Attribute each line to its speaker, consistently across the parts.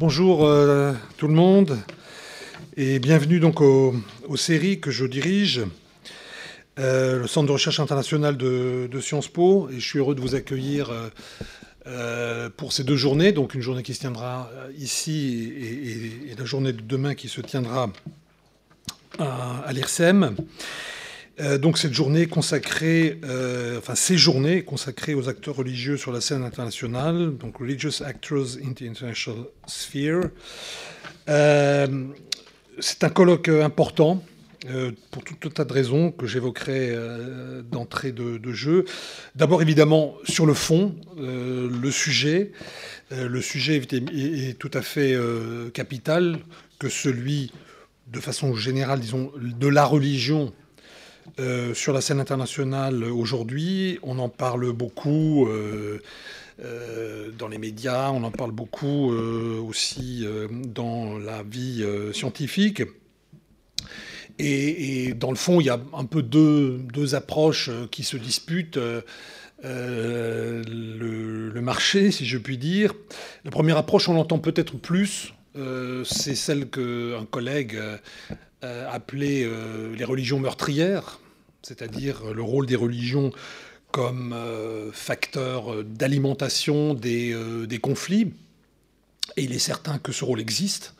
Speaker 1: Bonjour tout le monde et bienvenue donc aux séries que je dirige, le Centre de recherche internationale de Sciences Po, et je suis heureux de vous accueillir pour ces deux journées, donc une journée qui se tiendra ici et la journée de demain qui se tiendra à l'IRSEM. Donc cette journée consacrée, ces journées consacrées aux acteurs religieux sur la scène internationale, donc Religious Actors in the International Sphere. C'est un colloque important pour tout un tas de raisons que j'évoquerai d'entrée de jeu. D'abord évidemment sur le fond, le sujet. Le sujet est tout à fait capital, que celui, de façon générale, disons, de la religion sur la scène internationale aujourd'hui. On en parle beaucoup dans les médias, on en parle beaucoup aussi dans la vie scientifique. Et dans le fond, il y a un peu deux approches qui se disputent. Le marché, si je puis dire. La première approche, on l'entend peut-être plus, c'est celle qu'un collègue appelée les religions meurtrières, c'est-à-dire le rôle des religions comme facteur d'alimentation des conflits. Et il est certain que ce rôle existe.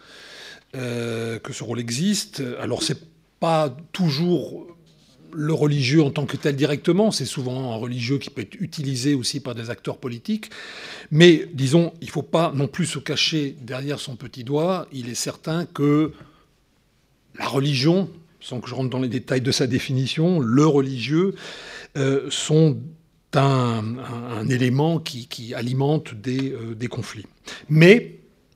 Speaker 1: Alors, c'est pas toujours le religieux en tant que tel directement, c'est souvent un religieux qui peut être utilisé aussi par des acteurs politiques. Mais disons, il ne faut pas non plus se cacher derrière son petit doigt. Il est certain que la religion, sans que je rentre dans les détails de sa définition, le religieux sont un élément qui alimente des conflits. Mais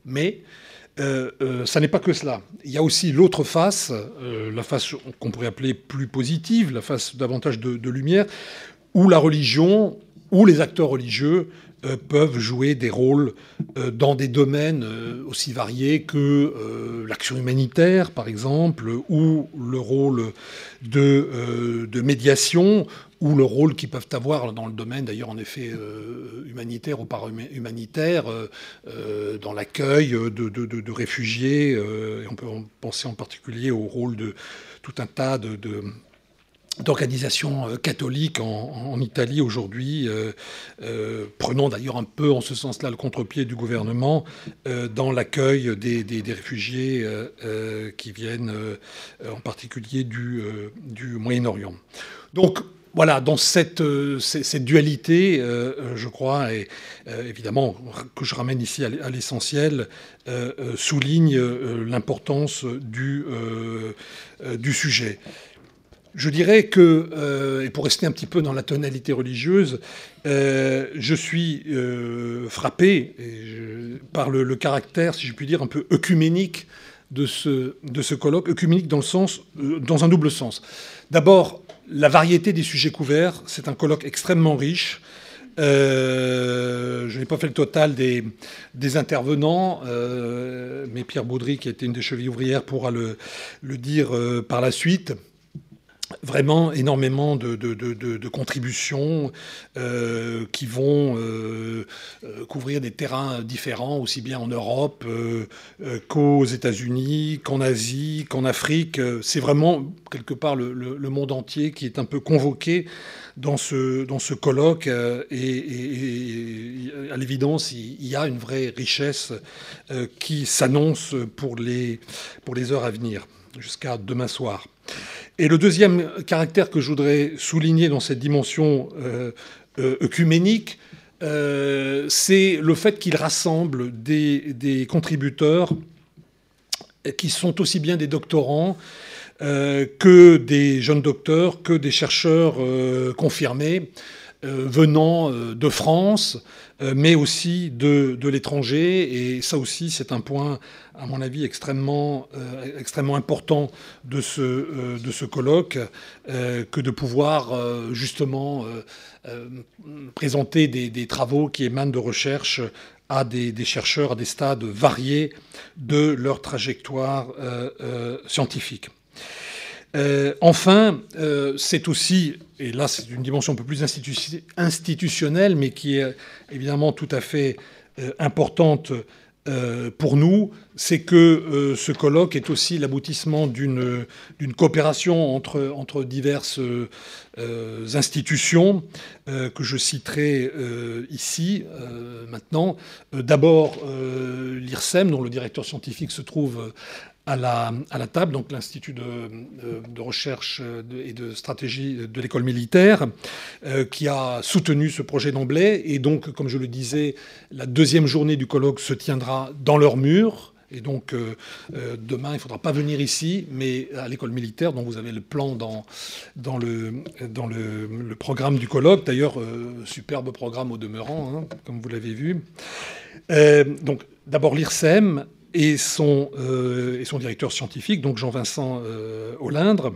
Speaker 1: ça n'est pas que cela. Il y a aussi l'autre face, la face qu'on pourrait appeler plus positive, la face davantage de lumière, où la religion, où les acteurs religieux peuvent jouer des rôles dans des domaines aussi variés que l'action humanitaire, par exemple, ou le rôle de médiation, ou le rôle qu'ils peuvent avoir dans le domaine, d'ailleurs, en effet, humanitaire ou para-humanitaire, dans l'accueil de réfugiés. Et on peut penser en particulier au rôle de tout un tas d'organisations catholiques en Italie aujourd'hui, prenant d'ailleurs un peu en ce sens-là le contre-pied du gouvernement dans l'accueil des réfugiés qui viennent en particulier du Moyen-Orient. Donc voilà, dans cette dualité, je crois, et évidemment que je ramène ici à l'essentiel, souligne l'importance du sujet. Je dirais que, et pour rester un petit peu dans la tonalité religieuse, je suis frappé par le caractère, si je puis dire, un peu œcuménique de ce colloque, œcuménique dans un double sens. D'abord, la variété des sujets couverts, c'est un colloque extrêmement riche. Je n'ai pas fait le total des intervenants, mais Pierre Baudry, qui a été une des chevilles ouvrières, pourra le dire par la suite. Vraiment énormément de contributions qui vont couvrir des terrains différents, aussi bien en Europe qu'aux États-Unis, qu'en Asie, qu'en Afrique. C'est vraiment, quelque part, le monde entier qui est un peu convoqué dans ce colloque. Et à l'évidence, il y a une vraie richesse qui s'annonce pour les heures à venir, jusqu'à demain soir. Et le deuxième caractère que je voudrais souligner dans cette dimension œcuménique, c'est le fait qu'il rassemble des contributeurs qui sont aussi bien des doctorants que des jeunes docteurs, que des chercheurs confirmés venant de France, mais aussi de l'étranger. Et ça aussi, c'est un point, à mon avis, extrêmement important de ce colloque, que de pouvoir justement présenter des travaux qui émanent de recherche à des chercheurs à des stades variés de leur trajectoire scientifique. Enfin, c'est aussi, et là c'est une dimension un peu plus institutionnelle, mais qui est évidemment tout à fait importante pour nous, c'est que ce colloque est aussi l'aboutissement d'une coopération entre diverses institutions que je citerai ici maintenant. D'abord, l'IRSEM, dont le directeur scientifique se trouve à la table, donc l'Institut de recherche et de stratégie de l'école militaire, qui a soutenu ce projet d'emblée. Et donc, comme je le disais, la deuxième journée du colloque se tiendra dans leurs murs. Et donc, demain, il ne faudra pas venir ici, mais à l'école militaire, dont vous avez le plan dans le programme du colloque. D'ailleurs, superbe programme au demeurant, hein, comme vous l'avez vu. Donc, d'abord l'IRSEM et son directeur scientifique, donc Jean-Vincent Olindre.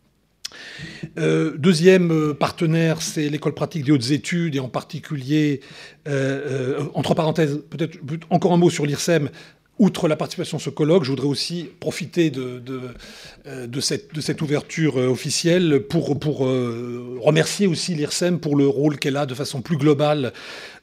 Speaker 1: Deuxième partenaire, c'est l'école pratique des hautes études, et en particulier, entre parenthèses, peut-être encore un mot sur l'IRSEM. Outre la participation à ce colloque, je voudrais aussi profiter de cette ouverture officielle pour remercier aussi l'IRSEM pour le rôle qu'elle a de façon plus globale,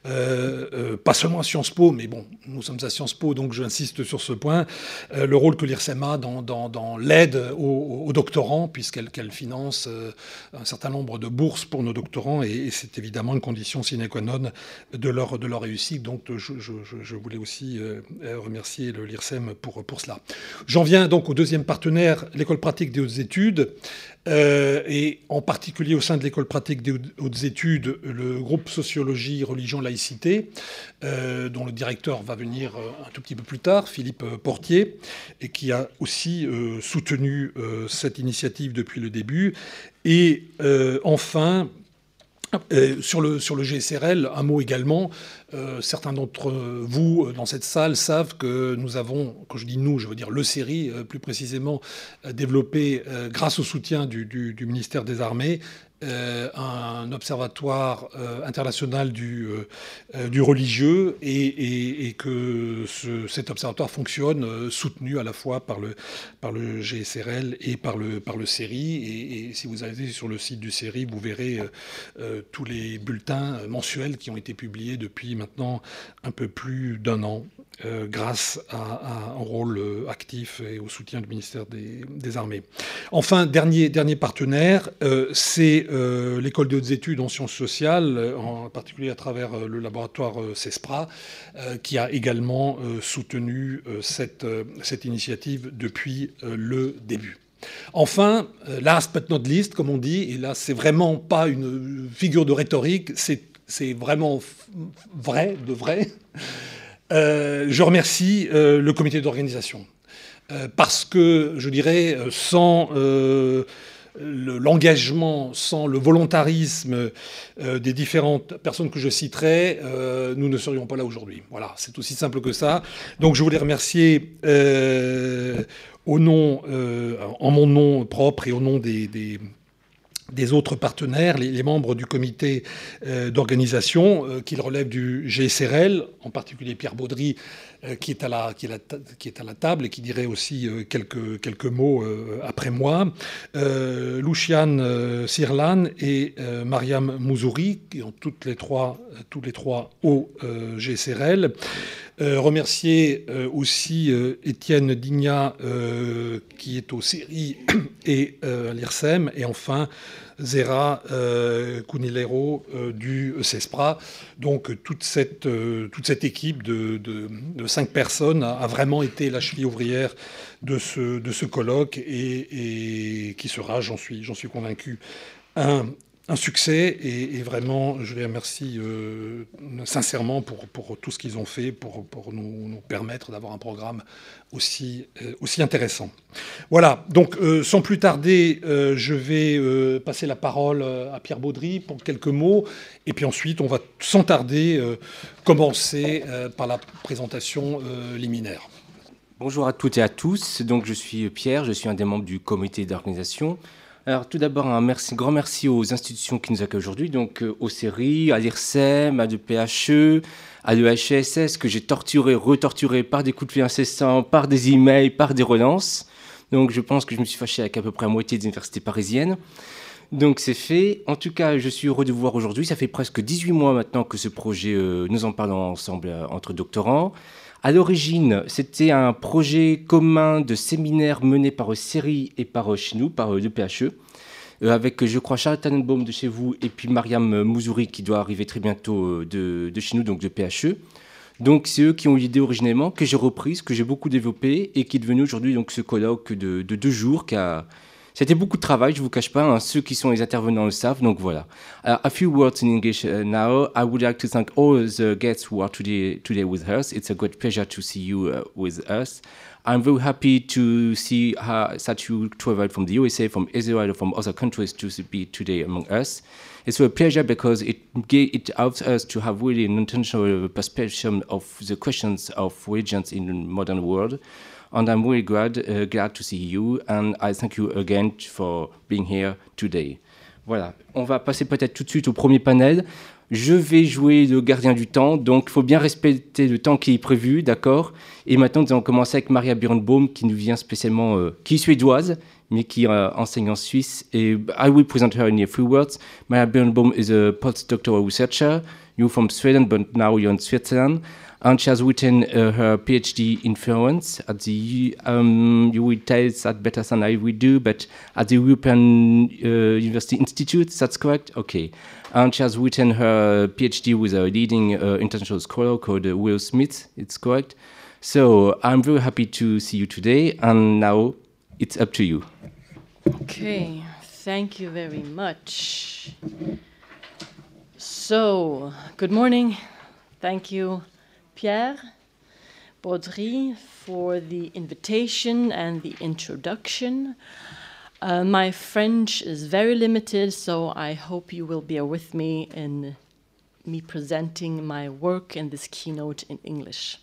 Speaker 1: pas seulement à Sciences Po, mais bon, nous sommes à Sciences Po, donc j'insiste sur ce point, le rôle que l'IRSEM a dans l'aide aux doctorants, puisqu'elle finance un certain nombre de bourses pour nos doctorants, et c'est évidemment une condition sine qua non de leur réussite. Donc je voulais aussi remercier l'IRSEM pour cela. J'en viens donc au deuxième partenaire, l'école pratique des hautes études, et en particulier au sein de l'école pratique des hautes études, le groupe Sociologie, Religion, Laïcité, dont le directeur va venir un tout petit peu plus tard, Philippe Portier, et qui a aussi soutenu cette initiative depuis le début. Et enfin, sur le GSRL, un mot également. Certains d'entre vous dans cette salle savent que nous avons, quand je dis nous, je veux dire le CERI, plus précisément, développé, grâce au soutien du ministère des Armées, un observatoire international du religieux, et que cet observatoire fonctionne soutenu à la fois par le GSRL et par le CERI. Et si vous allez sur le site du CERI, vous verrez tous les bulletins mensuels qui ont été publiés depuis maintenant un peu plus d'un an, grâce à un rôle actif et au soutien du ministère des Armées. Enfin, dernier partenaire, c'est l'école des hautes études en sciences sociales, en particulier à travers le laboratoire CESPRA, qui a également soutenu cette initiative depuis le début. Enfin, last but not least, comme on dit, et là c'est vraiment pas une figure de rhétorique, c'est vraiment vrai, de vrai. Je remercie le comité d'organisation, parce que, je dirais, sans l'engagement, sans le volontarisme des différentes personnes que je citerai, nous ne serions pas là aujourd'hui. Voilà, c'est aussi simple que ça. Donc je voulais remercier en mon nom propre et au nom des autres partenaires, les membres du comité d'organisation, qu'ils relèvent du GSRL, en particulier Pierre Baudry, qui est à la table et qui dirait aussi quelques mots après moi, Luciane Sirlan et Mariam Mouzouri, qui ont tous les trois au GSRL. Remercier aussi Étienne Dignat, qui est au CERI et à l'IRSEM, et enfin Zera Cunilero du CESPRA. Donc toute cette équipe de 5 personnes a vraiment été la cheville ouvrière de ce colloque, et qui sera, j'en suis convaincu, un succès, et vraiment, je les remercie sincèrement pour tout ce qu'ils ont fait pour nous permettre d'avoir un programme aussi intéressant. Voilà, donc sans plus tarder, je vais passer la parole à Pierre Baudry pour quelques mots, et puis ensuite, on va sans tarder commencer par la présentation liminaire.
Speaker 2: Bonjour à toutes et à tous. Donc, je suis Pierre, je suis un des membres du comité d'organisation. Alors, tout d'abord, un grand merci aux institutions qui nous accueillent aujourd'hui, donc au CERI, à l'IRSEM, à l'EPHE, à l'EHESS, que j'ai retorturé par des coups de fil incessants, par des emails, par des relances. Donc, je pense que je me suis fâché avec à peu près la moitié des universités parisiennes. Donc, c'est fait. En tout cas, je suis heureux de vous voir aujourd'hui. Ça fait presque 18 mois maintenant que ce projet, nous en parlons ensemble entre doctorants. À l'origine, c'était un projet commun de séminaire mené par Seri et par chez nous, par le PHE, avec, je crois, Charles Tannenbaum de chez vous et puis Mariam Mouzouri qui doit arriver très bientôt de chez nous, donc de PHE. Donc c'est eux qui ont eu l'idée originellement, que j'ai reprise, que j'ai beaucoup développée et qui est devenu aujourd'hui donc, ce colloque de 2 jours qui a... C'était beaucoup de travail, je ne vous cache pas, hein, ceux qui sont les intervenants le savent, donc voilà. A few words in English now. I would like to thank all the guests who are today with us. It's a great pleasure to see you with us. I'm very happy to see that you traveled from the USA, from Israel, from other countries to be today among us. It's a pleasure because it helps us to have really an intentional perspective of the questions of religions in the modern world. And I'm really glad to see you, and I thank you again for being here today. Voilà, on va passer peut-être tout de suite au premier panel. Je vais jouer le gardien du temps, donc il faut bien respecter le temps qui est prévu, d'accord? Et maintenant, nous allons commencer avec Maria Birnbaum, qui nous vient spécialement, qui est suédoise, mais qui enseigne en Suisse. Et I will present her in a few words. Maria Birnbaum is a postdoctoral researcher. You're from Sweden, but now you're in Switzerland. And she has written her PhD in Florence at the, you will tell that better than I will do, but at the European University Institute, that's correct? Okay. And she has written her PhD with a leading international scholar called Will Smith, it's correct? So I'm very happy to see you today, and now it's up to you.
Speaker 3: Okay, thank you very much. So, good morning. Thank you, Pierre Baudry, for the invitation and the introduction. My French is very limited, so I hope you will bear with me in me presenting my work in this keynote in English.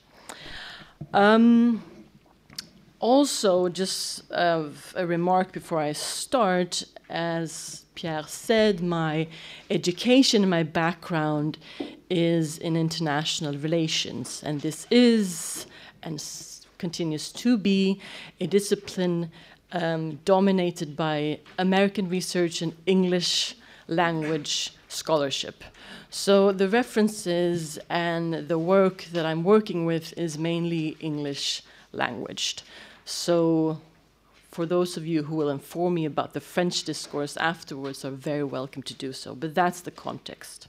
Speaker 3: Also, just a remark before I start, as Pierre said, my education, my background is in international relations, and this is and continues to be a discipline dominated by American research and English language scholarship. So the references and the work that I'm working with is mainly English languaged. So for those of you who will inform me about the French discourse afterwards are very welcome to do so, but that's the context.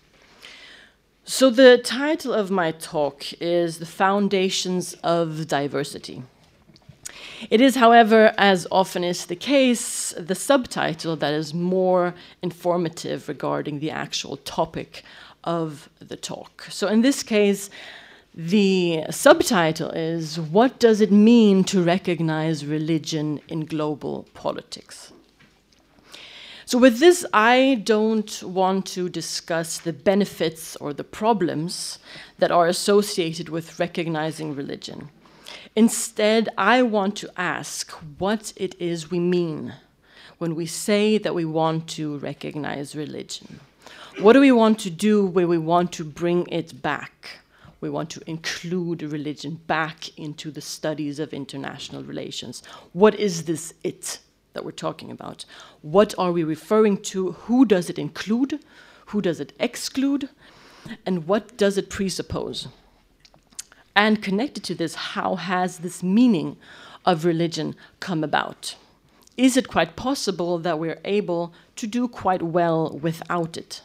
Speaker 3: So the title of my talk is The Foundations of Diversity. It is, however, as often is the case, the subtitle that is more informative regarding the actual topic of the talk. So in this case, the subtitle is, What Does It Mean to Recognize Religion in Global Politics? So with this, I don't want to discuss the benefits or the problems that are associated with recognizing religion. Instead, I want to ask what it is we mean when we say that we want to recognize religion. What do we want to do when we want to bring it back? We want to include religion back into the studies of international relations. What is this it that we're talking about? What are we referring to? Who does it include? Who does it exclude? And what does it presuppose? And connected to this, how has this meaning of religion come about? Is it quite possible that we're able to do quite well without it?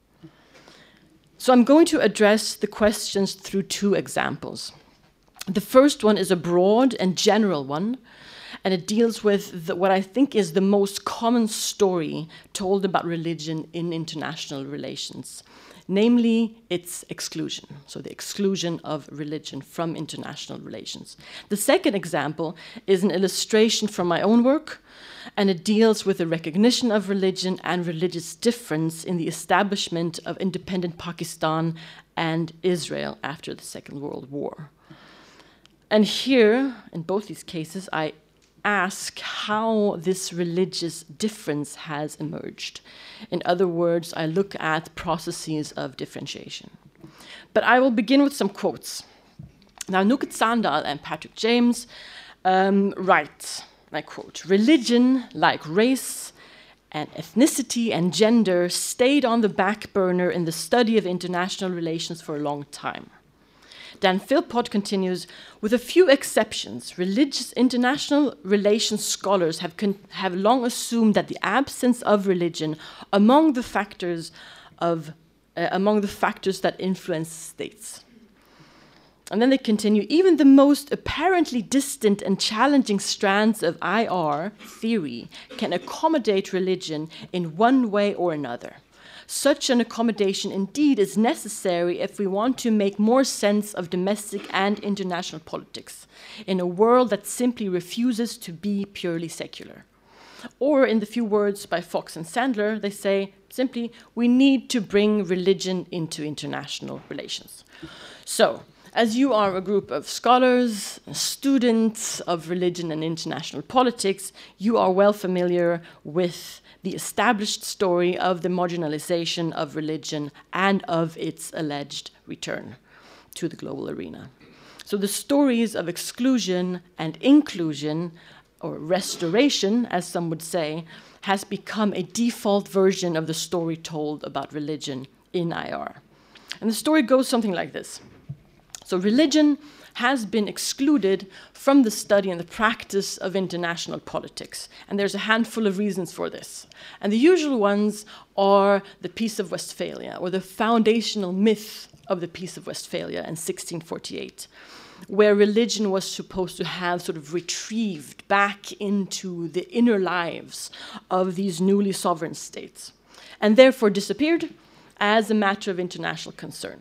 Speaker 3: So I'm going to address the questions through 2 examples. The first one is a broad and general one, and it deals with what I think is the most common story told about religion in international relations, namely its exclusion, so the exclusion of religion from international relations. The second example is an illustration from my own work, and it deals with the recognition of religion and religious difference in the establishment of independent Pakistan and Israel after the Second World War. And here, in both these cases, I ask how this religious difference has emerged. In other words, I look at processes of differentiation. But I will begin with some quotes. Now, Nugget Sandal and Patrick James write, I quote, "Religion, like race and ethnicity and gender, stayed on the back burner in the study of international relations for a long time. Dan Philpott continues, with a few exceptions, religious international relations scholars have long assumed that the absence of religion among the factors that influence states. And then they continue, even the most apparently distant and challenging strands of IR theory can accommodate religion in one way or another. Such an accommodation indeed is necessary if we want to make more sense of domestic and international politics in a world that simply refuses to be purely secular. Or in the few words by Fox and Sandler, they say simply, we need to bring religion into international relations. So, as you are a group of scholars, students of religion and international politics, you are well familiar with the established story of the marginalization of religion and of its alleged return to the global arena. So the stories of exclusion and inclusion, or restoration, as some would say, has become a default version of the story told about religion in IR. And the story goes something like this. So religion has been excluded from the study and the practice of international politics. And there's a handful of reasons for this. And the usual ones are the Peace of Westphalia, or the foundational myth of the Peace of Westphalia in 1648, where religion was supposed to have sort of retrieved back into the inner lives of these newly sovereign states, and therefore disappeared as a matter of international concern.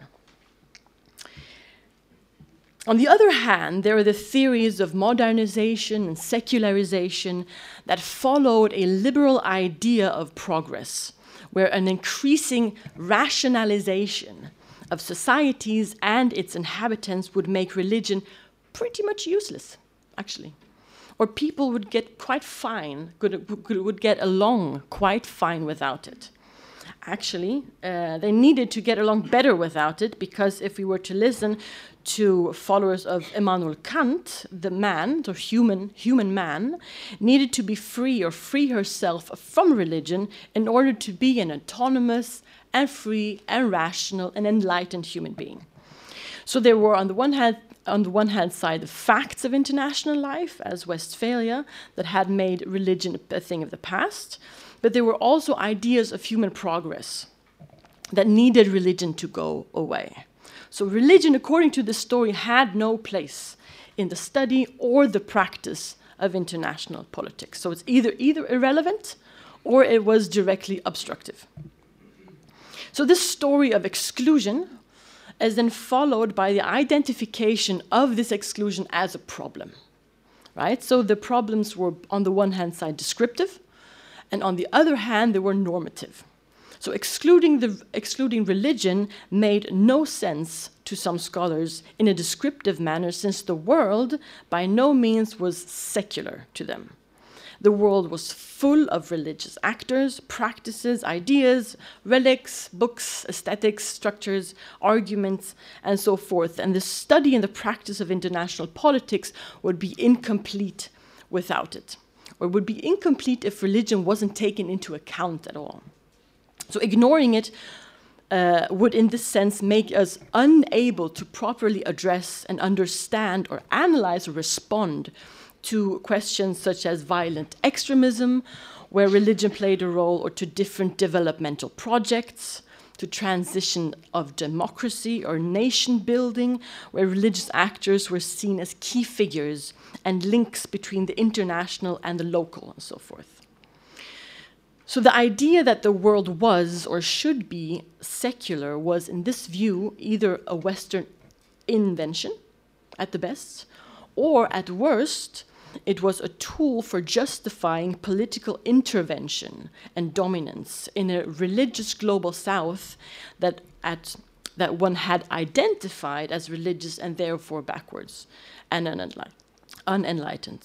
Speaker 3: On the other hand, there are the theories of modernization and secularization that followed a liberal idea of progress, where an increasing rationalization of societies and its inhabitants would make religion pretty much useless, actually. Or people would get quite fine, would get along quite fine without it. Actually, they needed to get along better without it, because if we were to listen to followers of Immanuel Kant, the man, the human man, needed to be free or free herself from religion in order to be an autonomous and free and rational and enlightened human being. So there were, on the one hand side, the facts of international life, as Westphalia, that had made religion a thing of the past, but there were also ideas of human progress that needed religion to go away. So religion, according to the story, had no place in the study or the practice of international politics. So it's either irrelevant or it was directly obstructive. So this story of exclusion is then followed by the identification of this exclusion as a problem, right? So the problems were, on the one hand side, descriptive, and on the other hand, they were normative. So excluding religion made no sense to some scholars in a descriptive manner, since the world by no means was secular to them. The world was full of religious actors, practices, ideas, relics, books, aesthetics, structures, arguments, and so forth. And the study and the practice of international politics would be incomplete without it, or would be incomplete if religion wasn't taken into account at all. So ignoring it would, in this sense, make us unable to properly address and understand or analyze or respond to questions such as violent extremism, where religion played a role, or to different developmental projects, to transition of democracy or nation building, where religious actors were seen as key figures and links between the international and the local, and so forth. So the idea that the world was or should be secular was, in this view, either a Western invention, at the best, or at worst, it was a tool for justifying political intervention and dominance in a religious global South that one had identified as religious and therefore backwards and unenlightened.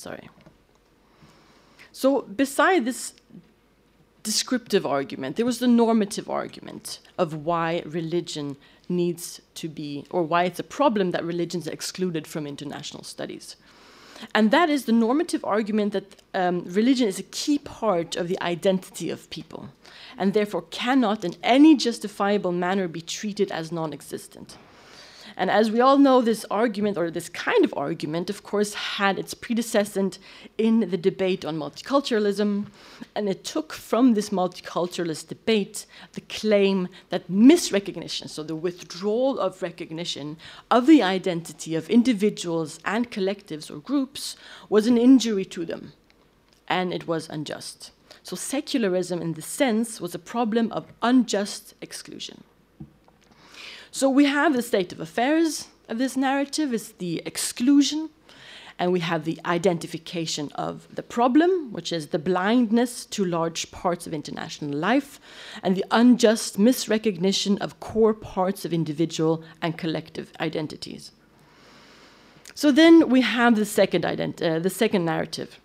Speaker 3: So beside this descriptive argument, there was the normative argument of why religion needs to be, or why it's a problem that religion is excluded from international studies. And that is the normative argument that religion is a key part of the identity of people, and therefore cannot in any justifiable manner be treated as non-existent. And as we all know, this argument, or this kind of argument, of course, had its predecessor in the debate on multiculturalism, and it took from this multiculturalist debate the claim that misrecognition, so the withdrawal of recognition of the identity of individuals and collectives or groups, was an injury to them, and it was unjust. So secularism, in this sense, was a problem of unjust exclusion. So we have the state of affairs of this narrative is the exclusion, and we have the identification of the problem, which is the blindness to large parts of international life, and the unjust misrecognition of core parts of individual and collective identities. So then we have the second narrative,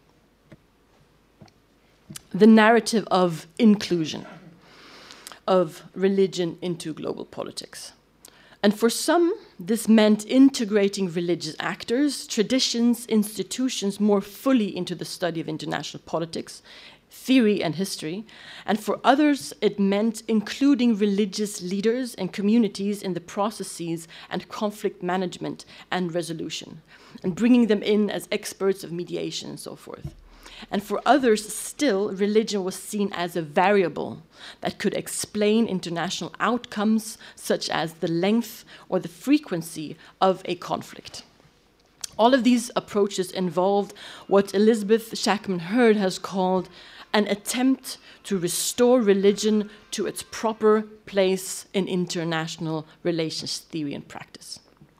Speaker 3: the narrative of inclusion, of religion into global politics. And for some, this meant integrating religious actors, traditions, institutions more fully into the study of international politics, theory, and history. And for others, it meant including religious leaders and communities in the processes and conflict management and resolution, and bringing them in as experts of mediation and so forth. And for others still, religion was seen as a variable that could explain international outcomes, such as the length or the frequency of a conflict. All of these approaches involved what Elizabeth Shackman Hurd has called an attempt to restore religion to its proper place in international relations theory and practice.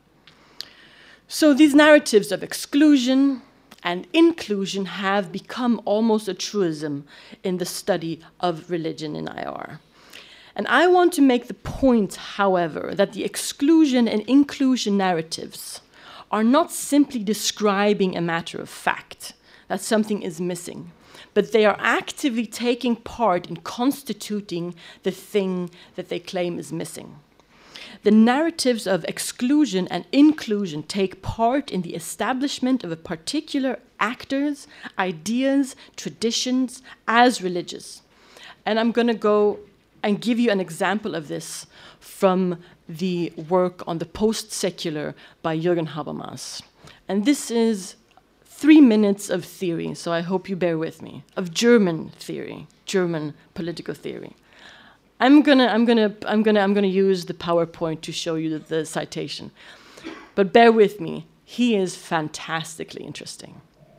Speaker 3: So these narratives of exclusion and inclusion have become almost a truism in the study of religion in IR. And I want to make the point, however, that the exclusion and inclusion narratives are not simply describing a matter of fact, that something is missing, but they are actively taking part in constituting the thing that they claim is missing. The narratives of exclusion and inclusion take part in the establishment of a particular actors, ideas, traditions as religious. And I'm going to go and give you an example of this from the work on the post-secular by Jürgen Habermas. And this is 3 minutes of theory, so I hope you bear with me, of German theory, German political theory. I'm gonna use the PowerPoint to show you the citation, but bear with me. He is fantastically interesting.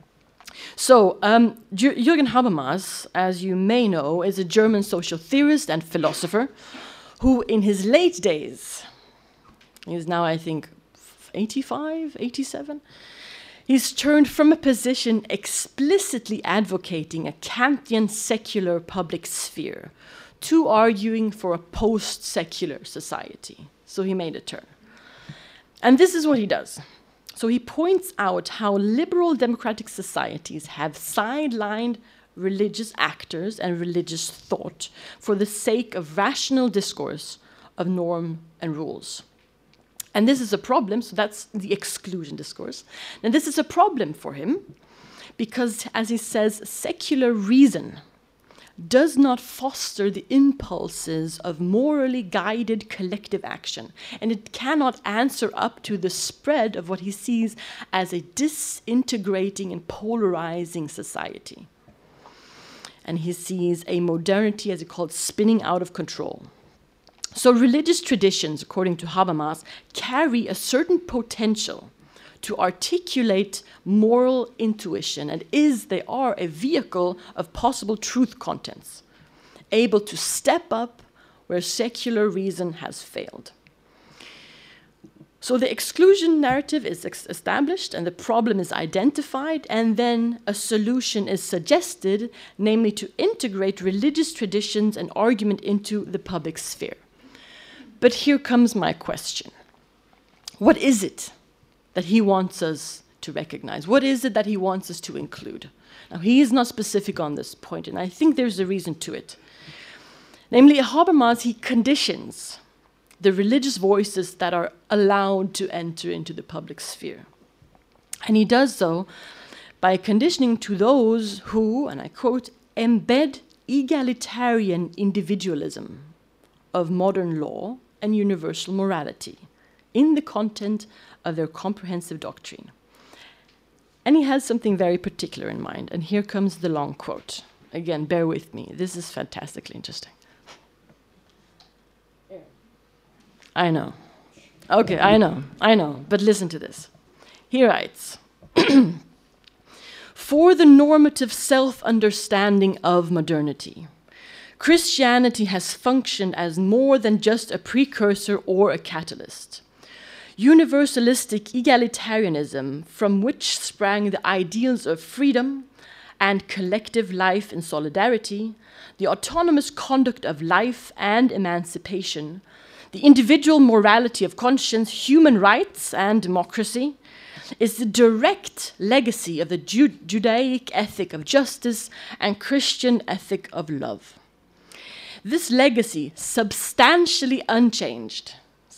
Speaker 3: So Jürgen Habermas, as you may know, is a German social theorist and philosopher who, in his late days, he's now I think 85, 87. He's turned from a position explicitly advocating a Kantian secular public sphere to arguing for a post-secular society. So he made a turn. And this is what he does. So he points out how liberal democratic societies have sidelined religious actors and religious thought for the sake of rational discourse of norm and rules. And this is a problem, so that's the exclusion discourse. And this is a problem for him because, as he says, secular reason does not foster the impulses of morally guided collective action, and it cannot answer up to the spread of what he sees as a disintegrating and polarizing society. And he sees a modernity, as he called, spinning out of control. So religious traditions, according to Habermas, carry a certain potential to articulate moral intuition, and they are a vehicle of possible truth contents, able to step up where secular reason has failed. So the exclusion narrative is established and the problem is identified, and then a solution is suggested, namely to integrate religious traditions and argument into the public sphere. But here comes my question. What is it that he wants us to recognize? What is it that he wants us to include? Now, he is not specific on this point, and I think there's a reason to it. Namely, Habermas, he conditions the religious voices that are allowed to enter into the public sphere. And he does so by conditioning to those who, and I quote, embed egalitarian individualism of modern law and universal morality in the content of their comprehensive doctrine. And he has something very particular in mind. And here comes the long quote. Again, bear with me. This is fantastically interesting. I know. Okay, I know. But listen to this. He writes, for the normative self-understanding of modernity, Christianity has functioned as more than just a precursor or a catalyst. Universalistic egalitarianism, from which sprang the ideals of freedom and collective life in solidarity, the autonomous conduct of life and emancipation, the individual morality of conscience, human rights, and democracy, is the direct legacy of the Judaic ethic of justice and Christian ethic of love. This legacy, substantially unchanged,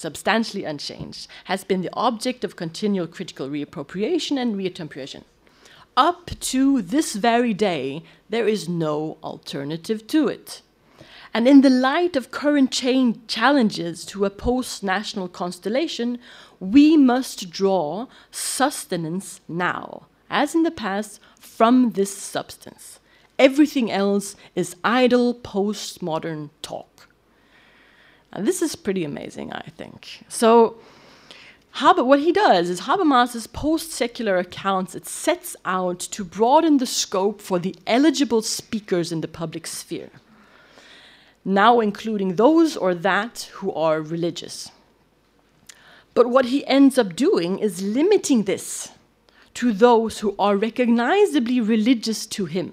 Speaker 3: has been the object of continual critical reappropriation and reappropriation. Up to this very day, there is no alternative to it. And in the light of current challenges to a post-national constellation, we must draw sustenance now, as in the past, from this substance. Everything else is idle postmodern talk. And this is pretty amazing, I think. So what he does is Habermas's post-secular accounts, it sets out to broaden the scope for the eligible speakers in the public sphere, now including those or that who are religious. But what he ends up doing is limiting this to those who are recognizably religious to him.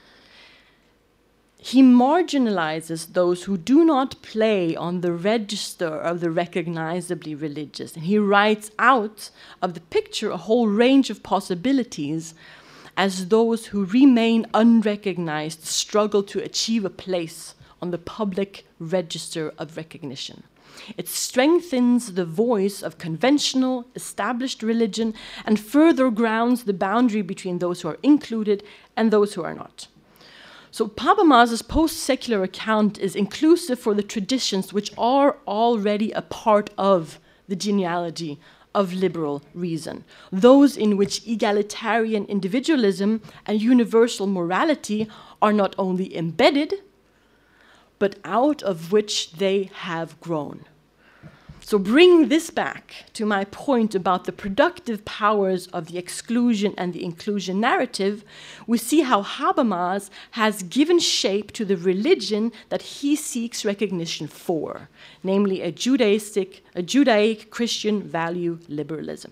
Speaker 3: He marginalizes those who do not play on the register of the recognizably religious. And he writes out of the picture a whole range of possibilities as those who remain unrecognized struggle to achieve a place on the public register of recognition. It strengthens the voice of conventional, established religion and further grounds the boundary between those who are included and those who are not. So Habermas's post-secular account is inclusive for the traditions which are already a part of the genealogy of liberal reason, those in which egalitarian individualism and universal morality are not only embedded, but out of which they have grown. So bringing this back to my point about the productive powers of the exclusion and the inclusion narrative, we see how Habermas has given shape to the religion that he seeks recognition for, namely a Judaic Christian value liberalism.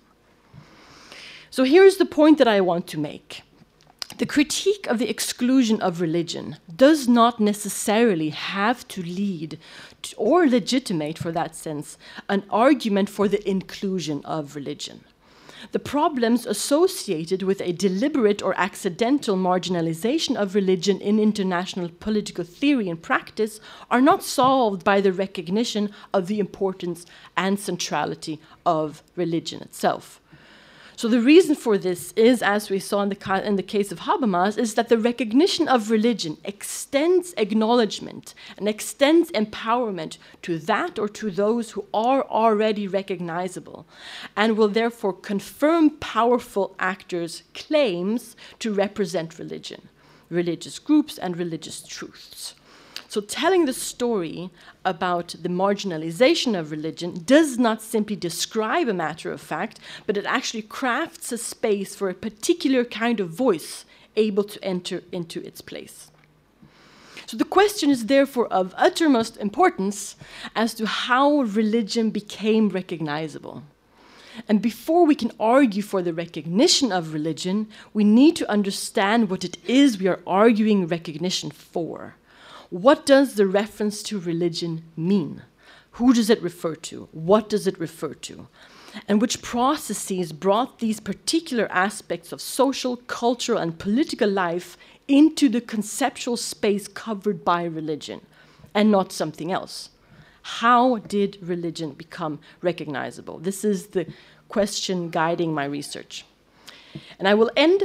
Speaker 3: So here's the point that I want to make. The critique of the exclusion of religion does not necessarily have to lead to, or legitimate, for that sense, an argument for the inclusion of religion. The problems associated with a deliberate or accidental marginalization of religion in international political theory and practice are not solved by the recognition of the importance and centrality of religion itself. So the reason for this is, as we saw in the case of Habermas, is that the recognition of religion extends acknowledgement and extends empowerment to that or to those who are already recognizable, and will therefore confirm powerful actors' claims to represent religion, religious groups, and religious truths. So telling the story about the marginalization of religion does not simply describe a matter of fact, but it actually crafts a space for a particular kind of voice able to enter into its place. So the question is therefore of uttermost importance as to how religion became recognizable. And before we can argue for the recognition of religion, we need to understand what it is we are arguing recognition for. What does the reference to religion mean? Who does it refer to? What does it refer to? And which processes brought these particular aspects of social, cultural, and political life into the conceptual space covered by religion, and not something else? How did religion become recognizable? This is the question guiding my research. And I will end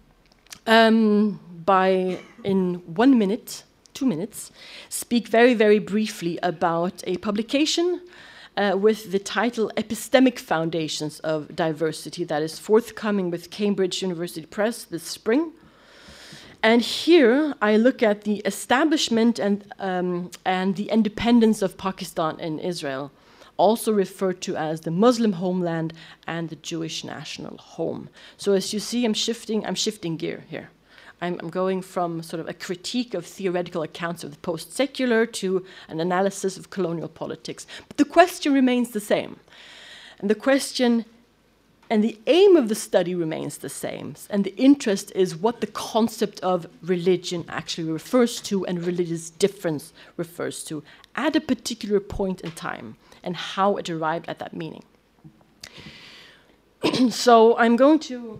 Speaker 3: by, in 1 minute, 2 minutes, speak very, very briefly about a publication with the title Epistemic Foundations of Diversity, that is forthcoming with Cambridge University Press this spring. And here I look at the establishment and the independence of Pakistan and Israel, also referred to as the Muslim homeland and the Jewish national home. So as you see, I'm shifting gear here. I'm going from sort of a critique of theoretical accounts of the post-secular to an analysis of colonial politics. But the question remains the same. And the question and the aim of the study remains the same. And the interest is what the concept of religion actually refers to and religious difference refers to at a particular point in time and how it arrived at that meaning. So I'm going to...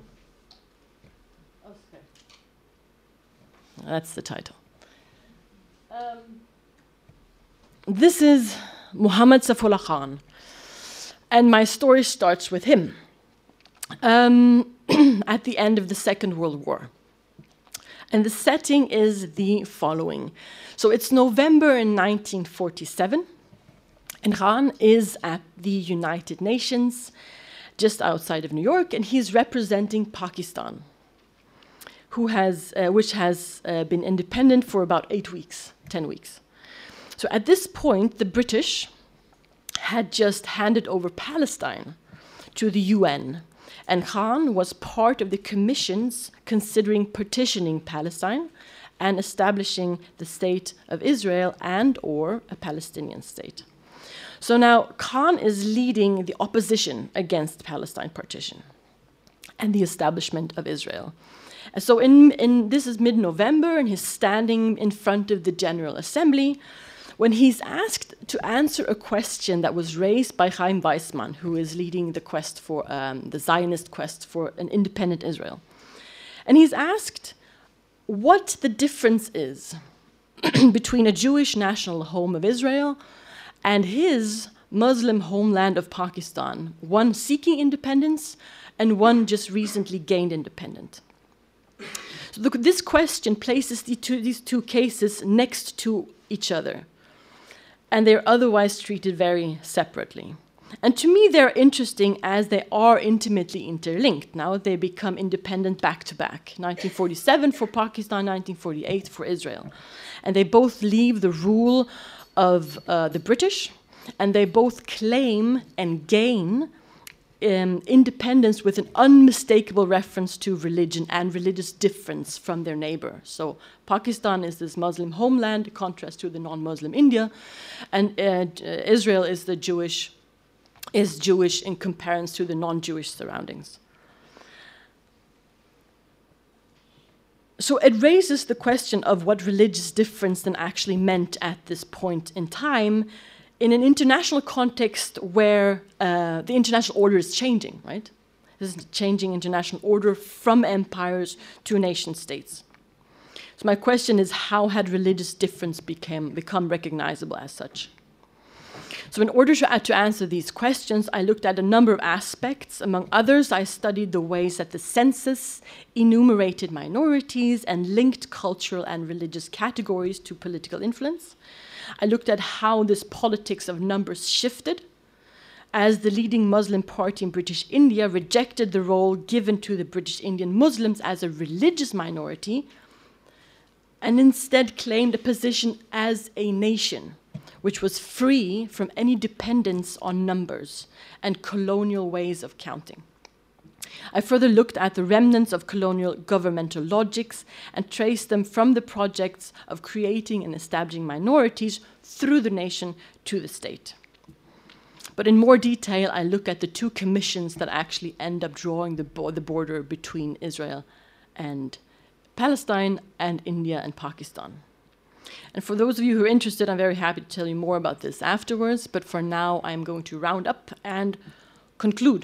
Speaker 3: That's the title. This is Muhammad Saifullah Khan, and my story starts with him at the end of the Second World War. And the setting is the following. So it's November in 1947, and Khan is at the United Nations, just outside of New York, and he's representing Pakistan, which has been independent for about 8 weeks, 10 weeks. So at this point, the British had just handed over Palestine to the UN, and Khan was part of the commissions considering partitioning Palestine and establishing the state of Israel and or a Palestinian state. So now Khan is leading the opposition against Palestine partition and the establishment of Israel. So this is mid-November, and he's standing in front of the General Assembly when he's asked to answer a question that was raised by Chaim Weizmann, who is leading the quest for the Zionist quest for an independent Israel. And he's asked what the difference is between a Jewish national home of Israel and his Muslim homeland of Pakistan, one seeking independence and one just recently gained independence. So this question places these two cases next to each other, and they're otherwise treated very separately. And to me, they're interesting as they are intimately interlinked. Now they become independent back to back, 1947 for Pakistan, 1948 for Israel. And they both leave the rule of the British, and they both claim and gain independence with an unmistakable reference to religion and religious difference from their neighbor. So Pakistan is this Muslim homeland, in contrast to the non-Muslim India, and Israel is Jewish in comparison to the non-Jewish surroundings. So it raises the question of what religious difference then actually meant at this point in time, in an international context where the international order is changing, right? This is changing international order from empires to nation states. So my question is, how had religious difference become recognizable as such? So in order to answer these questions, I looked at a number of aspects. Among others, I studied the ways that the census enumerated minorities and linked cultural and religious categories to political influence. I looked at how this politics of numbers shifted as the leading Muslim party in British India rejected the role given to the British Indian Muslims as a religious minority and instead claimed a position as a nation, which was free from any dependence on numbers and colonial ways of counting. I further looked at the remnants of colonial governmental logics and traced them from the projects of creating and establishing minorities through the nation to the state. But in more detail, I look at the two commissions that actually end up drawing the border between Israel and Palestine and India and Pakistan. And for those of you who are interested, I'm very happy to tell you more about this afterwards, but for now, I'm going to round up and conclude.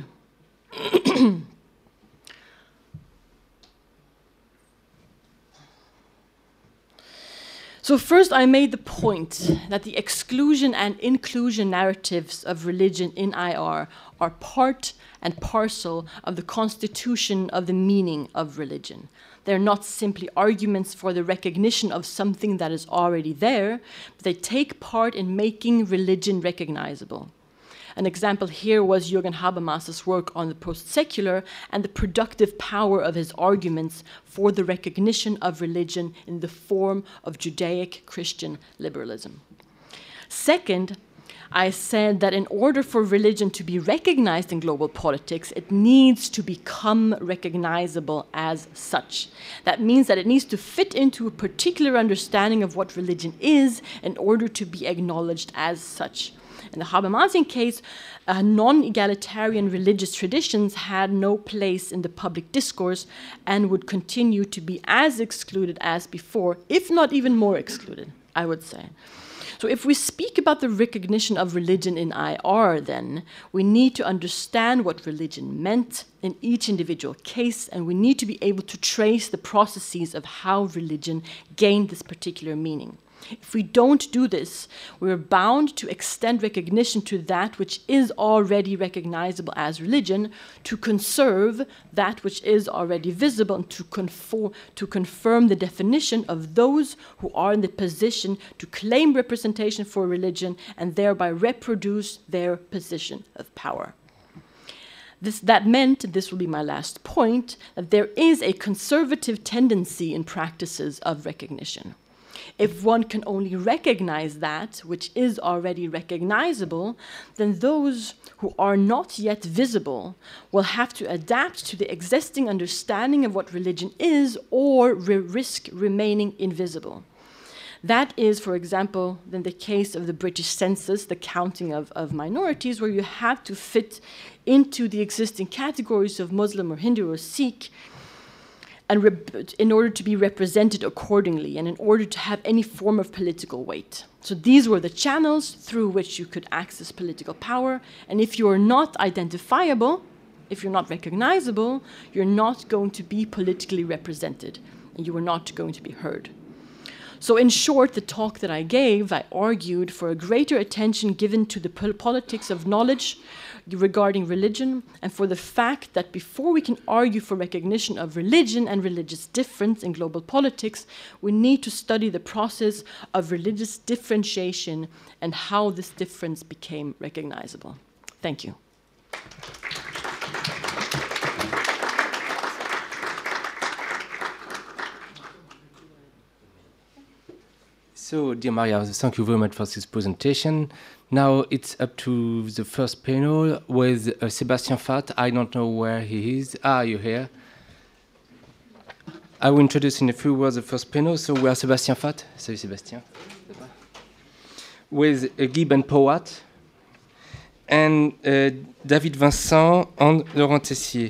Speaker 3: So first, I made the point that the exclusion and inclusion narratives of religion in IR are part and parcel of the constitution of the meaning of religion. They're not simply arguments for the recognition of something that is already there, but they take part in making religion recognizable. An example here was Jürgen Habermas's work on the post-secular and the productive power of his arguments for the recognition of religion in the form of Judaic Christian liberalism. Second, I said that in order for religion to be recognized in global politics, it needs to become recognizable as such. That means that it needs to fit into a particular understanding of what religion is in order to be acknowledged as such. In the Habermasian case, non-egalitarian religious traditions had no place in the public discourse and would continue to be as excluded as before, if not even more excluded, I would say. So if we speak about the recognition of religion in IR, then we need to understand what religion meant in each individual case, and we need to be able to trace the processes of how religion gained this particular meaning. If we don't do this, we're bound to extend recognition to that which is already recognizable as religion, to conserve that which is already visible, and to confirm the definition of those who are in the position to claim representation for religion and thereby reproduce their position of power. That meant, this will be my last point, that there is a conservative tendency in practices of recognition. If one can only recognize that which is already recognizable, then those who are not yet visible will have to adapt to the existing understanding of what religion is or risk remaining invisible. That is, for example, in the case of the British census, the counting of minorities, where you have to fit into the existing categories of Muslim or Hindu or Sikh, and in order to be represented accordingly and in order to have any form of political weight. So these were the channels through which you could access political power, and if you are not identifiable, if you're not recognizable, you're not going to be politically represented, and you are not going to be heard. So in short, the talk that I gave, I argued for a greater attention given to the politics of knowledge regarding religion, and for the fact that before we can argue for recognition of religion and religious difference in global politics, we need to study the process of religious differentiation and how this difference became recognizable. Thank you.
Speaker 2: So, dear Maria, thank you very much for this presentation. Now it's up to the first panel with Sébastien Fath. I don't know where he is. Ah, you're here. I will introduce in a few words the first panel. So we are Sébastien Fath. Salut Sébastien. With Guy Ben-Powat and David Vincent and Laurent Tessier.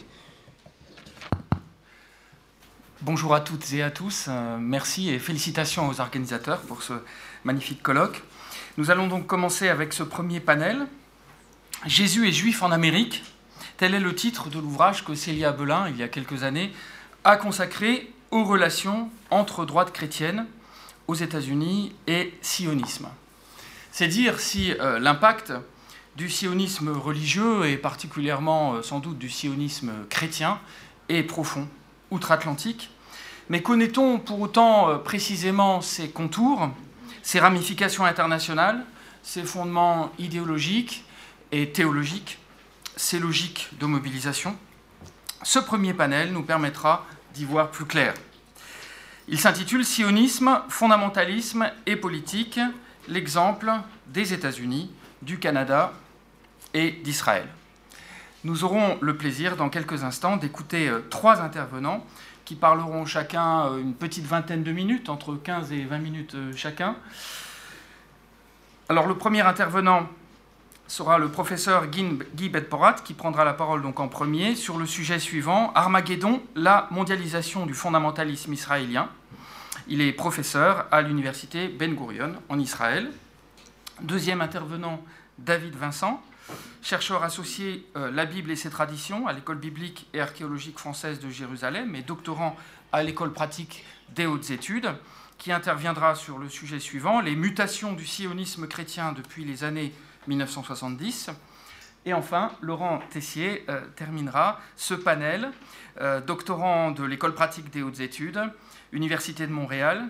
Speaker 4: Bonjour à toutes et à tous, merci et félicitations aux organisateurs pour ce magnifique colloque. Nous allons donc commencer avec ce premier panel. Jésus est juif en Amérique, tel est le titre de l'ouvrage que Célia Belin, il y a quelques années, a consacré aux relations entre droite chrétienne aux États-Unis et sionisme. C'est dire si l'impact du sionisme religieux et particulièrement sans doute du sionisme chrétien est profond, outre-Atlantique. Mais connaît-on pour autant précisément ses contours, ses ramifications internationales, ses fondements idéologiques et théologiques, ses logiques de mobilisation? Ce premier panel nous permettra d'y voir plus clair. Il s'intitule « Sionisme, fondamentalisme et politique, l'exemple des États-Unis, du Canada et d'Israël ». Nous aurons le plaisir, dans quelques instants, d'écouter trois intervenants qui parleront chacun une petite vingtaine de minutes, entre 15 et 20 minutes chacun. Alors, le premier intervenant sera le professeur Guy Ben-Powat, qui prendra la parole donc en premier sur le sujet suivant, Armageddon, la mondialisation du fondamentalisme israélien. Il est professeur à l'université Ben Gurion en Israël. Deuxième intervenant, David Vincent, chercheur associé La Bible et ses traditions à l'école biblique et archéologique française de Jérusalem et doctorant à l'école pratique des hautes études, qui interviendra sur le sujet suivant, les mutations du sionisme chrétien depuis les années 1970. Et enfin, Laurent Tessier terminera ce panel, doctorant de l'école pratique des hautes études, Université de Montréal,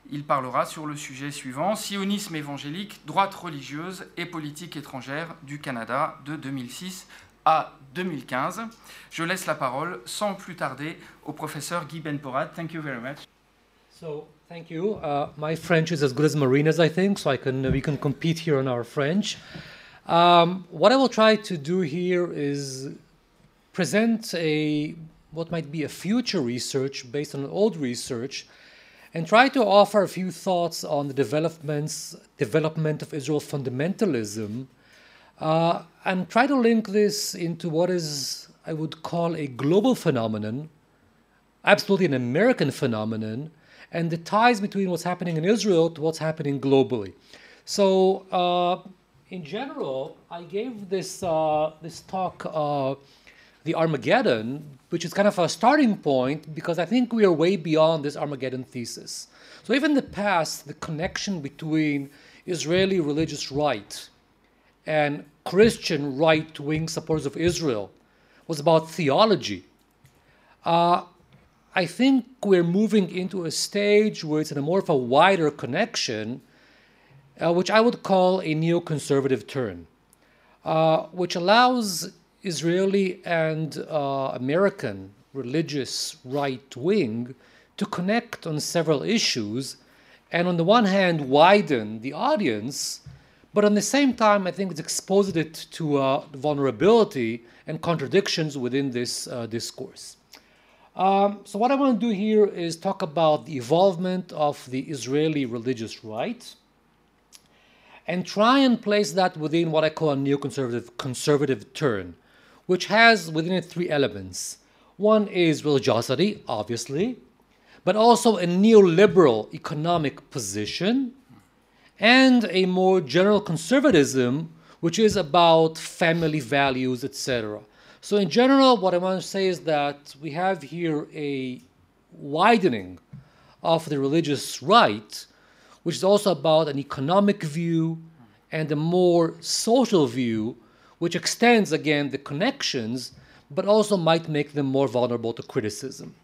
Speaker 4: Il parlera sur le sujet suivant, sionisme évangélique, droite religieuse et politique étrangère du Canada de 2006 à 2015. Je laisse la parole sans plus tarder au professeur Guy Ben-Porad. Thank you very much.
Speaker 5: So, thank you. My French is as good as Marina's, I think, so we can compete here on our French. What I will try to do here is present what might be a future research based on old research, and try to offer a few thoughts on the development of Israel fundamentalism, and try to link this into what is, I would call, a global phenomenon, absolutely an American phenomenon, and the ties between what's happening in Israel to what's happening globally. So, in general, I gave this talk, The Armageddon, which is kind of a starting point because I think we are way beyond this Armageddon thesis. So even in the past, the connection between Israeli religious right and Christian right-wing supporters of Israel was about theology. I think we're moving into a stage where it's in a more of a wider connection, which I would call a neoconservative turn, which allows Israeli and American religious right wing to connect on several issues, and on the one hand widen the audience, but on the same time I think it's exposed it to vulnerability and contradictions within this discourse. So what I want to do here is talk about the evolvement of the Israeli religious right and try and place that within what I call a neoconservative turn, which has within it three elements. One is religiosity, obviously, but also a neoliberal economic position and a more general conservatism, which is about family values, etc. So in general, what I want to say is that we have here a widening of the religious right, which is also about an economic view and a more social view, which extends, again, the connections, but also might make them more vulnerable to criticism.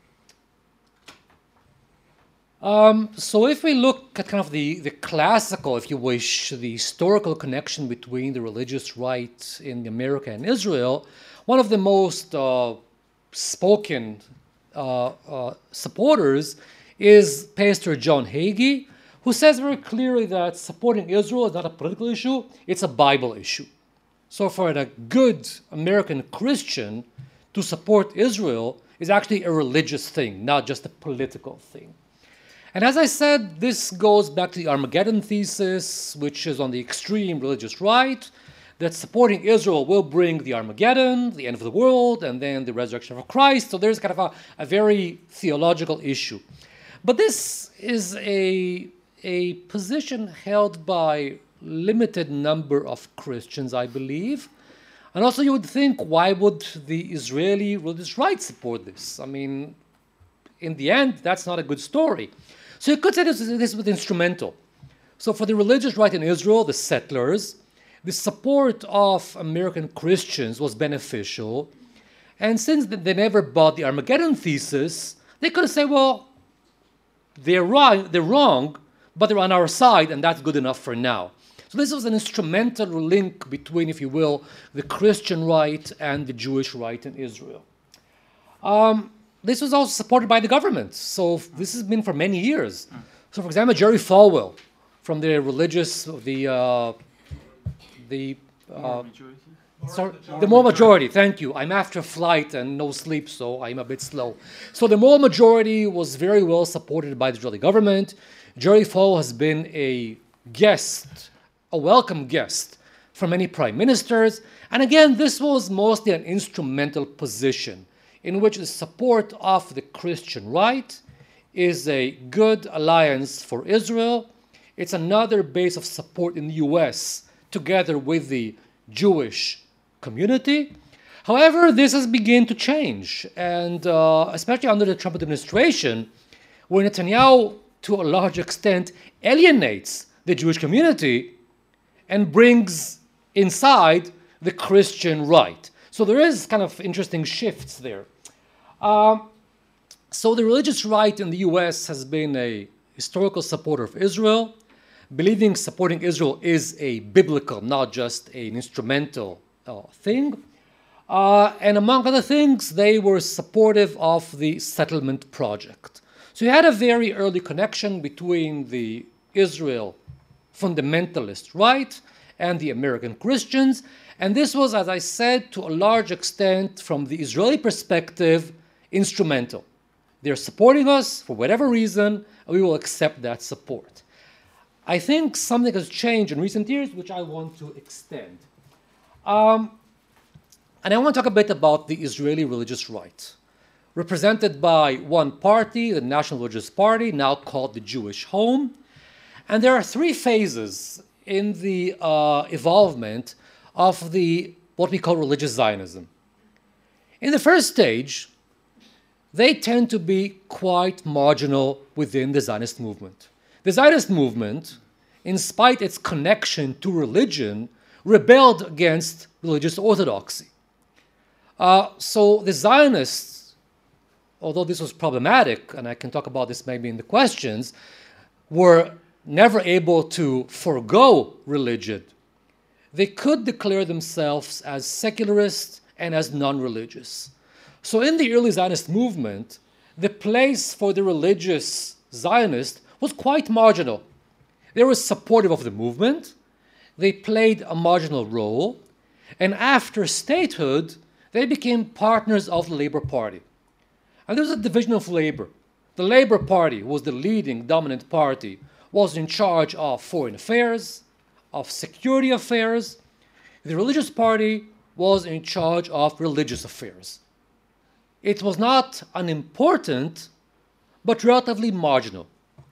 Speaker 5: So if we look at kind of the classical, if you wish, the historical connection between the religious right in America and Israel, one of the most spoken supporters is Pastor John Hagee, who says very clearly that supporting Israel is not a political issue, it's a Bible issue. So for a good American Christian to support Israel is actually a religious thing, not just a political thing. And as I said, this goes back to the Armageddon thesis, which is on the extreme religious right, that supporting Israel will bring the Armageddon, the end of the world, and then the resurrection of Christ. So there's kind of a very theological issue. But this is a position held by limited number of Christians, I believe. And also you would think, why would the Israeli religious right support this? I mean, in the end, that's not a good story. So you could say this was instrumental. So for the religious right in Israel, the settlers, the support of American Christians was beneficial. And since they never bought the Armageddon thesis, they could have said, well, they're wrong, but they're on our side, and that's good enough for now. So this was an instrumental link between, if you will, the Christian right and the Jewish right in Israel. This was also supported by the government. So this has been for many years. So for example, Jerry Falwell from the Moral Majority, thank you. I'm after a flight and no sleep, so I'm a bit slow. So the Moral Majority was very well supported by the Israeli government. Jerry Falwell has been a welcome guest for many prime ministers. And again, this was mostly an instrumental position in which the support of the Christian right is a good alliance for Israel. It's another base of support in the US together with the Jewish community. However, this has begun to change, and especially under the Trump administration, where Netanyahu, to a large extent, alienates the Jewish community and brings inside the Christian right. So there is kind of interesting shifts there. So the religious right in the US has been a historical supporter of Israel, believing supporting Israel is a biblical, not just an instrumental thing. And among other things, they were supportive of the settlement project. So you had a very early connection between the Israel fundamentalist right and the American Christians. And this was, as I said, to a large extent, from the Israeli perspective, instrumental. They're supporting us for whatever reason, and we will accept that support. I think something has changed in recent years, which I want to extend. And I want to talk a bit about the Israeli religious right, represented by one party, the National Religious Party, now called the Jewish Home. And there are three phases in the evolvement of what we call religious Zionism. In the first stage, they tend to be quite marginal within the Zionist movement. The Zionist movement, in spite its connection to religion, rebelled against religious orthodoxy. So the Zionists, although this was problematic, and I can talk about this maybe in the questions, were never able to forego religion. They could declare themselves as secularists and as non-religious. So in the early Zionist movement, the place for the religious Zionist was quite marginal. They were supportive of the movement, they played a marginal role, and after statehood, they became partners of the Labor Party. And there was a division of labor. The Labor Party was the leading dominant party, was in charge of foreign affairs, of security affairs. The Religious Party was in charge of religious affairs. It was not unimportant, but relatively marginal.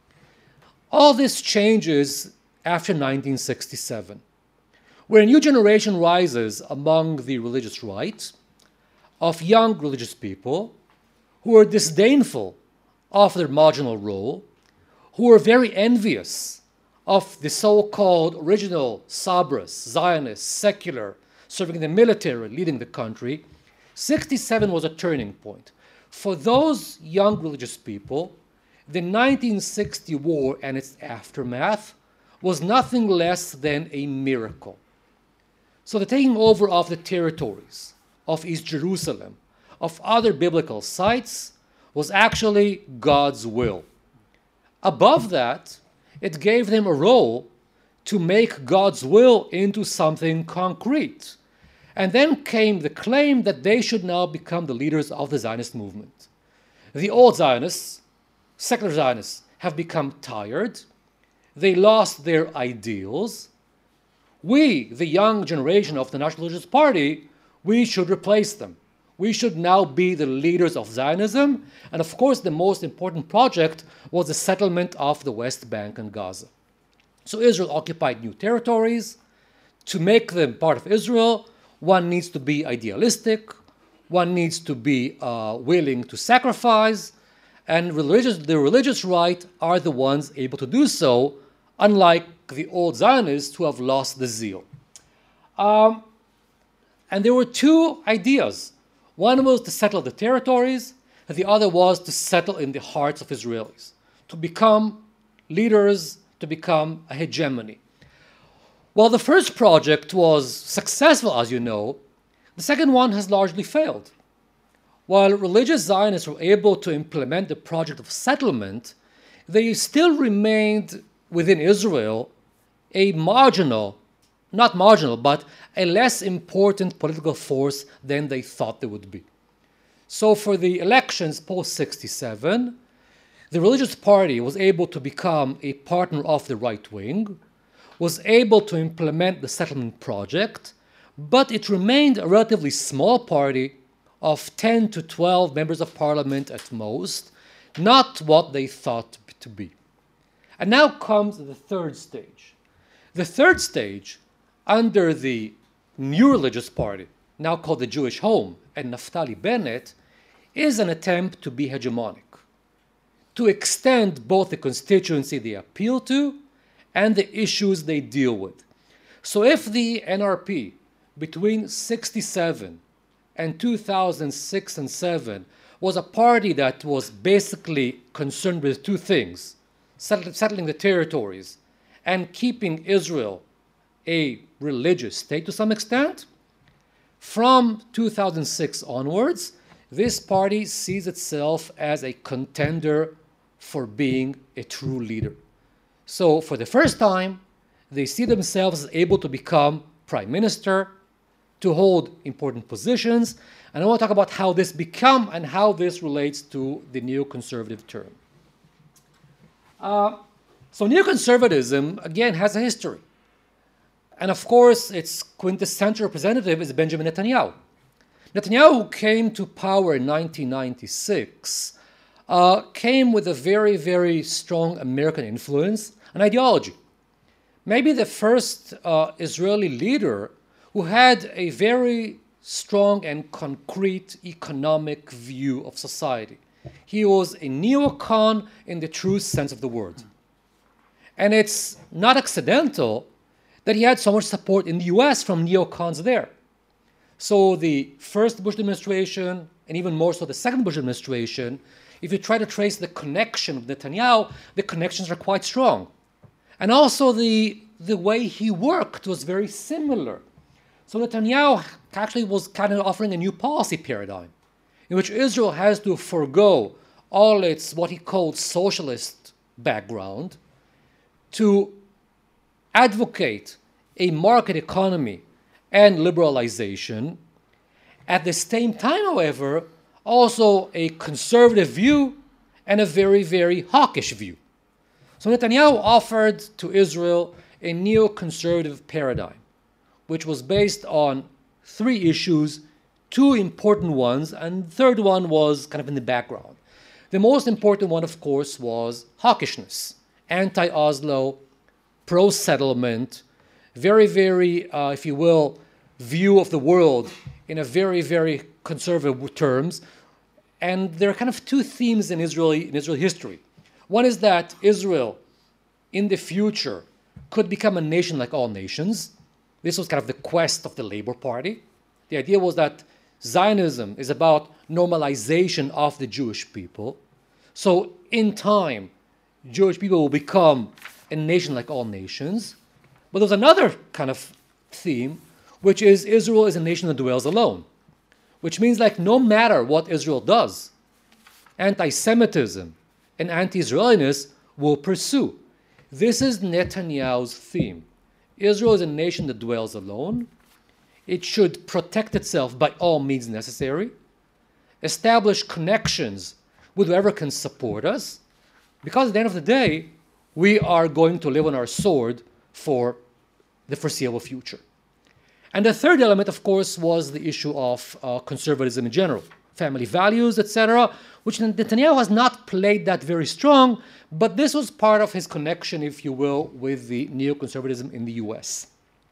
Speaker 5: All this changes after 1967, where a new generation rises among the religious right of young religious people who are disdainful of their marginal role, who are very envious of the so-called original Sabras, Zionists, secular, serving in the military, leading the country. 1967 was a turning point. For those young religious people, the 1960 war and its aftermath was nothing less than a miracle. So the taking over of the territories, of East Jerusalem, of other biblical sites, was actually God's will. Above that, it gave them a role to make God's will into something concrete. And then came the claim that they should now become the leaders of the Zionist movement. The old Zionists, secular Zionists, have become tired. They lost their ideals. We, the young generation of the National Religious Party, we should replace them. We should now be the leaders of Zionism. And of course, the most important project was the settlement of the West Bank and Gaza. So Israel occupied new territories. To make them part of Israel, one needs to be idealistic. One needs to be willing to sacrifice. And the religious right are the ones able to do so, unlike the old Zionists who have lost the zeal. And there were two ideas. One was to settle the territories, and the other was to settle in the hearts of Israelis, to become leaders, to become a hegemony. While the first project was successful, as you know, the second one has largely failed. While religious Zionists were able to implement the project of settlement, they still remained within Israel a marginal, not marginal, but a less important political force than they thought they would be. So for the elections post-67, the Religious Party was able to become a partner of the right wing, was able to implement the settlement project, but it remained a relatively small party of 10 to 12 members of parliament at most, not what they thought to be. And now comes the third stage. The third stage, under the new religious party, now called the Jewish Home, and Naftali Bennett, is an attempt to be hegemonic, to extend both the constituency they appeal to and the issues they deal with. So if the NRP between 1967 and 2006 and 2007 was a party that was basically concerned with two things: settling the territories, and keeping Israel a religious state to some extent, from 2006 onwards, this party sees itself as a contender for being a true leader. So for the first time, they see themselves as able to become prime minister, to hold important positions, and I want to talk about how this become and how this relates to the neoconservative term. So neoconservatism, again, has a history. And of course, its quintessential representative is Benjamin Netanyahu. Netanyahu, who came to power in 1996, came with a very, very strong American influence and ideology. Maybe the first Israeli leader who had a very strong and concrete economic view of society. He was a neocon in the true sense of the word. And it's not accidental that he had so much support in the US from neocons there. So the first Bush administration, and even more so the second Bush administration, if you try to trace the connection with Netanyahu, the connections are quite strong. And also the way he worked was very similar. So Netanyahu actually was kind of offering a new policy paradigm in which Israel has to forego all its what he called socialist background to advocate a market economy and liberalization. At the same time, however, also a conservative view and a very, very hawkish view. So Netanyahu offered to Israel a neoconservative paradigm, which was based on three issues, two important ones, and the third one was kind of in the background. The most important one, of course, was hawkishness, anti-Oslo, pro-settlement, very, very, if you will, view of the world in a very, very conservative terms. And there are kind of two themes in Israeli history. One is that Israel, in the future, could become a nation like all nations. This was kind of the quest of the Labor Party. The idea was that Zionism is about normalization of the Jewish people. So in time, Jewish people will become a nation like all nations. But there's another kind of theme, which is Israel is a nation that dwells alone, which means like no matter what Israel does, anti-Semitism and anti-Israeliness will pursue. This is Netanyahu's theme. Israel is a nation that dwells alone. It should protect itself by all means necessary, establish connections with whoever can support us, because at the end of the day, we are going to live on our sword for the foreseeable future. And the third element, of course, was the issue of conservatism in general, family values, etc., which Netanyahu has not played that very strong, but this was part of his connection, if you will, with the neoconservatism in the US.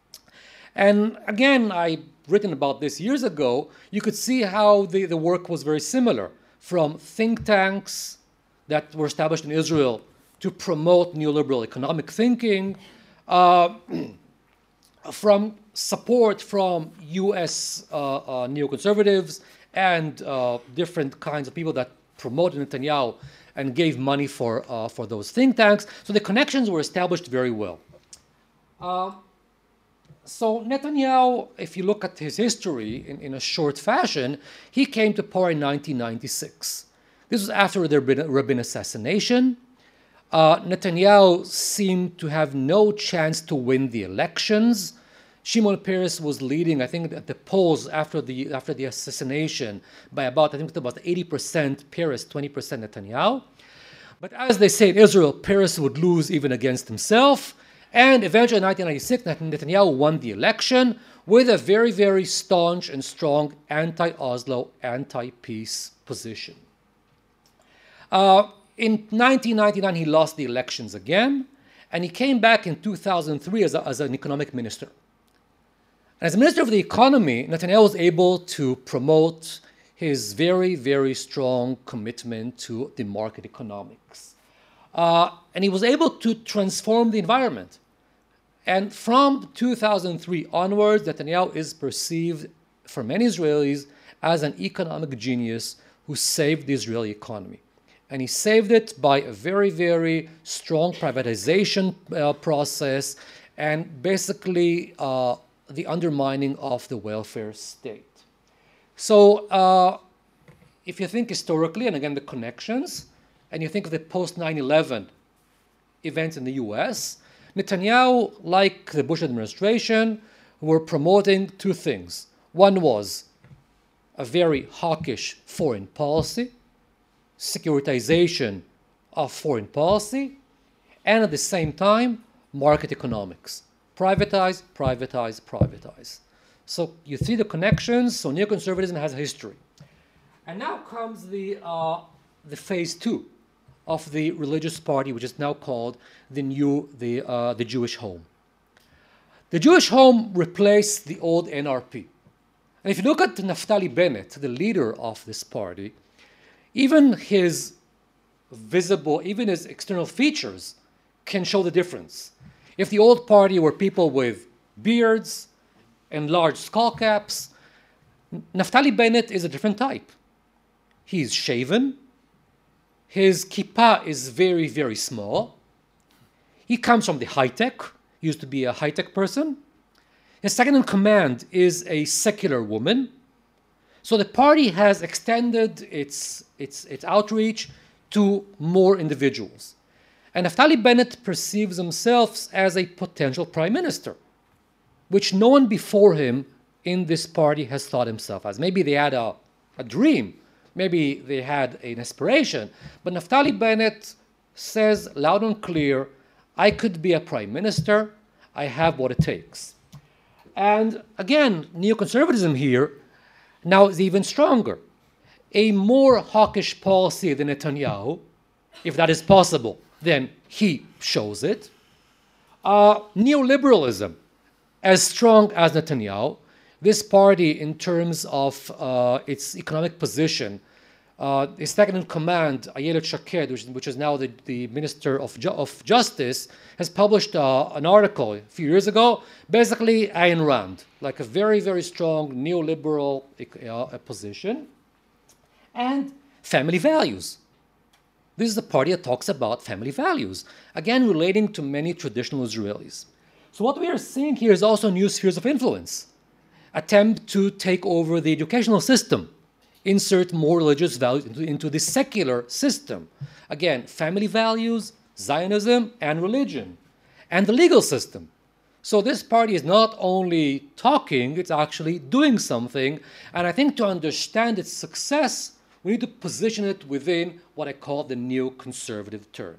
Speaker 5: And again, I've written about this years ago. You could see how the work was very similar, from think tanks that were established in Israel to promote neoliberal economic thinking, from support from US neoconservatives and different kinds of people that promoted Netanyahu and gave money for those think tanks. So the connections were established very well. So Netanyahu, if you look at his history in a short fashion, he came to power in 1996. This was after the Rabin assassination. Netanyahu seemed to have no chance to win the elections. Shimon Peres was leading, I think, at the polls after the assassination by about 80% Peres, 20% Netanyahu. But as they say in Israel, Peres would lose even against himself. And eventually in 1996, Netanyahu won the election with a very, very staunch and strong anti-Oslo, anti-peace position. In 1999, he lost the elections again, and he came back in 2003 as an economic minister. And as Minister of the Economy, Netanyahu was able to promote his very, very strong commitment to the market economics. And he was able to transform the environment. And from 2003 onwards, Netanyahu is perceived for many Israelis as an economic genius who saved the Israeli economy. And he saved it by a very, very strong privatization process and basically the undermining of the welfare state. So if you think historically, and again the connections, and you think of the post 9/11 events in the US, Netanyahu, like the Bush administration, were promoting two things. One was a very hawkish foreign policy, securitization of foreign policy, and at the same time, market economics. Privatize, privatize, privatize. So you see the connections, so neoconservatism has a history. And now comes the phase two of the religious party, which is now called the Jewish Home. The Jewish Home replaced the old NRP. And if you look at Naftali Bennett, the leader of this party, even his external features can show the difference. If the old party were people with beards and large skull caps, Naftali Bennett is a different type. He's shaven. His kippah is very, very small. He comes from the high-tech. He used to be a high-tech person. His second in command is a secular woman. So the party has extended its outreach to more individuals. And Naftali Bennett perceives himself as a potential prime minister, which no one before him in this party has thought himself as. Maybe they had a dream. Maybe they had an aspiration. But Naftali Bennett says loud and clear, I could be a prime minister. I have what it takes. And again, neoconservatism here now is even stronger. A more hawkish policy than Netanyahu, if that is possible, then he shows it. Neoliberalism, as strong as Netanyahu. This party, in terms of its economic position, his second in command, Ayelet Shaked, which is now the Minister of Justice, has published an article a few years ago, basically Ayn Rand, like a very, very strong neoliberal position, and family values. This is a party that talks about family values, again relating to many traditional Israelis. So what we are seeing here is also new spheres of influence. Attempt to take over the educational system, insert more religious values into the secular system. Again, family values, Zionism, and religion, and the legal system. So this party is not only talking, it's actually doing something. And I think to understand its success, we need to position it within what I call the neoconservative turn.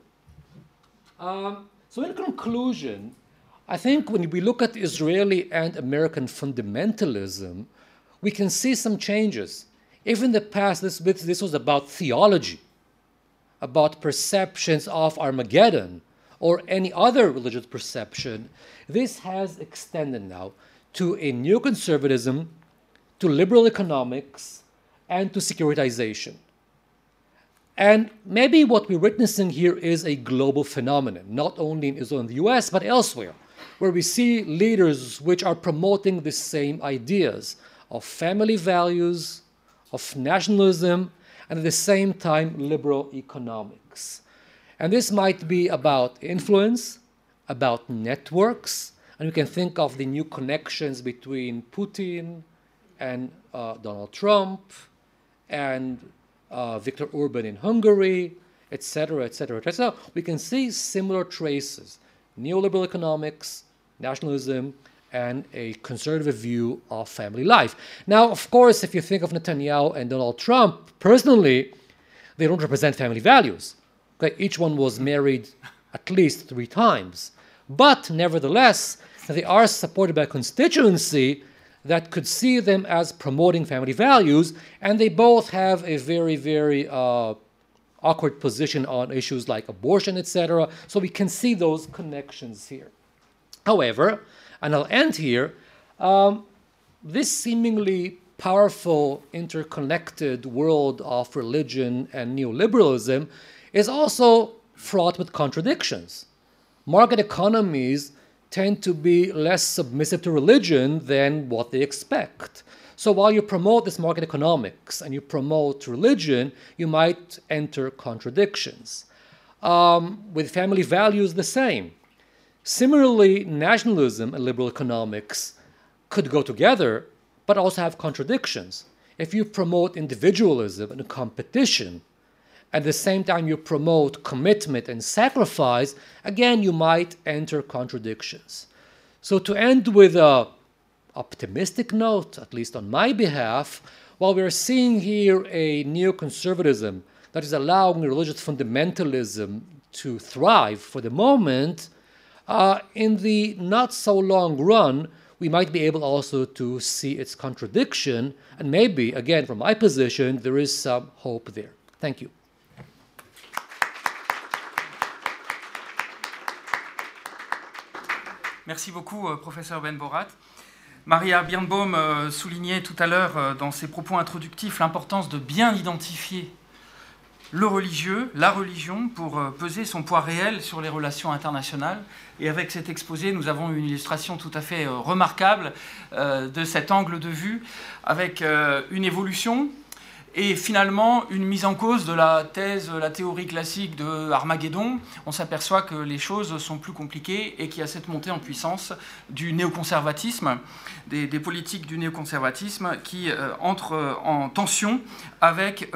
Speaker 5: So in conclusion, I think when we look at Israeli and American fundamentalism, we can see some changes. If in the past this was about theology, about perceptions of Armageddon, or any other religious perception, this has extended now to a neoconservatism, to liberal economics, and to securitization. And maybe what we're witnessing here is a global phenomenon, not only in Israel and the US, but elsewhere, where we see leaders which are promoting the same ideas of family values, of nationalism, and at the same time, liberal economics. And this might be about influence, about networks, and we can think of the new connections between Putin and Donald Trump and Viktor Orban in Hungary, etc., etc., etc. We can see similar traces: neoliberal economics, nationalism, and a conservative view of family life. Now, of course, if you think of Netanyahu and Donald Trump, personally, they don't represent family values. Okay, each one was married at least 3 times. But nevertheless, they are supported by a constituency that could see them as promoting family values, and they both have a very, very awkward position on issues like abortion, etc. So we can see those connections here. However, and I'll end here, this seemingly powerful, interconnected world of religion and neoliberalism is also fraught with contradictions. Market economies tend to be less submissive to religion than what they expect. So while you promote this market economics and you promote religion, you might enter contradictions. With family values, the same. Similarly, nationalism and liberal economics could go together, but also have contradictions. If you promote individualism and competition, at the same time you promote commitment and sacrifice, again, you might enter contradictions. So to end with an optimistic note, at least on my behalf, while we're seeing here a neoconservatism that is allowing religious fundamentalism to thrive for the moment, in the not so long run, we might be able also to see its contradiction, and maybe, again, from my position, there is some hope there. Thank you.
Speaker 4: Merci beaucoup, professeur Ben-Borat. Maria Birnbaum soulignait tout à l'heure dans ses propos introductifs l'importance de bien identifier le religieux, la religion, pour peser son poids réel sur les relations internationales. Et avec cet exposé, nous avons une illustration tout à fait remarquable de cet angle de vue, avec une évolution et finalement une mise en cause de la thèse, la théorie classique de Armageddon. On s'aperçoit que les choses sont plus compliquées et qu'il y a cette montée en puissance du néoconservatisme, des politiques du néoconservatisme qui entrent en tension avec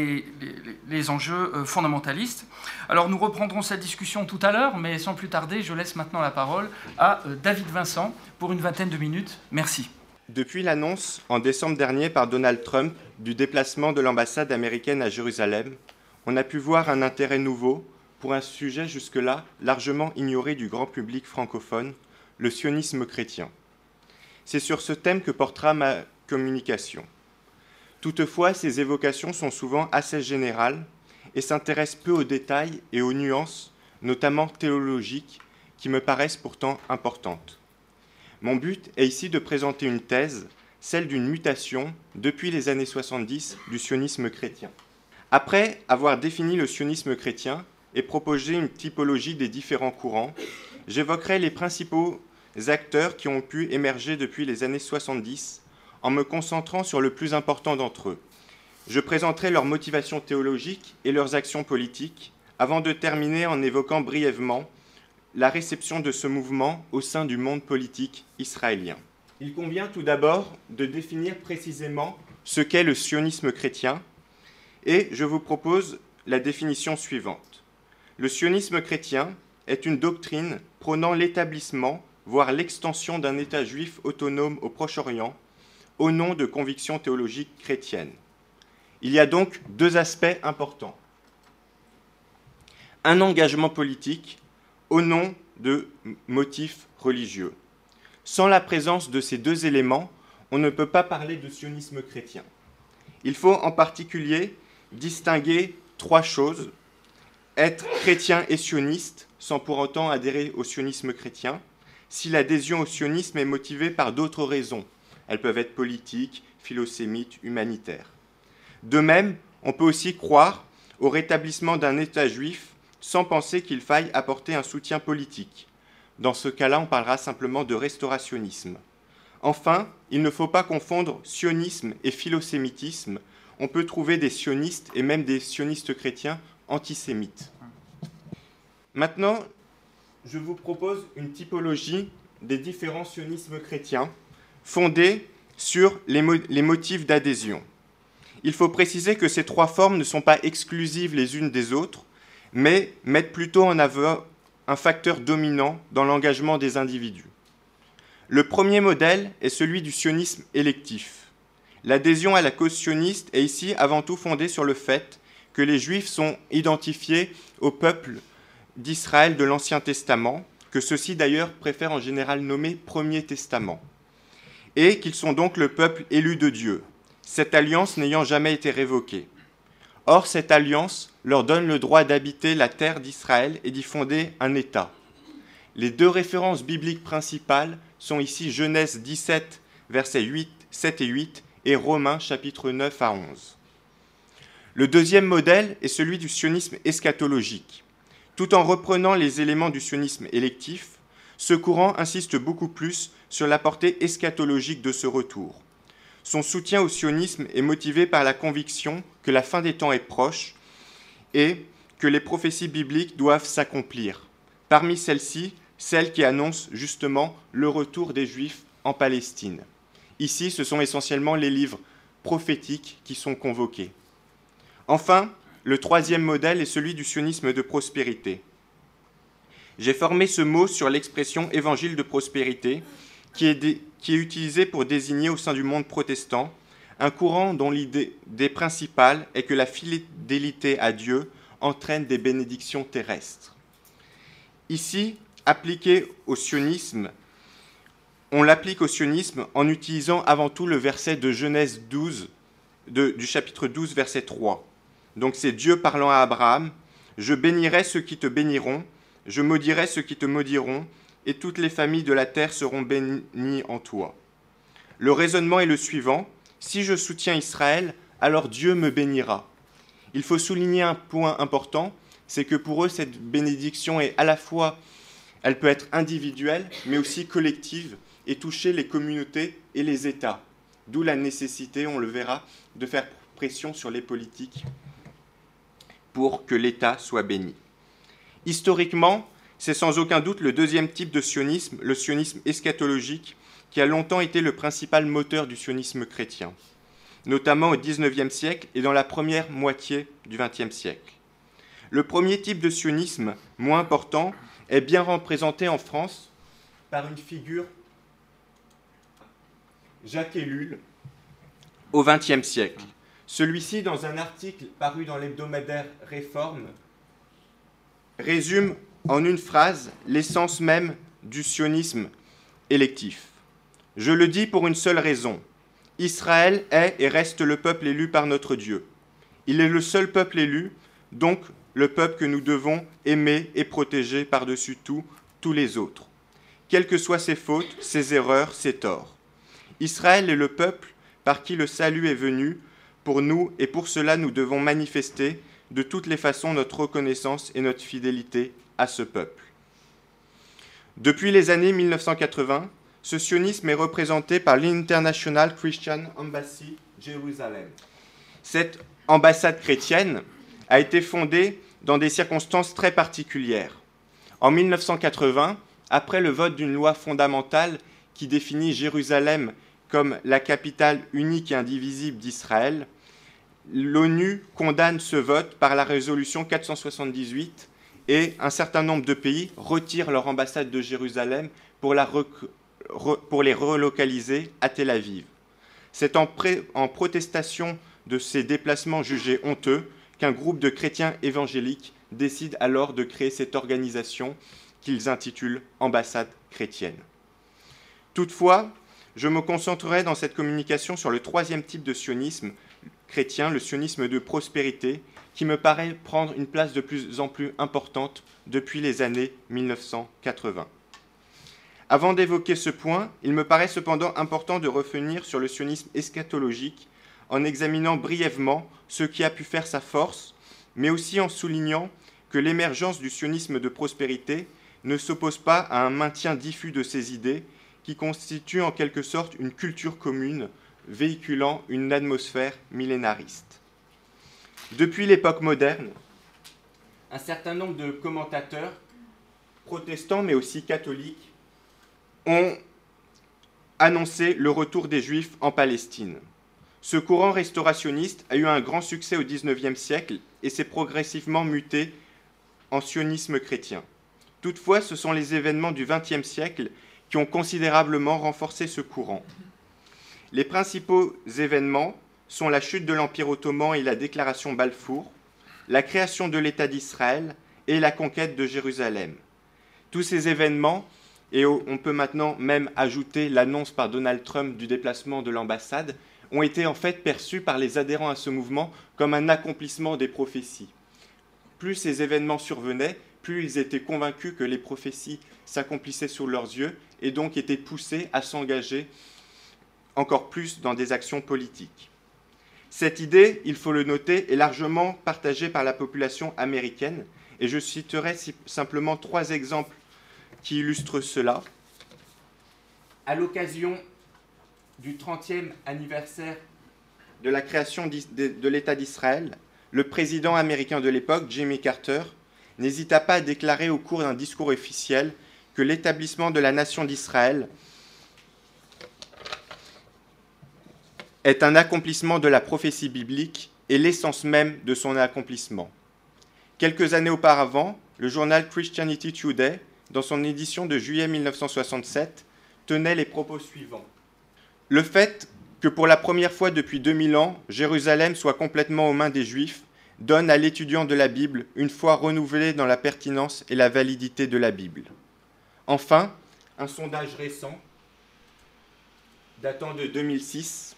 Speaker 4: les enjeux fondamentalistes. Alors nous reprendrons cette discussion tout à l'heure, mais sans plus tarder, je laisse maintenant la parole à David Vincent pour une vingtaine de minutes. Merci.
Speaker 6: Depuis l'annonce en décembre dernier par Donald Trump du déplacement de l'ambassade américaine à Jérusalem, on a pu voir un intérêt nouveau pour un sujet jusque-là largement ignoré du grand public francophone, le sionisme chrétien. C'est sur ce thème que portera ma communication. Toutefois, ces évocations sont souvent assez générales et s'intéressent peu aux détails et aux nuances, notamment théologiques, qui me paraissent pourtant importantes. Mon but est ici de présenter une thèse, celle d'une mutation depuis les années 70 du sionisme chrétien. Après avoir défini le sionisme chrétien et proposé une typologie des différents courants, j'évoquerai les principaux acteurs qui ont pu émerger depuis les années 70 en me concentrant sur le plus important d'entre eux. Je présenterai leurs motivations théologiques et leurs actions politiques avant de terminer en évoquant brièvement la réception de ce mouvement au sein du monde politique israélien. Il convient tout d'abord de définir précisément ce qu'est le sionisme chrétien, et je vous propose la définition suivante. Le sionisme chrétien est une doctrine prônant l'établissement, voire l'extension d'un État juif autonome au Proche-Orient, au nom de convictions théologiques chrétiennes. Il y a donc deux aspects importants. Un engagement politique au nom de motifs religieux. Sans la présence de ces deux éléments, on ne peut pas parler de sionisme chrétien. Il faut en particulier distinguer trois choses. Être chrétien et sioniste, sans pour autant adhérer au sionisme chrétien, si l'adhésion au sionisme est motivée par d'autres raisons. Elles peuvent être politiques, philosémites, humanitaires. De même, on peut aussi croire au rétablissement d'un État juif sans penser qu'il faille apporter un soutien politique. Dans ce cas-là, on parlera simplement de restaurationnisme. Enfin, il ne faut pas confondre sionisme et philosémitisme. On peut trouver des sionistes et même des sionistes chrétiens antisémites. Maintenant, je vous propose une typologie des différents sionismes chrétiens fondés sur les motifs d'adhésion. Il faut préciser que ces trois formes ne sont pas exclusives les unes des autres, mais mettent plutôt en avant un facteur dominant dans l'engagement des individus. Le premier modèle est celui du sionisme électif. L'adhésion à la cause sioniste est ici avant tout fondée sur le fait que les Juifs sont identifiés au peuple d'Israël de l'Ancien Testament, que ceux-ci d'ailleurs préfèrent en général nommer Premier Testament, et qu'ils sont donc le peuple élu de Dieu, cette alliance n'ayant jamais été révoquée. Or, cette alliance leur donne le droit d'habiter la terre d'Israël et d'y fonder un État. Les deux références bibliques principales sont ici Genèse 17, versets 7 et 8, et Romains, chapitres 9 à 11. Le deuxième modèle est celui du sionisme eschatologique. Tout en reprenant les éléments du sionisme électif, ce courant insiste beaucoup plus sur la portée eschatologique de ce retour. Son soutien au sionisme est motivé par la conviction que la fin des temps est proche et que les prophéties bibliques doivent s'accomplir. Parmi celles-ci, celles qui annoncent justement le retour des Juifs en Palestine. Ici, ce sont essentiellement les livres prophétiques qui sont convoqués. Enfin, le troisième modèle est celui du sionisme de prospérité. J'ai formé ce mot sur l'expression « évangile de prospérité » qui est utilisé pour désigner au sein du monde protestant un courant dont l'idée principale est que la fidélité à Dieu entraîne des bénédictions terrestres. Ici, on l'applique au sionisme en utilisant avant tout le verset de Genèse 12, du chapitre 12, verset 3. Donc c'est Dieu parlant à Abraham, « Je bénirai ceux qui te béniront, je maudirai ceux qui te maudiront, et toutes les familles de la terre seront bénies en toi. » Le raisonnement est le suivant, « Si je soutiens Israël, alors Dieu me bénira. » Il faut souligner un point important, c'est que pour eux, cette bénédiction est à la fois, elle peut être individuelle, mais aussi collective, et toucher les communautés et les États. D'où la nécessité, on le verra, de faire pression sur les politiques pour que l'État soit béni. Historiquement, c'est sans aucun doute le deuxième type de sionisme, le sionisme eschatologique, qui a longtemps été le principal moteur du sionisme chrétien, notamment au XIXe siècle et dans la première moitié du XXe siècle. Le premier type de sionisme, moins important, est bien représenté en France par une figure, Jacques Ellul, au XXe siècle. Celui-ci, dans un article paru dans l'hebdomadaire Réforme, résume en une phrase l'essence même du sionisme électif. Je le dis pour une seule raison. Israël est et reste le peuple élu par notre Dieu. Il est le seul peuple élu, donc le peuple que nous devons aimer et protéger par-dessus tout, tous les autres, quelles que soient ses fautes, ses erreurs, ses torts. Israël est le peuple par qui le salut est venu pour nous, et pour cela nous devons manifester de toutes les façons notre reconnaissance et notre fidélité à ce peuple. Depuis les années 1980, ce sionisme est représenté par l'International Christian Embassy Jérusalem. Cette ambassade chrétienne a été fondée dans des circonstances très particulières. En 1980, après le vote d'une loi fondamentale qui définit Jérusalem comme la capitale unique et indivisible d'Israël, l'ONU condamne ce vote par la résolution 478 et un certain nombre de pays retirent leur ambassade de Jérusalem pour les relocaliser à Tel Aviv. C'est en protestation de ces déplacements jugés honteux qu'un groupe de chrétiens évangéliques décide alors de créer cette organisation qu'ils intitulent Ambassade chrétienne. Toutefois, je me concentrerai dans cette communication sur le troisième type de sionisme chrétien, le sionisme de prospérité, qui me paraît prendre une place de plus en plus importante depuis les années 1980. Avant d'évoquer ce point, il me paraît cependant important de revenir sur le sionisme eschatologique en examinant brièvement ce qui a pu faire sa force, mais aussi en soulignant que l'émergence du sionisme de prospérité ne s'oppose pas à un maintien diffus de ces idées qui constituent en quelque sorte une culture commune véhiculant une atmosphère millénariste. Depuis l'époque moderne, un certain nombre de commentateurs, protestants mais aussi catholiques, ont annoncé le retour des Juifs en Palestine. Ce courant restaurationniste a eu un grand succès au XIXe siècle et s'est progressivement muté en sionisme chrétien. Toutefois, ce sont les événements du XXe siècle qui ont considérablement renforcé ce courant. Les principaux événements sont la chute de l'Empire ottoman et la déclaration Balfour, la création de l'État d'Israël et la conquête de Jérusalem. Tous ces événements, et on peut maintenant même ajouter l'annonce par Donald Trump du déplacement de l'ambassade, ont été en fait perçus par les adhérents à ce mouvement comme un accomplissement des prophéties. Plus ces événements survenaient, plus ils étaient convaincus que les prophéties s'accomplissaient sous leurs yeux et donc étaient poussés à s'engager encore plus dans des actions politiques. Cette idée, il faut le noter, est largement partagée par la population américaine et je citerai simplement 3 exemples qui illustrent cela. À l'occasion du 30e anniversaire de la création de l'État d'Israël, le président américain de l'époque, Jimmy Carter, n'hésita pas à déclarer au cours d'un discours officiel que l'établissement de la nation d'Israël est un accomplissement de la prophétie biblique et l'essence même de son accomplissement. Quelques années auparavant, le journal Christianity Today, dans son édition de juillet 1967, tenait les propos suivants. Le fait que pour la première fois depuis 2000 ans, Jérusalem soit complètement aux mains des Juifs donne à l'étudiant de la Bible une foi renouvelée dans la pertinence et la validité de la Bible. Enfin, un sondage récent, datant de 2006,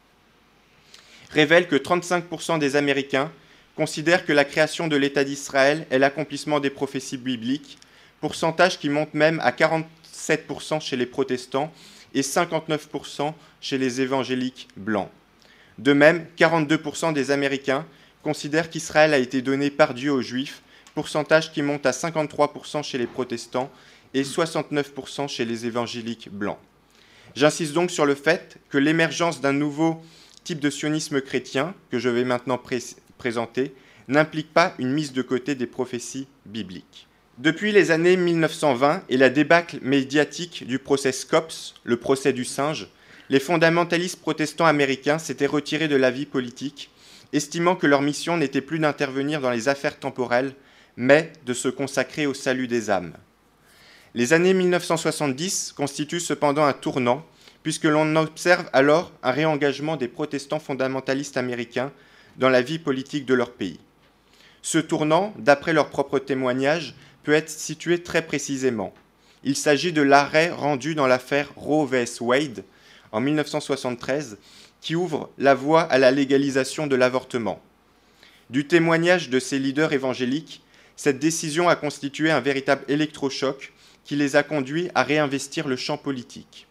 Speaker 6: révèle que 35% des Américains considèrent que la création de l'État d'Israël est l'accomplissement des prophéties bibliques, pourcentage qui monte même à 47% chez les protestants et 59% chez les évangéliques blancs. De même, 42% des Américains considèrent qu'Israël a été donné par Dieu aux Juifs, pourcentage qui monte à 53% chez les protestants et 69% chez les évangéliques blancs. J'insiste donc sur le fait que l'émergence d'un nouveau type de sionisme chrétien, que je vais maintenant présenter, n'implique pas une mise de côté des prophéties bibliques. Depuis les années 1920 et la débâcle médiatique du procès Scopes, le procès du singe, les fondamentalistes protestants américains s'étaient retirés de la vie politique, estimant que leur mission n'était plus d'intervenir dans les affaires temporelles, mais de se consacrer au salut des âmes. Les années 1970 constituent cependant un tournant, puisque l'on observe alors un réengagement des protestants fondamentalistes américains dans la vie politique de leur pays. Ce tournant, d'après leurs propres témoignages, peut être situé très précisément. Il s'agit de l'arrêt rendu dans l'affaire Roe vs. Wade en 1973, qui ouvre la voie à la légalisation de l'avortement. Du témoignage de ces leaders évangéliques, cette décision a constitué un véritable électrochoc qui les a conduits à réinvestir le champ politique.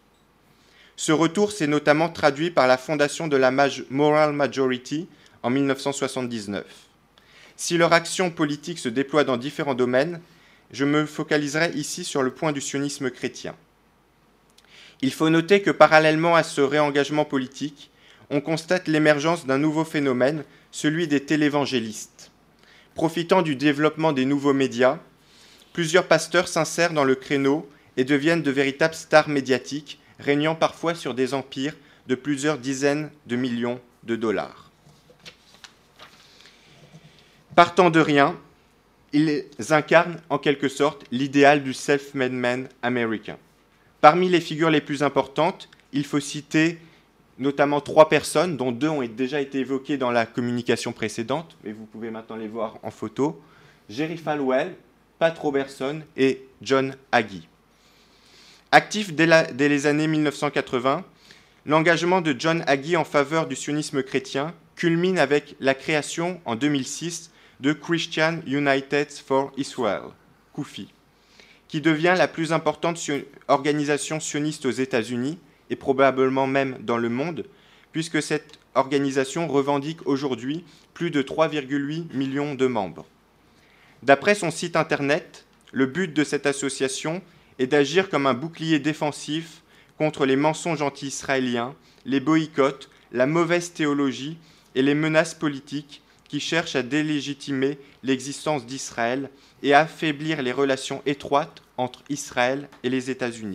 Speaker 6: Ce retour s'est notamment traduit par la fondation de la Moral Majority en 1979. Si leur action politique se déploie dans différents domaines, je me focaliserai ici sur le point du sionisme chrétien. Il faut noter que parallèlement à ce réengagement politique, on constate l'émergence d'un nouveau phénomène, celui des télévangélistes. Profitant du développement des nouveaux médias, plusieurs pasteurs s'insèrent dans le créneau et deviennent de véritables stars médiatiques, régnant parfois sur des empires de plusieurs dizaines de millions de dollars. Partant de rien, ils incarnent en quelque sorte l'idéal du self-made man américain. Parmi les figures les plus importantes, il faut citer notamment 3 personnes, dont 2 ont déjà été évoquées dans la communication précédente, mais vous pouvez maintenant les voir en photo. Jerry Falwell, Pat Robertson et John Hagee. Actif dès les années 1980, l'engagement de John Hagee en faveur du sionisme chrétien culmine avec la création en 2006 de Christian United for Israel, CUFI, qui devient la plus importante organisation sioniste aux États-Unis et probablement même dans le monde, puisque cette organisation revendique aujourd'hui plus de 3,8 millions de membres. D'après son site internet, le but de cette association est d'agir comme un bouclier défensif contre les mensonges anti-israéliens, les boycotts, la mauvaise théologie et les menaces politiques qui cherchent à délégitimer l'existence d'Israël et à affaiblir les relations étroites entre Israël et les États-Unis.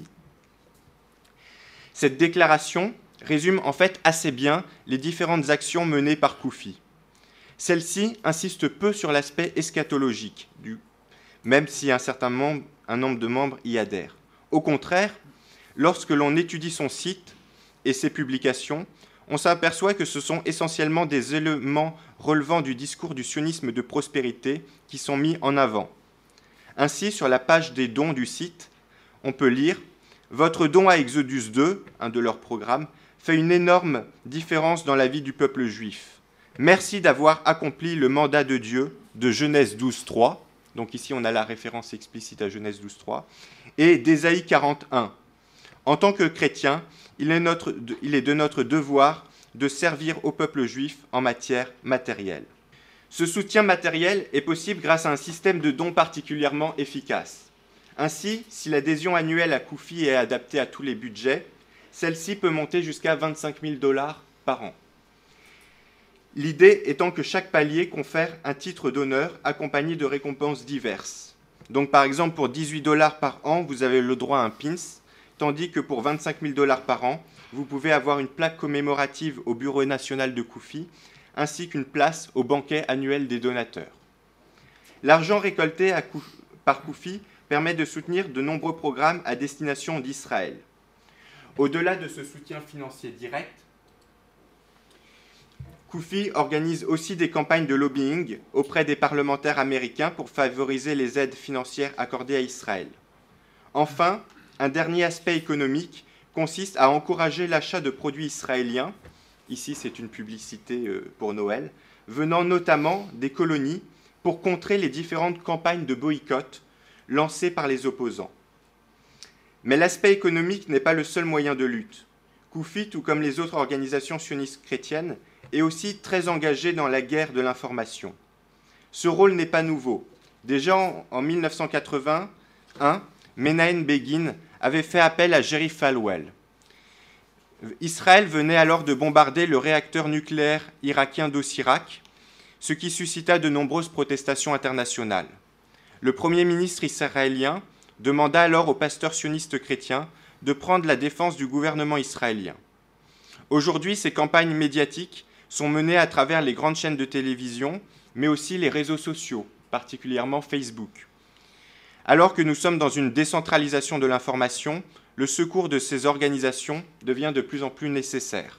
Speaker 6: Cette déclaration résume en fait assez bien les différentes actions menées par CUFI. Celle-ci insiste peu sur l'aspect eschatologique, même si un nombre de membres y adhèrent. Au contraire, lorsque l'on étudie son site et ses publications, on s'aperçoit que ce sont essentiellement des éléments relevant du discours du sionisme de prospérité qui sont mis en avant. Ainsi, sur la page des dons du site, on peut lire « Votre don à Exodus 2, un de leurs programmes, fait une énorme différence dans la vie du peuple juif. Merci d'avoir accompli le mandat de Dieu de Genèse 12.3 » donc ici on a la référence explicite à Genèse 12.3, et d'Ésaïe 41. En tant que chrétien, il est de notre devoir de servir au peuple juif en matière matérielle. Ce soutien matériel est possible grâce à un système de dons particulièrement efficace. Ainsi, si l'adhésion annuelle à CUFI est adaptée à tous les budgets, Celle-ci peut monter jusqu'à 25 000 $ par an. L'idée étant que chaque palier confère un titre d'honneur accompagné de récompenses diverses. Donc par exemple, pour 18 $ par an, vous avez le droit à un pins, tandis que pour 25 000 $ par an, vous pouvez avoir une plaque commémorative au Bureau national de Koufi, ainsi qu'une place au banquet annuel des donateurs. L'argent récolté par Koufi permet de soutenir de nombreux programmes à destination d'Israël. Au-delà de ce soutien financier direct, Koufi organise aussi des campagnes de lobbying auprès des parlementaires américains pour favoriser les aides financières accordées à Israël. Enfin, un dernier aspect économique consiste à encourager l'achat de produits israéliens, ici c'est une publicité pour Noël, venant notamment des colonies pour contrer les différentes campagnes de boycott lancées par les opposants. Mais l'aspect économique n'est pas le seul moyen de lutte. Koufi, tout comme les autres organisations sionistes chrétiennes, est aussi très engagé dans la guerre de l'information. Ce rôle n'est pas nouveau. Déjà en 1981, Menahem Begin avait fait appel à Jerry Falwell. Israël venait alors de bombarder le réacteur nucléaire irakien d'Osirak, ce qui suscita de nombreuses protestations internationales. Le Premier ministre israélien demanda alors aux pasteurs sionistes chrétiens de prendre la défense du gouvernement israélien. Aujourd'hui, ces campagnes médiatiques sont menées à travers les grandes chaînes de télévision, mais aussi les réseaux sociaux, particulièrement Facebook. Alors que nous sommes dans une décentralisation de l'information, le secours de ces organisations devient de plus en plus nécessaire.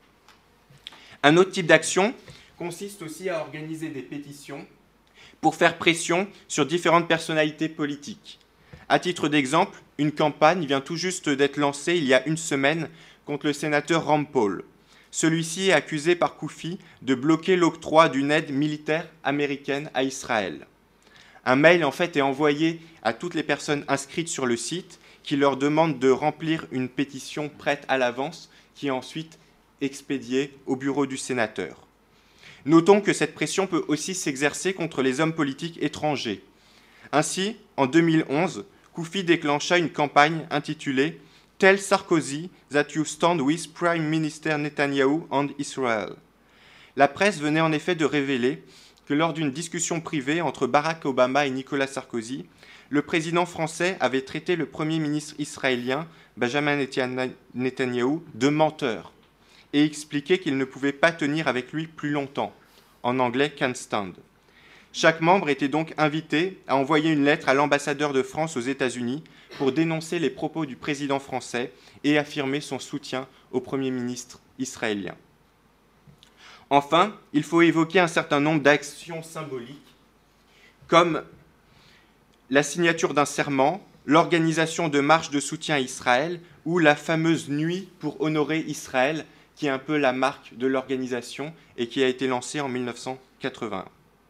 Speaker 6: Un autre type d'action consiste aussi à organiser des pétitions pour faire pression sur différentes personnalités politiques. À titre d'exemple, une campagne vient tout juste d'être lancée il y a une semaine contre le sénateur Rand Paul. Celui-ci est accusé par Koufi de bloquer l'octroi d'une aide militaire américaine à Israël. Un mail en fait est envoyé à toutes les personnes inscrites sur le site qui leur demande de remplir une pétition prête à l'avance qui est ensuite expédiée au bureau du sénateur. Notons que cette pression peut aussi s'exercer contre les hommes politiques étrangers. Ainsi, en 2011, Koufi déclencha une campagne intitulée « Tell Sarkozy that you stand with Prime Minister Netanyahu and Israel ». La presse venait en effet de révéler que lors d'une discussion privée entre Barack Obama et Nicolas Sarkozy, le président français avait traité le Premier ministre israélien, Benjamin Netanyahu, de menteur et expliqué qu'il ne pouvait pas tenir avec lui plus longtemps, en anglais « can't stand ». Chaque membre était donc invité à envoyer une lettre à l'ambassadeur de France aux États-Unis pour dénoncer les propos du président français et affirmer son soutien au Premier ministre israélien. Enfin, il faut évoquer un certain nombre d'actions symboliques, comme la signature d'un serment, l'organisation de marches de soutien à Israël ou la fameuse nuit pour honorer Israël, qui est un peu la marque de l'organisation et qui a été lancée en 1981.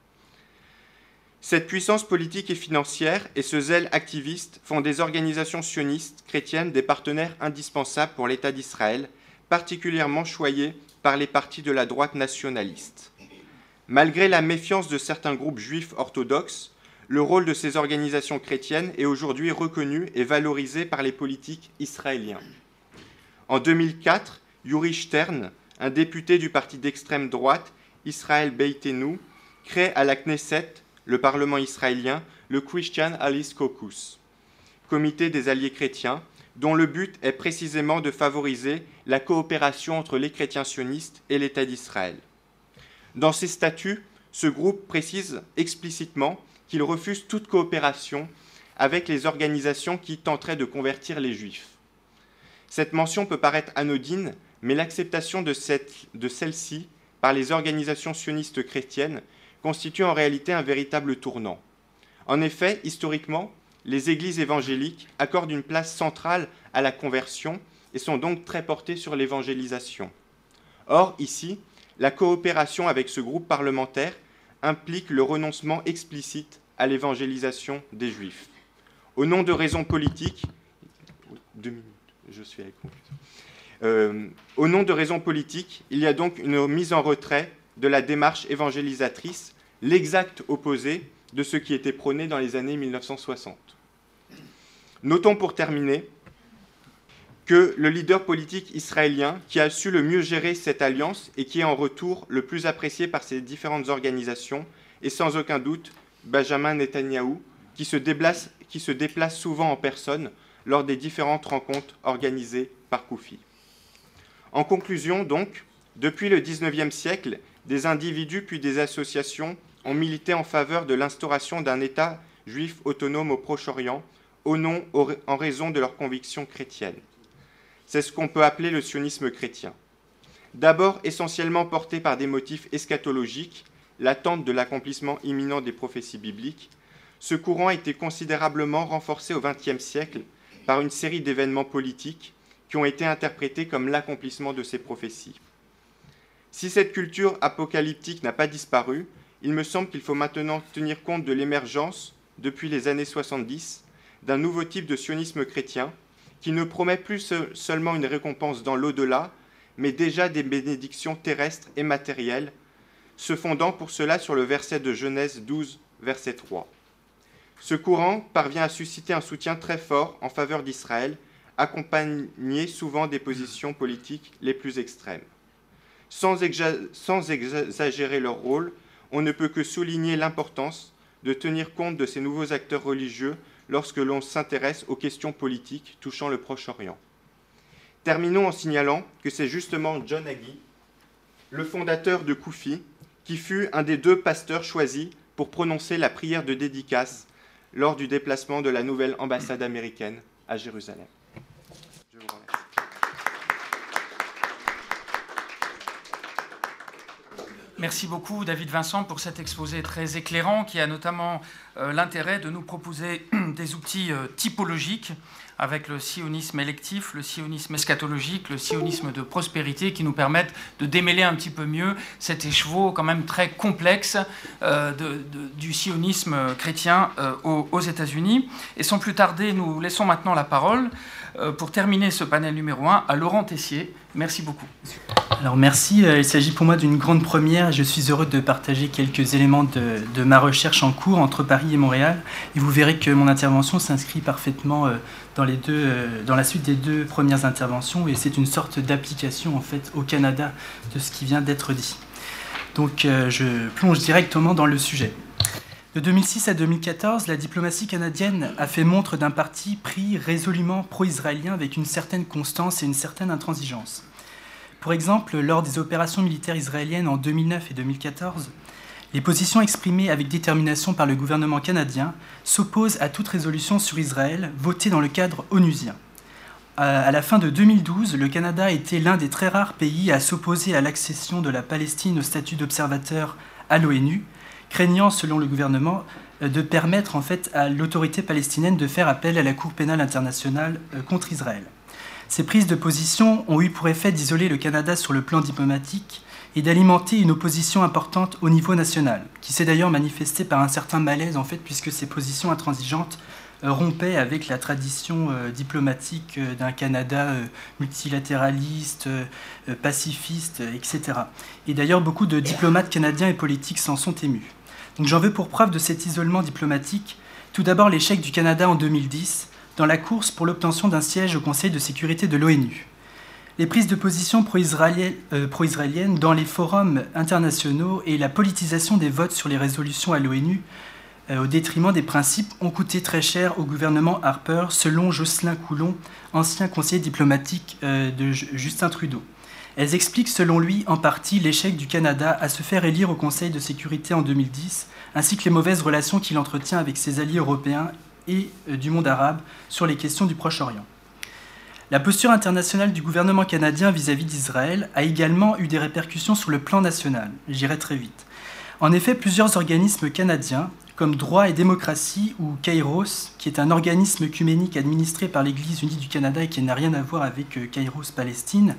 Speaker 6: Cette puissance politique et financière et ce zèle activiste font des organisations sionistes chrétiennes des partenaires indispensables pour l'État d'Israël, particulièrement choyés par les partis de la droite nationaliste. Malgré la méfiance de certains groupes juifs orthodoxes, le rôle de ces organisations chrétiennes est aujourd'hui reconnu et valorisé par les politiques israéliens. En 2004, Yuri Stern, un député du parti d'extrême droite, Israël Beitenu, crée à la Knesset, le Parlement israélien, le Christian Allies Caucus, comité des alliés chrétiens, dont le but est précisément de favoriser la coopération entre les chrétiens sionistes et l'État d'Israël. Dans ses statuts, ce groupe précise explicitement qu'il refuse toute coopération avec les organisations qui tenteraient de convertir les Juifs. Cette mention peut paraître anodine, mais l'acceptation de celle-ci par les organisations sionistes chrétiennes constitue en réalité un véritable tournant. En effet, historiquement, les églises évangéliques accordent une place centrale à la conversion et sont donc très portées sur l'évangélisation. Or, ici, la coopération avec ce groupe parlementaire implique le renoncement explicite à l'évangélisation des Juifs. Au nom de raisons politiques, au nom de raisons politiques, il y a donc une mise en retrait de la démarche évangélisatrice, l'exact opposé de ce qui était prôné dans les années 1960. Notons pour terminer que le leader politique israélien qui a su le mieux gérer cette alliance et qui est en retour le plus apprécié par ces différentes organisations est sans aucun doute Benjamin Netanyahou, qui se déplace souvent en personne lors des différentes rencontres organisées par Koufi. En conclusion, donc, depuis le XIXe siècle, des individus puis des associations ont milité en faveur de l'instauration d'un État juif autonome au Proche-Orient en raison de leurs convictions chrétiennes. C'est ce qu'on peut appeler le sionisme chrétien. D'abord essentiellement porté par des motifs eschatologiques, l'attente de l'accomplissement imminent des prophéties bibliques, ce courant a été considérablement renforcé au XXe siècle par une série d'événements politiques qui ont été interprétés comme l'accomplissement de ces prophéties. Si cette culture apocalyptique n'a pas disparu, il me semble qu'il faut maintenant tenir compte de l'émergence, depuis les années 70, d'un nouveau type de sionisme chrétien qui ne promet plus seulement une récompense dans l'au-delà, mais déjà des bénédictions terrestres et matérielles, se fondant pour cela sur le verset de Genèse 12, verset 3. Ce courant parvient à susciter un soutien très fort en faveur d'Israël, accompagné souvent des positions politiques les plus extrêmes. Sans exagérer leur rôle, on ne peut que souligner l'importance de tenir compte de ces nouveaux acteurs religieux lorsque l'on s'intéresse aux questions politiques touchant le Proche-Orient. Terminons en signalant que c'est justement John Hagee, le fondateur de Koufi, qui fut un des 2 pasteurs choisis pour prononcer la prière de dédicace lors du déplacement de la nouvelle ambassade américaine à Jérusalem. Je vous remercie.
Speaker 4: Merci beaucoup David Vincent pour cet exposé très éclairant qui a notamment l'intérêt de nous proposer des outils typologiques avec le sionisme électif, le sionisme eschatologique, le sionisme de prospérité qui nous permettent de démêler un petit peu mieux cet écheveau quand même très complexe du sionisme chrétien aux États-Unis. Et sans plus tarder, nous laissons maintenant la parole pour terminer ce panel numéro 1 à Laurent Tessier. Merci beaucoup.
Speaker 7: Alors merci, il s'agit pour moi d'une grande première. Je suis heureux de partager quelques éléments de ma recherche en cours entre Paris et Montréal. Et vous verrez que mon intervention s'inscrit parfaitement dans la suite des 2 premières interventions. Et c'est une sorte d'application en fait au Canada de ce qui vient d'être dit. Donc je plonge directement dans le sujet. De 2006 à 2014, la diplomatie canadienne a fait montre d'un parti pris résolument pro-israélien avec une certaine constance et une certaine intransigeance. Pour exemple, lors des opérations militaires israéliennes en 2009 et 2014, les positions exprimées avec détermination par le gouvernement canadien s'opposent à toute résolution sur Israël votée dans le cadre onusien. À la fin de 2012, le Canada a été l'un des très rares pays à s'opposer à l'accession de la Palestine au statut d'observateur à l'ONU, craignant, selon le gouvernement, de permettre en fait à l'autorité palestinienne de faire appel à la Cour pénale internationale contre Israël. Ces prises de position ont eu pour effet d'isoler le Canada sur le plan diplomatique et d'alimenter une opposition importante au niveau national, qui s'est d'ailleurs manifestée par un certain malaise en fait, puisque ces positions intransigeantes rompaient avec la tradition diplomatique d'un Canada multilatéraliste, pacifiste, etc. Et d'ailleurs, beaucoup de diplomates canadiens et politiques s'en sont émus. Donc j'en veux pour preuve de cet isolement diplomatique, tout d'abord l'échec du Canada en 2010, dans la course pour l'obtention d'un siège au Conseil de sécurité de l'ONU. Les prises de position pro-israéliennes dans les forums internationaux et la politisation des votes sur les résolutions à l'ONU au détriment des principes ont coûté très cher au gouvernement Harper, selon Jocelyn Coulon, ancien conseiller diplomatique de Justin Trudeau. Elles expliquent selon lui en partie l'échec du Canada à se faire élire au Conseil de sécurité en 2010, ainsi que les mauvaises relations qu'il entretient avec ses alliés européens et du monde arabe sur les questions du Proche-Orient. La posture internationale du gouvernement canadien vis-à-vis d'Israël a également eu des répercussions sur le plan national. J'irai très vite. En effet, plusieurs organismes canadiens, comme Droit et Démocratie ou Kairos, qui est un organisme œcuménique administré par l'Église unie du Canada et qui n'a rien à voir avec Kairos Palestine,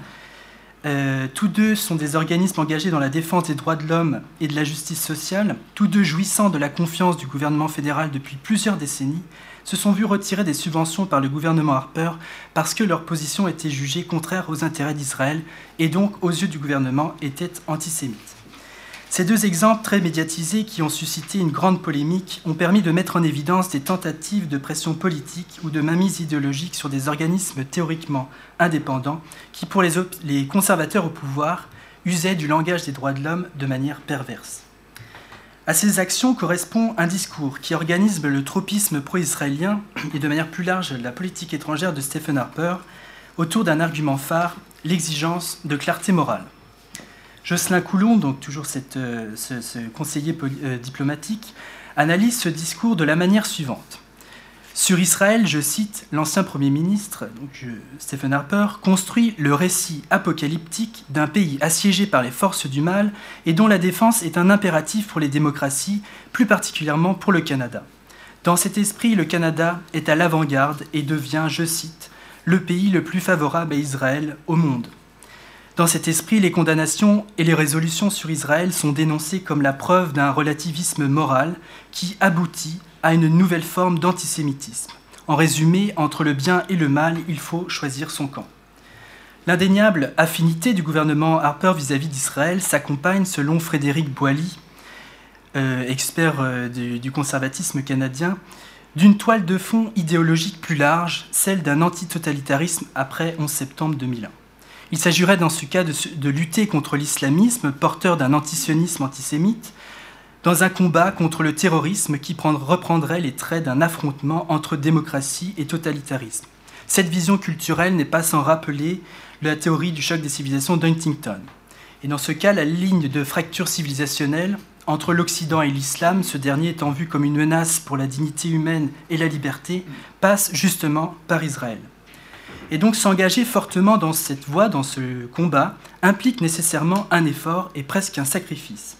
Speaker 7: tous deux sont des organismes engagés dans la défense des droits de l'homme et de la justice sociale, tous deux jouissant de la confiance du gouvernement fédéral depuis plusieurs décennies, se sont vus retirer des subventions par le gouvernement Harper parce que leur position était jugée contraire aux intérêts d'Israël et donc, aux yeux du gouvernement, était antisémite. Ces deux exemples très médiatisés qui ont suscité une grande polémique ont permis de mettre en évidence des tentatives de pression politique ou de mainmise idéologique sur des organismes théoriquement indépendants qui, pour les conservateurs au pouvoir, usaient du langage des droits de l'homme de manière perverse. À ces actions correspond un discours qui organise le tropisme pro-israélien et de manière plus large la politique étrangère de Stephen Harper autour d'un argument phare, l'exigence de clarté morale. Jocelyn Coulon, donc toujours ce conseiller diplomatique, analyse ce discours de la manière suivante. Sur Israël, je cite, l'ancien Premier ministre, Stephen Harper, construit le récit apocalyptique d'un pays assiégé par les forces du mal et dont la défense est un impératif pour les démocraties, plus particulièrement pour le Canada. Dans cet esprit, le Canada est à l'avant-garde et devient, je cite, le pays le plus favorable à Israël au monde. Dans cet esprit, les condamnations et les résolutions sur Israël sont dénoncées comme la preuve d'un relativisme moral qui aboutit à une nouvelle forme d'antisémitisme. En résumé, entre le bien et le mal, il faut choisir son camp. L'indéniable affinité du gouvernement Harper vis-à-vis d'Israël s'accompagne, selon Frédéric Boily, expert du conservatisme canadien, d'une toile de fond idéologique plus large, celle d'un antitotalitarisme après 11 septembre 2001. Il s'agirait dans ce cas de lutter contre l'islamisme, porteur d'un antisionisme antisémite, dans un combat contre le terrorisme qui reprendrait les traits d'un affrontement entre démocratie et totalitarisme. Cette vision culturelle n'est pas sans rappeler la théorie du choc des civilisations d'Huntington. Et dans ce cas, la ligne de fracture civilisationnelle entre l'Occident et l'islam, ce dernier étant vu comme une menace pour la dignité humaine et la liberté, passe justement par Israël. Et donc s'engager fortement dans cette voie, dans ce combat, implique nécessairement un effort et presque un sacrifice.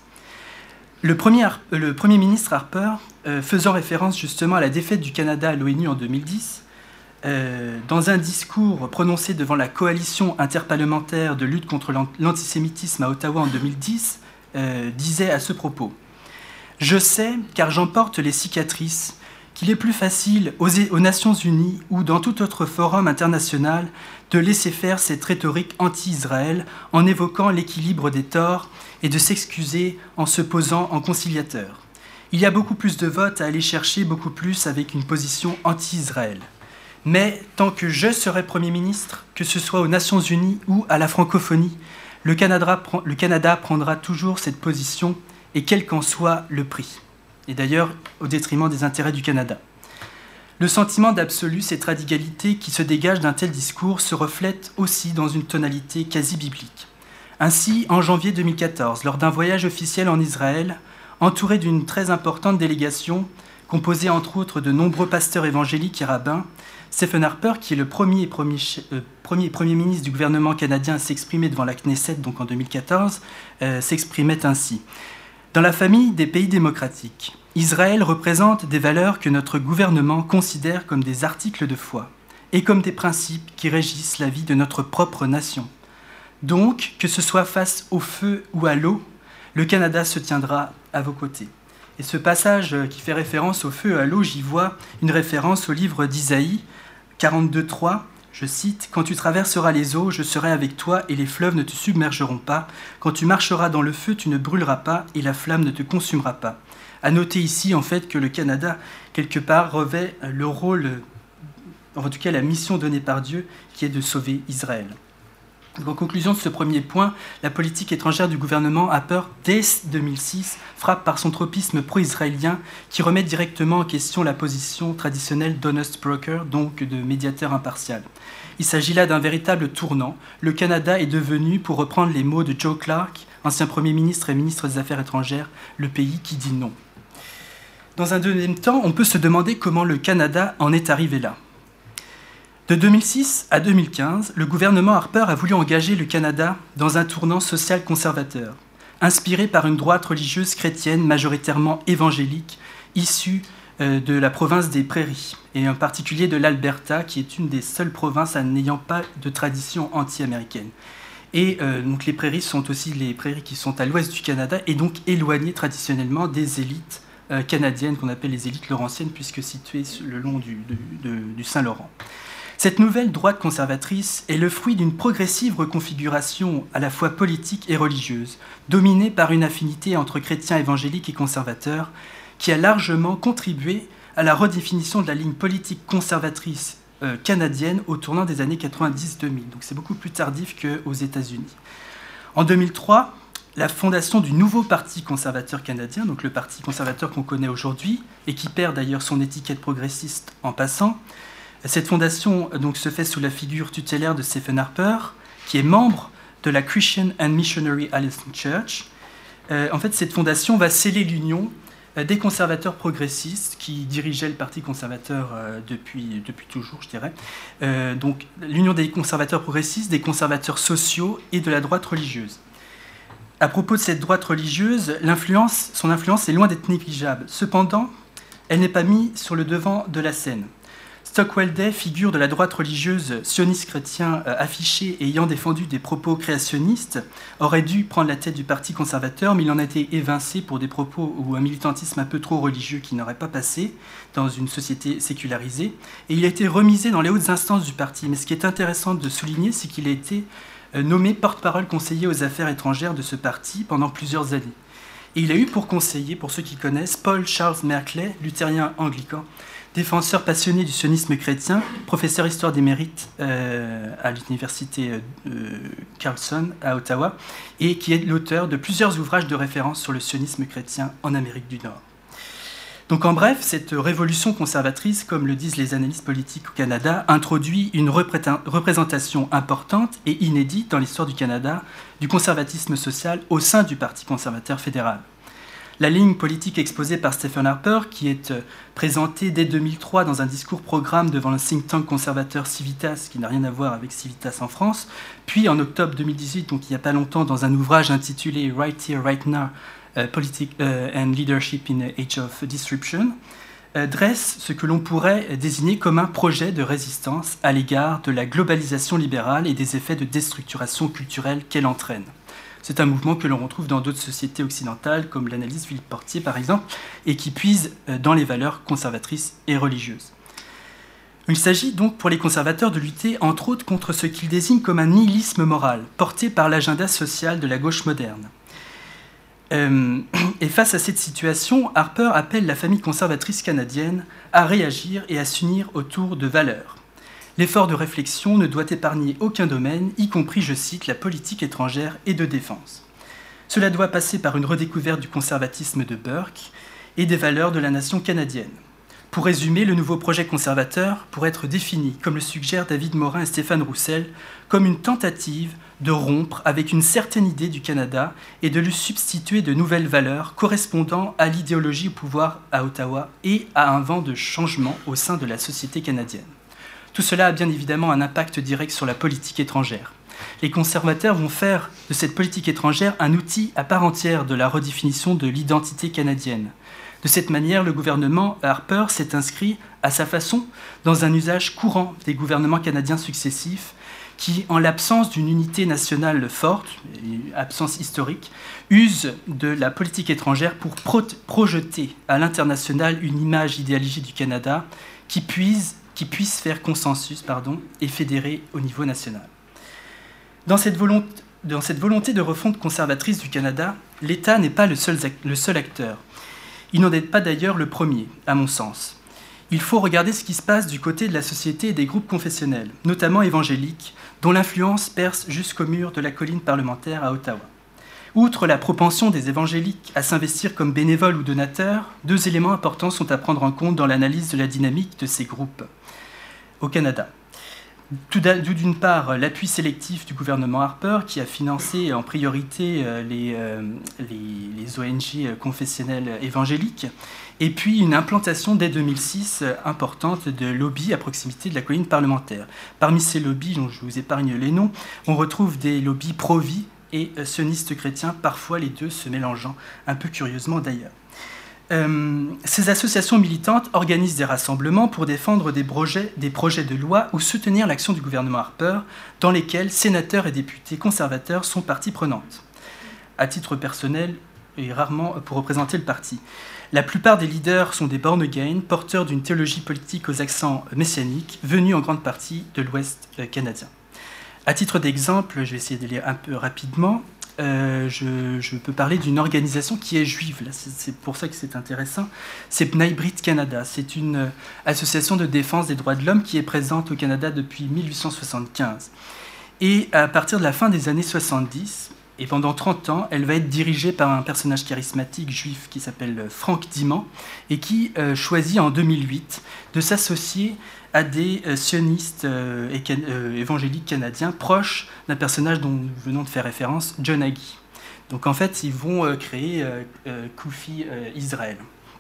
Speaker 7: Le Premier ministre Harper, faisant référence justement à la défaite du Canada à l'ONU en 2010, dans un discours prononcé devant la coalition interparlementaire de lutte contre l'antisémitisme à Ottawa en 2010, disait à ce propos « Je sais, car j'en porte les cicatrices, qu'il est plus facile aux Nations Unies ou dans tout autre forum international de laisser faire cette rhétorique anti-Israël en évoquant l'équilibre des torts et de s'excuser en se posant en conciliateur. Il y a beaucoup plus de votes à aller chercher, beaucoup plus avec une position anti-Israël. Mais tant que je serai Premier ministre, que ce soit aux Nations Unies ou à la francophonie, le Canada prendra toujours cette position et quel qu'en soit le prix. Et d'ailleurs au détriment des intérêts du Canada. Le sentiment d'absolue, cette radicalité qui se dégage d'un tel discours se reflète aussi dans une tonalité quasi biblique. Ainsi, en janvier 2014, lors d'un voyage officiel en Israël, entouré d'une très importante délégation, composée entre autres de nombreux pasteurs évangéliques et rabbins, Stephen Harper, qui est le premier ministre du gouvernement canadien à s'exprimer devant la Knesset, donc en 2014, s'exprimait ainsi. Dans la famille des pays démocratiques, Israël représente des valeurs que notre gouvernement considère comme des articles de foi et comme des principes qui régissent la vie de notre propre nation. Donc, que ce soit face au feu ou à l'eau, le Canada se tiendra à vos côtés. Et ce passage qui fait référence au feu et à l'eau, j'y vois une référence au livre d'Isaïe 42.3. Je cite, « Quand tu traverseras les eaux, je serai avec toi et les fleuves ne te submergeront pas. Quand tu marcheras dans le feu, tu ne brûleras pas et la flamme ne te consumera pas. » À noter ici, en fait, que le Canada, quelque part, revêt le rôle, en tout cas la mission donnée par Dieu, qui est de sauver Israël. Donc, en conclusion de ce premier point, la politique étrangère du gouvernement Harper, dès 2006, frappe par son tropisme pro-israélien qui remet directement en question la position traditionnelle d'honest broker, donc de médiateur impartial. Il s'agit là d'un véritable tournant. Le Canada est devenu, pour reprendre les mots de Joe Clark, ancien Premier ministre et ministre des Affaires étrangères, le pays qui dit non. Dans un deuxième temps, on peut se demander comment le Canada en est arrivé là. De 2006 à 2015, le gouvernement Harper a voulu engager le Canada dans un tournant social conservateur, inspiré par une droite religieuse chrétienne majoritairement évangélique, issue de la province des Prairies, et en particulier de l'Alberta, qui est une des seules provinces n'ayant pas de tradition anti-américaine. Et donc les Prairies sont aussi les Prairies qui sont à l'ouest du Canada, et donc éloignées traditionnellement des élites canadiennes, qu'on appelle les élites laurentiennes, puisque situées le long du Saint-Laurent. Cette nouvelle droite conservatrice est le fruit d'une progressive reconfiguration à la fois politique et religieuse, dominée par une affinité entre chrétiens évangéliques et conservateurs, qui a largement contribué à la redéfinition de la ligne politique conservatrice canadienne au tournant des années 90-2000. Donc c'est beaucoup plus tardif qu'aux États-Unis. En 2003, la fondation du nouveau Parti conservateur canadien, donc le Parti conservateur qu'on connaît aujourd'hui, et qui perd d'ailleurs son étiquette progressiste en passant, cette fondation donc, se fait sous la figure tutélaire de Stephen Harper, qui est membre de la Christian and Missionary Alliance Church. En fait, cette fondation va sceller l'union des conservateurs progressistes qui dirigeaient le Parti conservateur depuis toujours, je dirais. Donc, l'union des conservateurs progressistes, des conservateurs sociaux et de la droite religieuse. À propos de cette droite religieuse, son influence est loin d'être négligeable. Cependant, elle n'est pas mise sur le devant de la scène. Stockwell Day, figure de la droite religieuse sioniste chrétien affichée et ayant défendu des propos créationnistes, aurait dû prendre la tête du Parti conservateur, mais il en a été évincé pour des propos ou un militantisme un peu trop religieux qui n'aurait pas passé dans une société sécularisée. Et il a été remisé dans les hautes instances du parti. Mais ce qui est intéressant de souligner, c'est qu'il a été nommé porte-parole conseiller aux affaires étrangères de ce parti pendant plusieurs années. Et il a eu pour conseiller, pour ceux qui connaissent, Paul Charles Merkley, luthérien anglican, défenseur passionné du sionisme chrétien, professeur histoire des mérites à l'université Carleton à Ottawa, et qui est l'auteur de plusieurs ouvrages de référence sur le sionisme chrétien en Amérique du Nord. Donc en bref, cette révolution conservatrice, comme le disent les analystes politiques au Canada, introduit une représentation importante et inédite dans l'histoire du Canada du conservatisme social au sein du Parti conservateur fédéral. La ligne politique exposée par Stephen Harper, qui est présentée dès 2003 dans un discours-programme devant le think tank conservateur Civitas, qui n'a rien à voir avec Civitas en France, puis en octobre 2018, donc il n'y a pas longtemps, dans un ouvrage intitulé « Right Here, Right Now, Politics and Leadership in Age of Disruption », dresse ce que l'on pourrait désigner comme un projet de résistance à l'égard de la globalisation libérale et des effets de déstructuration culturelle qu'elle entraîne. C'est un mouvement que l'on retrouve dans d'autres sociétés occidentales, comme l'analyse Philippe Portier par exemple, et qui puise dans les valeurs conservatrices et religieuses. Il s'agit donc pour les conservateurs de lutter entre autres contre ce qu'ils désignent comme un nihilisme moral, porté par l'agenda social de la gauche moderne. Et face à cette situation, Harper appelle la famille conservatrice canadienne à réagir et à s'unir autour de valeurs. L'effort de réflexion ne doit épargner aucun domaine, y compris, je cite, la politique étrangère et de défense. Cela doit passer par une redécouverte du conservatisme de Burke et des valeurs de la nation canadienne. Pour résumer, le nouveau projet conservateur pourrait être défini, comme le suggèrent David Morin et Stéphane Roussel, comme une tentative de rompre avec une certaine idée du Canada et de lui substituer de nouvelles valeurs correspondant à l'idéologie au pouvoir à Ottawa et à un vent de changement au sein de la société canadienne. Tout cela a bien évidemment un impact direct sur la politique étrangère. Les conservateurs vont faire de cette politique étrangère un outil à part entière de la redéfinition de l'identité canadienne. De cette manière, le gouvernement Harper s'est inscrit à sa façon dans un usage courant des gouvernements canadiens successifs qui, en l'absence d'une unité nationale forte, absence historique, usent de la politique étrangère pour projeter à l'international une image idéalisée du Canada qui puisse faire consensus et fédérer au niveau national. Dans cette volonté de refonte conservatrice du Canada, l'État n'est pas le seul acteur. Il n'en est pas d'ailleurs le premier, à mon sens. Il faut regarder ce qui se passe du côté de la société et des groupes confessionnels, notamment évangéliques, dont l'influence perce jusqu'au mur de la colline parlementaire à Ottawa. Outre la propension des évangéliques à s'investir comme bénévoles ou donateurs, deux éléments importants sont à prendre en compte dans l'analyse de la dynamique de ces groupes au Canada. D'une part, l'appui sélectif du gouvernement Harper, qui a financé en priorité les ONG confessionnelles évangéliques, et puis une implantation dès 2006 importante de lobbies à proximité de la colline parlementaire. Parmi ces lobbies, dont je vous épargne les noms, on retrouve des lobbies pro-vie et sionistes chrétiens, parfois les deux se mélangeant, un peu curieusement d'ailleurs. Ces associations militantes organisent des rassemblements pour défendre des projets de loi ou soutenir l'action du gouvernement Harper, dans lesquels sénateurs et députés conservateurs sont partie prenante. À titre personnel, et rarement pour représenter le parti. La plupart des leaders sont des born again, porteurs d'une théologie politique aux accents messianiques, venus en grande partie de l'Ouest canadien. À titre d'exemple, je vais essayer de lire un peu rapidement. Je peux parler d'une organisation qui est juive. Là, c'est pour ça que c'est intéressant. C'est B'nai Brit Canada. C'est une association de défense des droits de l'homme qui est présente au Canada depuis 1875. Et à partir de la fin des années 70, et pendant 30 ans, elle va être dirigée par un personnage charismatique juif qui s'appelle Frank Diman et qui choisit en 2008 de s'associer à des sionistes évangéliques canadiens proches d'un personnage dont nous venons de faire référence, John Hagee. Donc en fait, ils vont créer Kufi Israël.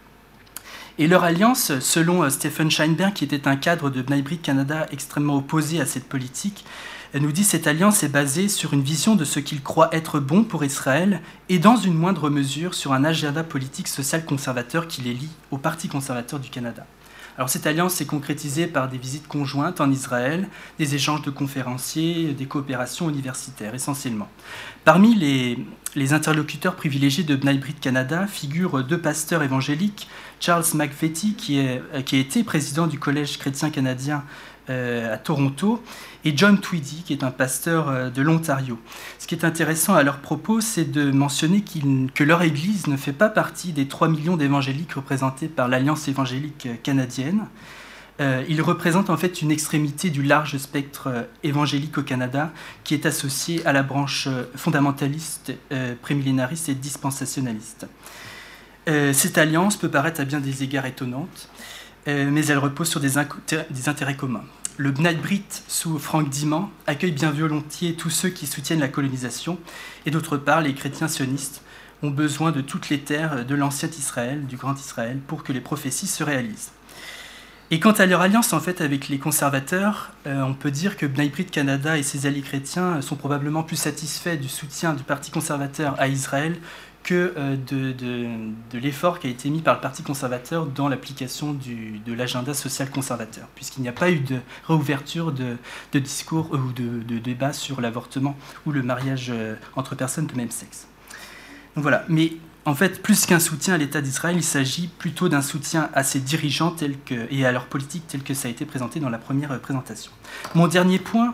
Speaker 7: Et leur alliance, selon Stephen Scheinberg, qui était un cadre de B'nai Brit Canada extrêmement opposé à cette politique, elle nous dit que cette alliance est basée sur une vision de ce qu'il croit être bon pour Israël et dans une moindre mesure sur un agenda politique social conservateur qui les lie au Parti conservateur du Canada. Alors cette alliance s'est concrétisée par des visites conjointes en Israël, des échanges de conférenciers, des coopérations universitaires essentiellement. Parmi les interlocuteurs privilégiés de B'nai Brit Canada figurent deux pasteurs évangéliques, Charles McVety qui a été président du Collège chrétien canadien à Toronto, et John Tweedy, qui est un pasteur de l'Ontario. Ce qui est intéressant à leur propos, c'est de mentionner que leur Église ne fait pas partie des 3 millions d'évangéliques représentés par l'Alliance évangélique canadienne. Ils représentent en fait une extrémité du large spectre évangélique au Canada, qui est associée à la branche fondamentaliste, prémillénariste et dispensationaliste. Cette alliance peut paraître à bien des égards étonnante, mais elle repose sur des intérêts communs. Le B'nai Brit, sous Frank Diman, accueille bien volontiers tous ceux qui soutiennent la colonisation, et d'autre part, les chrétiens sionistes ont besoin de toutes les terres de l'ancien Israël, du grand Israël, pour que les prophéties se réalisent. Et quant à leur alliance en fait avec les conservateurs, on peut dire que B'nai Brit Canada et ses alliés chrétiens sont probablement plus satisfaits du soutien du Parti conservateur à Israël que de l'effort qui a été mis par le Parti conservateur dans l'application de l'agenda social conservateur, puisqu'il n'y a pas eu de réouverture de discours ou de débat sur l'avortement ou le mariage entre personnes de même sexe. Donc voilà, mais en fait, plus qu'un soutien à l'État d'Israël, il s'agit plutôt d'un soutien à ses dirigeants et à leur politique telle que ça a été présenté dans la première présentation. Dans mon dernier point,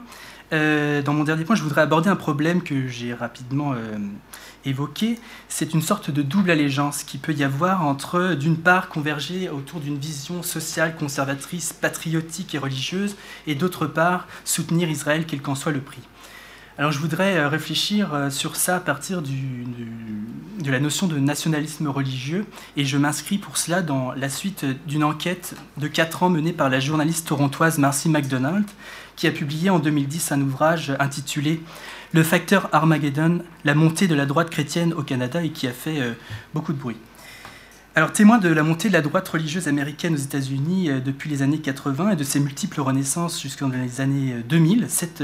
Speaker 7: je voudrais aborder un problème que j'ai rapidement évoqué. C'est une sorte de double allégeance qui peut y avoir entre, d'une part, converger autour d'une vision sociale, conservatrice, patriotique et religieuse, et d'autre part, soutenir Israël quel qu'en soit le prix. Alors je voudrais réfléchir sur ça à partir de la notion de nationalisme religieux, et je m'inscris pour cela dans la suite d'une enquête de 4 ans menée par la journaliste torontoise Marcy McDonald, qui a publié en 2010 un ouvrage intitulé « Le facteur Armageddon, la montée de la droite chrétienne au Canada » et qui a fait beaucoup de bruit. Alors, témoin de la montée de la droite religieuse américaine aux États-Unis depuis les années 80 et de ses multiples renaissances jusqu'en les années 2000, cette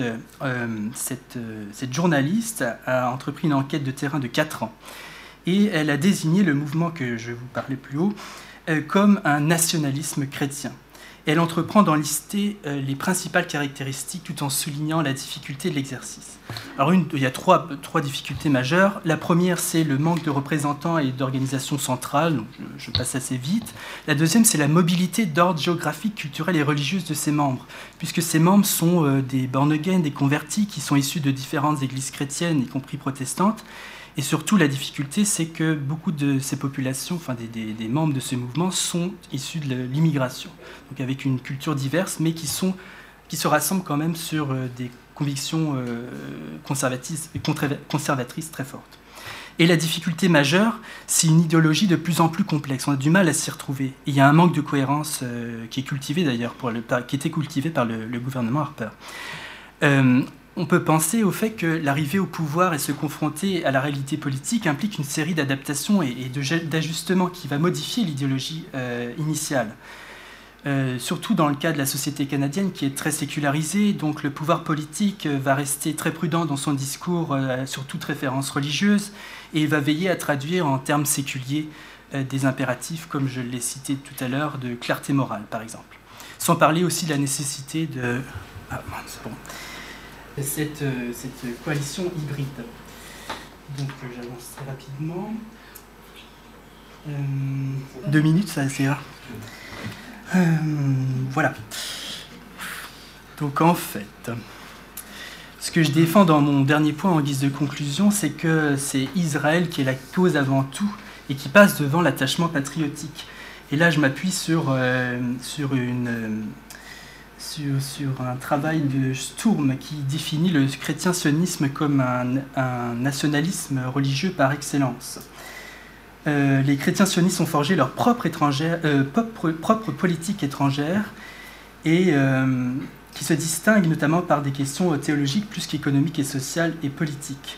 Speaker 7: journaliste a entrepris une enquête de terrain de 4 ans. Et elle a désigné le mouvement que je vous parlais plus haut comme un nationalisme chrétien. Elle entreprend d'en lister les principales caractéristiques tout en soulignant la difficulté de l'exercice. Alors il y a trois difficultés majeures. La première, c'est le manque de représentants et d'organisations centrales, donc je passe assez vite. La deuxième, c'est la mobilité d'ordre géographique, culturel et religieuse de ses membres, puisque ces membres sont des born again, des convertis qui sont issus de différentes églises chrétiennes, y compris protestantes. Et surtout, la difficulté, c'est que beaucoup de ces populations, enfin des membres de ce mouvement, sont issus de l'immigration, donc avec une culture diverse, mais qui se rassemblent quand même sur des convictions conservatrices très fortes. Et la difficulté majeure, c'est une idéologie de plus en plus complexe. On a du mal à s'y retrouver. Et il y a un manque de cohérence qui est cultivé d'ailleurs, qui était cultivé par le gouvernement Harper. On peut penser au fait que l'arrivée au pouvoir et se confronter à la réalité politique implique une série d'adaptations et d'ajustements qui va modifier l'idéologie initiale. Surtout dans le cas de la société canadienne qui est très sécularisée, donc le pouvoir politique va rester très prudent dans son discours sur toute référence religieuse et va veiller à traduire en termes séculiers des impératifs, comme je l'ai cité tout à l'heure, de clarté morale par exemple. Sans parler aussi de la nécessité de... cette coalition hybride. Donc j'avance très rapidement. 2 minutes, ça c'est rare. Voilà. Donc en fait, ce que je défends dans mon dernier point en guise de conclusion, c'est que c'est Israël qui est la cause avant tout et qui passe devant l'attachement patriotique. Et là, je m'appuie sur un travail de Sturm qui définit le chrétien-sionisme comme un nationalisme religieux par excellence. Les chrétiens sionistes ont forgé leur propre politique étrangère et qui se distingue notamment par des questions théologiques plus qu'économiques et sociales et politiques.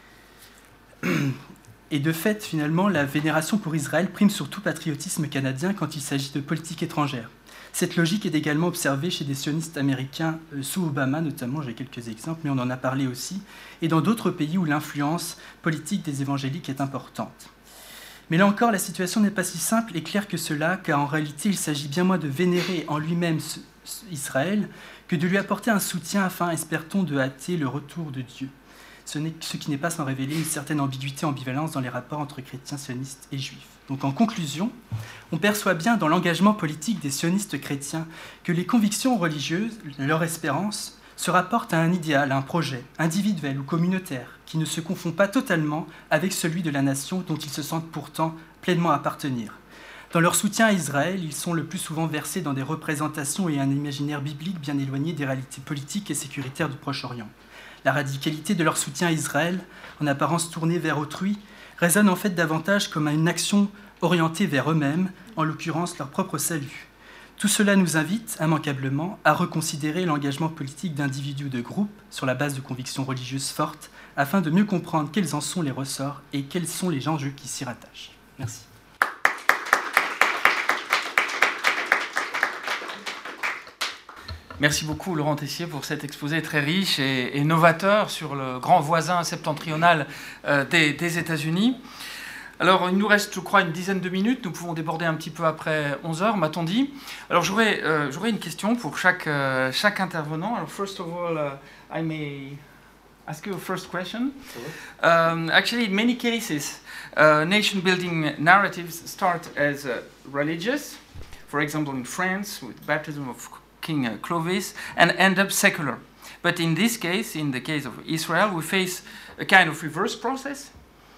Speaker 7: Et de fait, finalement, la vénération pour Israël prime sur tout patriotisme canadien quand il s'agit de politique étrangère. Cette logique est également observée chez des sionistes américains sous Obama, notamment, j'ai quelques exemples, mais on en a parlé aussi, et dans d'autres pays où l'influence politique des évangéliques est importante. Mais là encore, la situation n'est pas si simple et claire que cela, car en réalité, il s'agit bien moins de vénérer en lui-même Israël que de lui apporter un soutien afin, espère-t-on, de hâter le retour de Dieu. Ce qui n'est pas sans révéler une certaine ambiguïté, ambivalence dans les rapports entre chrétiens, sionistes et juifs. Donc en conclusion, on perçoit bien dans l'engagement politique des sionistes chrétiens que les convictions religieuses, leur espérance, se rapportent à un idéal, à un projet, individuel ou communautaire, qui ne se confond pas totalement avec celui de la nation dont ils se sentent pourtant pleinement appartenir. Dans leur soutien à Israël, ils sont le plus souvent versés dans des représentations et un imaginaire biblique bien éloigné des réalités politiques et sécuritaires du Proche-Orient. La radicalité de leur soutien à Israël, en apparence tournée vers autrui, résonne en fait davantage comme une action orientée vers eux-mêmes, en l'occurrence leur propre salut. Tout cela nous invite, immanquablement, à reconsidérer l'engagement politique d'individus ou de groupes sur la base de convictions religieuses fortes, afin de mieux comprendre quels en sont les ressorts et quels sont les enjeux qui s'y rattachent. Merci.
Speaker 4: Merci beaucoup Laurent Tessier pour cet exposé très riche et novateur sur le grand voisin septentrional des États-Unis. Alors, il nous reste, je crois, une dizaine de minutes. Nous pouvons déborder un petit peu après 11h, m'a-t-on dit. Alors, j'aurais une question pour chaque intervenant. Alors, first of all, I may ask you a first question. Actually, in many cases, nation-building narratives start as religious. For example, in France, with baptism of King Clovis, and end up secular. But in this case, in the case of Israel, we face a kind of reverse process.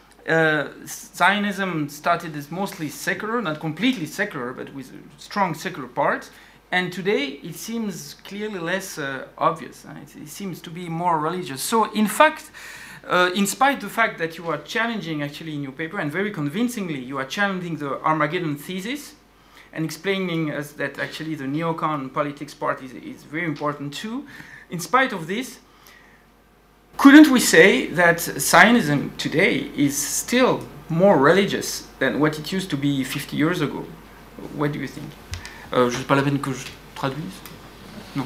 Speaker 4: Zionism started as mostly secular, not completely secular, but with a strong secular part. And today, it seems clearly less obvious. It seems to be more religious. So, in fact, in spite of the fact that you are challenging, actually, in your paper, and very convincingly, you are challenging the Armageddon thesis, and explaining us that actually the neocon politics part is very important too. In spite of this, couldn't we say that Zionism today is still more religious than what it used to be 50 years ago? What do you think? Je sais pas la peine que je traduise. Non.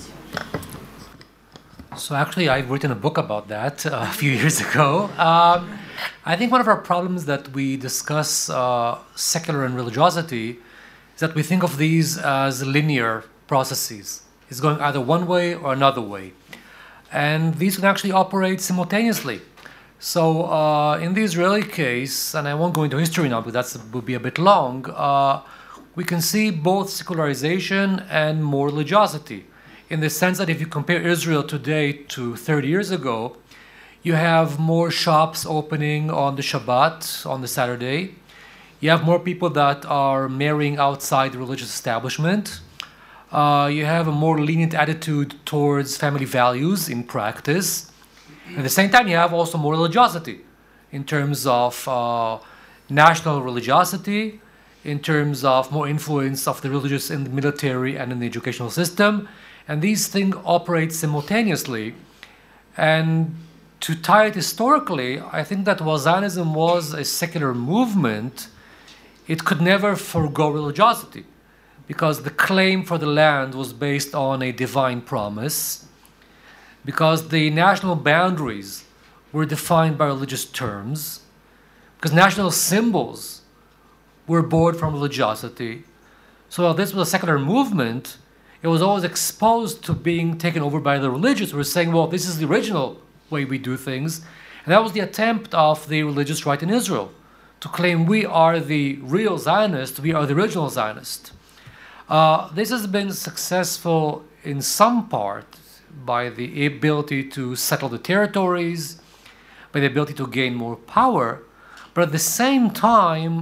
Speaker 5: So actually, I've written a book about that a few years ago. I think one of our problems that we discuss secular and religiosity is that we think of these as linear processes. It's going either one way or another way. And these can actually operate simultaneously. So in the Israeli case, and I won't go into history now because that would be a bit long, we can see both secularization and more religiosity. In the sense that if you compare Israel today to 30 years ago, you have more shops opening on the Shabbat, on the Saturday. You have more people that are marrying outside the religious establishment. You have a more lenient attitude towards family values in practice. At the same time, you have also more religiosity in terms of national religiosity, in terms of more influence of the religious in the military and in the educational system. And these things operate simultaneously. And to tie it historically, I think that while Zionism was a secular movement, it could never forego religiosity, because the claim for the land was based on a divine promise, because the national boundaries were defined by religious terms, because national symbols were born from religiosity. So while this was a secular movement, it was always exposed to being taken over by the religious who were saying, well, this is the original way we do things. And that was the attempt of the religious right in Israel, to claim we are the real Zionists, we are the original Zionists. This has been successful in some part by the ability to settle the territories, by the ability to gain more power, but at the same time,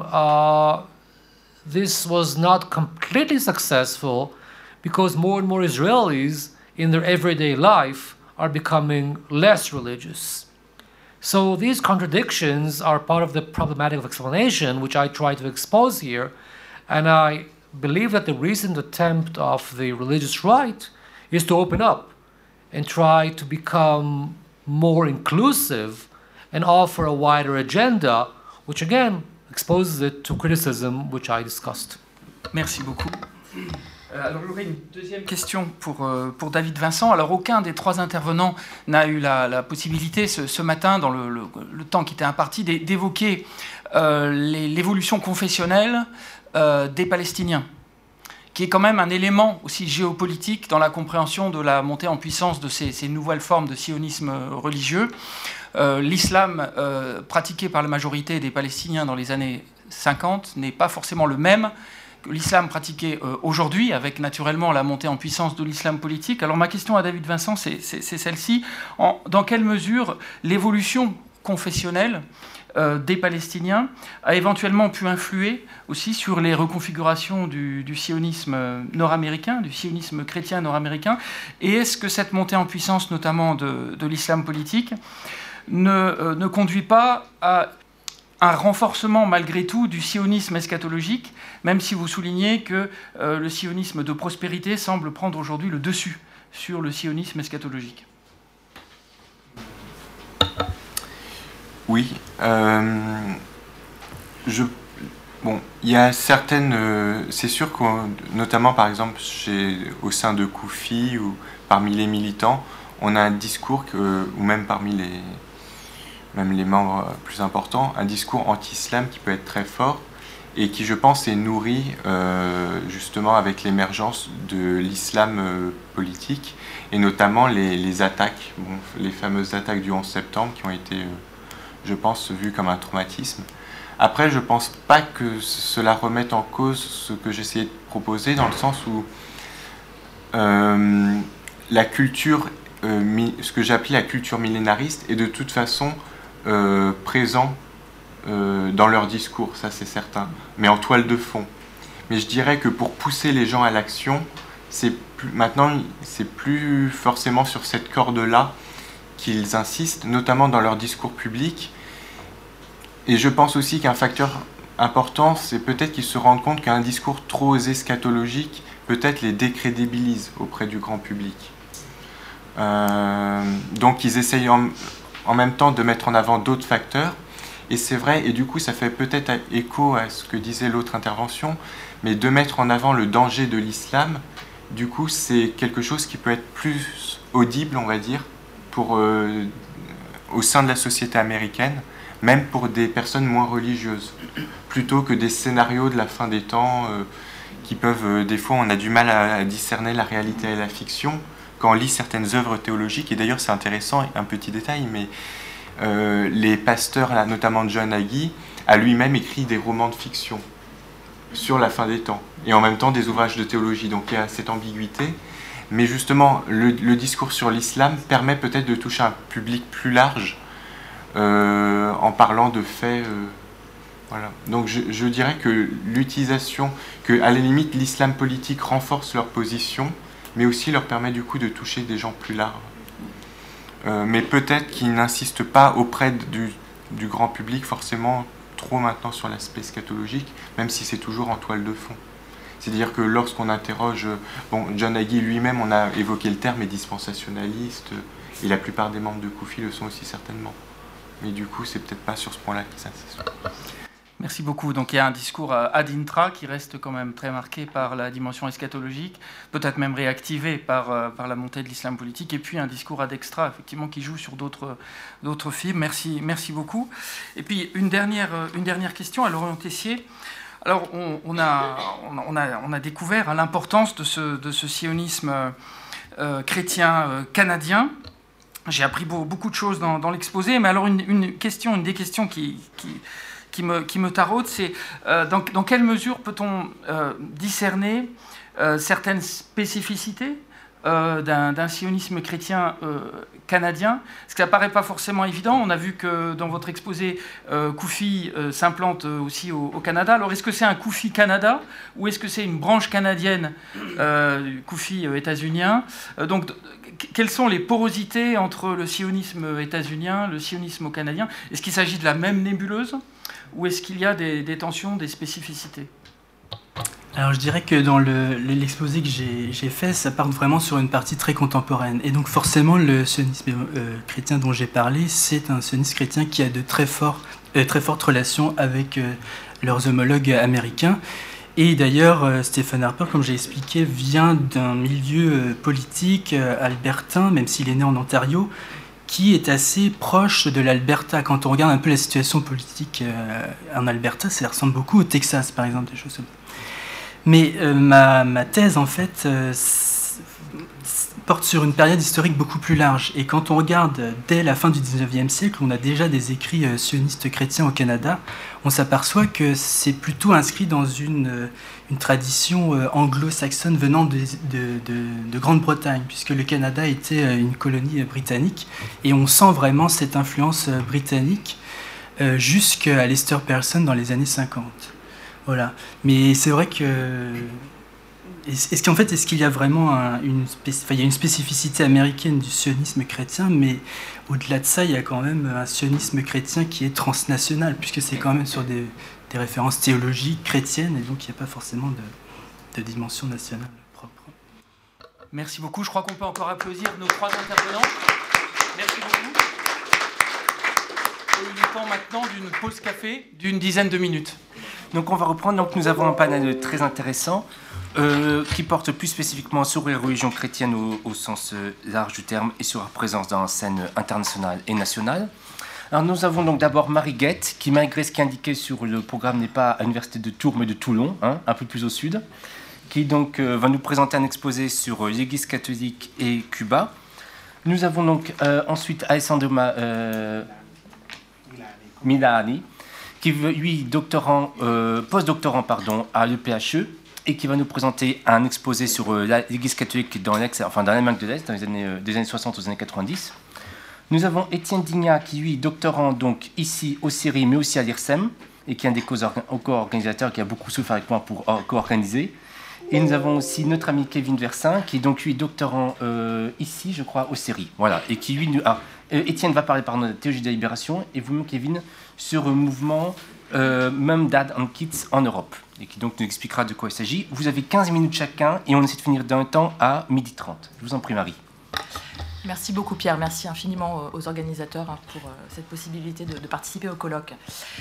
Speaker 5: this was not completely successful because more and more Israelis in their everyday life are becoming less religious. So these contradictions are part of the problematic of explanation, which I try to expose here, and I believe that the recent attempt of the religious right is to open up and try to become more inclusive and offer a wider agenda, which again exposes it to criticism, which I discussed.
Speaker 4: Merci beaucoup. Alors j'aurais une deuxième question pour David Vincent. Alors aucun des trois intervenants n'a eu la possibilité ce matin, dans le temps qui était imparti, d'évoquer l'évolution confessionnelle des Palestiniens, qui est quand même un élément aussi géopolitique dans la compréhension de la montée en puissance de ces nouvelles formes de sionisme religieux. L'islam pratiqué par la majorité des Palestiniens dans les années 50 n'est pas forcément le même que l'islam pratiqué aujourd'hui, avec naturellement la montée en puissance de l'islam politique. Alors ma question à David Vincent, c'est celle-ci. Dans quelle mesure l'évolution confessionnelle des Palestiniens a éventuellement pu influer aussi sur les reconfigurations du sionisme nord-américain, du sionisme chrétien nord-américain, et est-ce que cette montée en puissance, notamment de l'islam politique, ne conduit pas à un renforcement malgré tout du sionisme eschatologique, même si vous soulignez que le sionisme de prospérité semble prendre aujourd'hui le dessus sur le sionisme eschatologique?
Speaker 6: Oui. Bon, il y a certaines... c'est sûr que, notamment par exemple au sein de Koufi ou parmi les militants, on a un discours, ou même parmi les membres plus importants, un discours anti-islam qui peut être très fort et qui, je pense, est nourri justement avec l'émergence de l'islam politique et notamment les attaques, les fameuses attaques du 11 septembre qui ont été, je pense, vues comme un traumatisme. Après, je ne pense pas que cela remette en cause ce que j'essayais de proposer, dans le sens où la culture, ce que j'appelais la culture millénariste, est de toute façon présent dans leur discours, ça c'est certain, mais en toile de fond. Mais je dirais que pour pousser les gens à l'action, maintenant c'est plus forcément sur cette corde-là qu'ils insistent, notamment dans leur discours public. Et je pense aussi qu'un facteur important, c'est peut-être qu'ils se rendent compte qu'un discours trop eschatologique peut-être les décrédibilise auprès du grand public. Donc ils essayent en même temps de mettre en avant d'autres facteurs. Et c'est vrai, et du coup ça fait peut-être écho à ce que disait l'autre intervention, mais de mettre en avant le danger de l'islam, du coup c'est quelque chose qui peut être plus audible, on va dire, au sein de la société américaine, même pour des personnes moins religieuses, plutôt que des scénarios de la fin des temps qui peuvent, des fois on a du mal à discerner la réalité et la fiction quand on lit certaines œuvres théologiques. Et d'ailleurs c'est intéressant, un petit détail, mais les pasteurs, là, notamment John Hagee, a lui-même écrit des romans de fiction sur la fin des temps, et en même temps des ouvrages de théologie, donc il y a cette ambiguïté. Mais justement, le discours sur l'islam permet peut-être de toucher un public plus large en parlant de faits. Voilà. Donc je dirais que l'utilisation, que à la limite l'islam politique renforce leur position, mais aussi leur permet du coup de toucher des gens plus larges. Mais peut-être qu'ils n'insistent pas auprès du grand public forcément trop maintenant sur l'aspect eschatologique, même si c'est toujours en toile de fond. C'est-à-dire que lorsqu'on interroge, John Hagee lui-même, on a évoqué le terme, est dispensationaliste, et la plupart des membres de Koufi le sont aussi certainement. Mais du coup, c'est peut-être pas sur ce point-là qu'ils insistent.
Speaker 4: Merci beaucoup. Donc il y a un discours ad intra qui reste quand même très marqué par la dimension eschatologique, peut-être même réactivé par la montée de l'islam politique, et puis un discours ad extra, effectivement, qui joue sur d'autres fibres. Merci beaucoup. Et puis une dernière question à Laurent Tessier. Alors on a découvert l'importance de ce sionisme chrétien canadien. J'ai appris beaucoup de choses dans l'exposé, mais alors une des questions qui qui me taraude, c'est dans quelle mesure peut-on discerner certaines spécificités d'un sionisme chrétien canadien, ce qui n'apparaît pas forcément évident. On a vu que dans votre exposé, CUFI s'implante aussi au Canada. Alors, est-ce que c'est un CUFI Canada ou est-ce que c'est une branche canadienne du CUFI états-unien? Donc, quelles sont les porosités entre le sionisme états-unien, le sionisme canadien? Est-ce qu'il s'agit de la même nébuleuse ou est-ce qu'il y a des tensions, des spécificités?
Speaker 7: Alors je dirais que dans l'exposé que j'ai fait, ça part vraiment sur une partie très contemporaine. Et donc forcément, le sionisme chrétien dont j'ai parlé, c'est un sionisme chrétien qui a de très fortes relations avec leurs homologues américains. Et d'ailleurs, Stephen Harper, comme j'ai expliqué, vient d'un milieu politique albertain, même s'il est né en Ontario, qui est assez proche de l'Alberta. Quand on regarde un peu la situation politique en Alberta, ça ressemble beaucoup au Texas, par exemple, des choses comme ça. Mais ma thèse, en fait, porte sur une période historique beaucoup plus large. Et quand on regarde dès la fin du 19e siècle, on a déjà des écrits sionistes chrétiens au Canada, on s'aperçoit que c'est plutôt inscrit dans une tradition anglo-saxonne venant de Grande-Bretagne, puisque le Canada était une colonie britannique. Et on sent vraiment cette influence britannique jusqu'à Lester Pearson dans les années 50. Voilà. Mais c'est vrai que... Est-ce qu'il y a vraiment une spécificité américaine du sionisme chrétien, mais au-delà de ça, il y a quand même un sionisme chrétien qui est transnational, puisque c'est quand même sur des références théologiques chrétiennes, et donc il n'y a pas forcément de dimension nationale propre.
Speaker 4: Merci beaucoup. Je crois qu'on peut encore applaudir nos trois intervenants. Merci beaucoup. Et il est temps maintenant d'une pause café d'une dizaine de minutes.
Speaker 2: Donc on va reprendre. Donc nous avons un panel très intéressant qui porte plus spécifiquement sur les religions chrétiennes au sens large du terme et sur leur présence dans la scène internationale et nationale. Alors nous avons donc d'abord Marie Guette, qui malgré ce qui est indiqué sur le programme n'est pas à l'université de Tours mais de Toulon, un peu plus au sud, qui donc va nous présenter un exposé sur l'Église catholique et Cuba. Nous avons donc ensuite Alessandro Milani, qui est lui post-doctorant à l'EPHE et qui va nous présenter un exposé sur l'Église catholique dans l'Allemagne de l'Est, dans les années 60 aux années 90. Nous avons Étienne Dignat, qui lui est doctorant donc ici au CERI, mais aussi à l'IRSEM, et qui est un des co-organisateurs qui a beaucoup souffert avec moi pour co-organiser. Et nous avons aussi notre ami Kevin Versin, qui est donc lui doctorant ici, je crois, au CERI. Voilà, et qui lui... Étienne va parler de théologie de la libération, et vous-même, Kevin, sur le mouvement Mum, Dad and Kids en Europe, et qui donc nous expliquera de quoi il s'agit. Vous avez 15 minutes chacun, et on essaie de finir dans le temps à 12h30. Je vous en prie, Marie.
Speaker 8: Merci beaucoup, Pierre. Merci infiniment aux organisateurs pour cette possibilité de participer au colloque.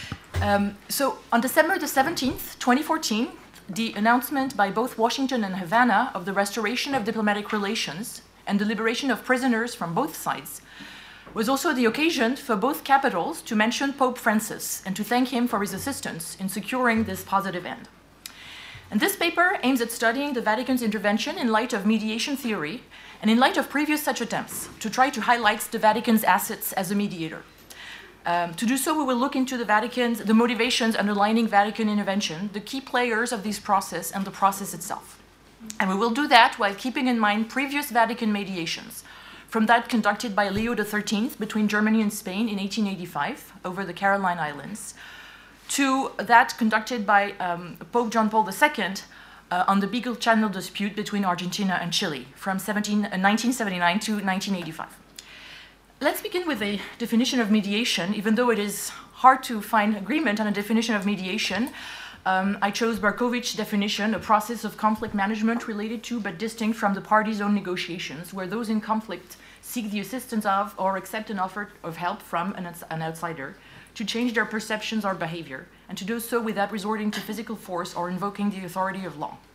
Speaker 8: So, on December the 17th, 2014, the announcement by both Washington and Havana of the restoration of diplomatic relations and the liberation of prisoners from both sides was also the occasion for both capitals to mention Pope Francis and to thank him for his assistance in securing this positive end. And this paper aims at studying the Vatican's intervention in light of mediation theory and in light of previous such attempts to try to highlight the Vatican's assets as a mediator. To do so, we will look into the motivations underlying Vatican intervention, the key players of this process, and the process itself. And we will do that while keeping in mind previous Vatican mediations, from that conducted by Leo XIII between Germany and Spain in 1885 over the Caroline Islands, to that conducted by Pope John Paul II on the Beagle Channel dispute between Argentina and Chile from 1979 to 1985. Let's begin with a definition of mediation. Even though it is hard to find agreement on a definition of mediation, I chose Barkovich's definition, a process of conflict management related to but distinct from the parties' own negotiations, where those in conflict seek the assistance of or accept an offer of help from an outsider to change their perceptions or behavior, and to do so without resorting to physical force or invoking the authority of law.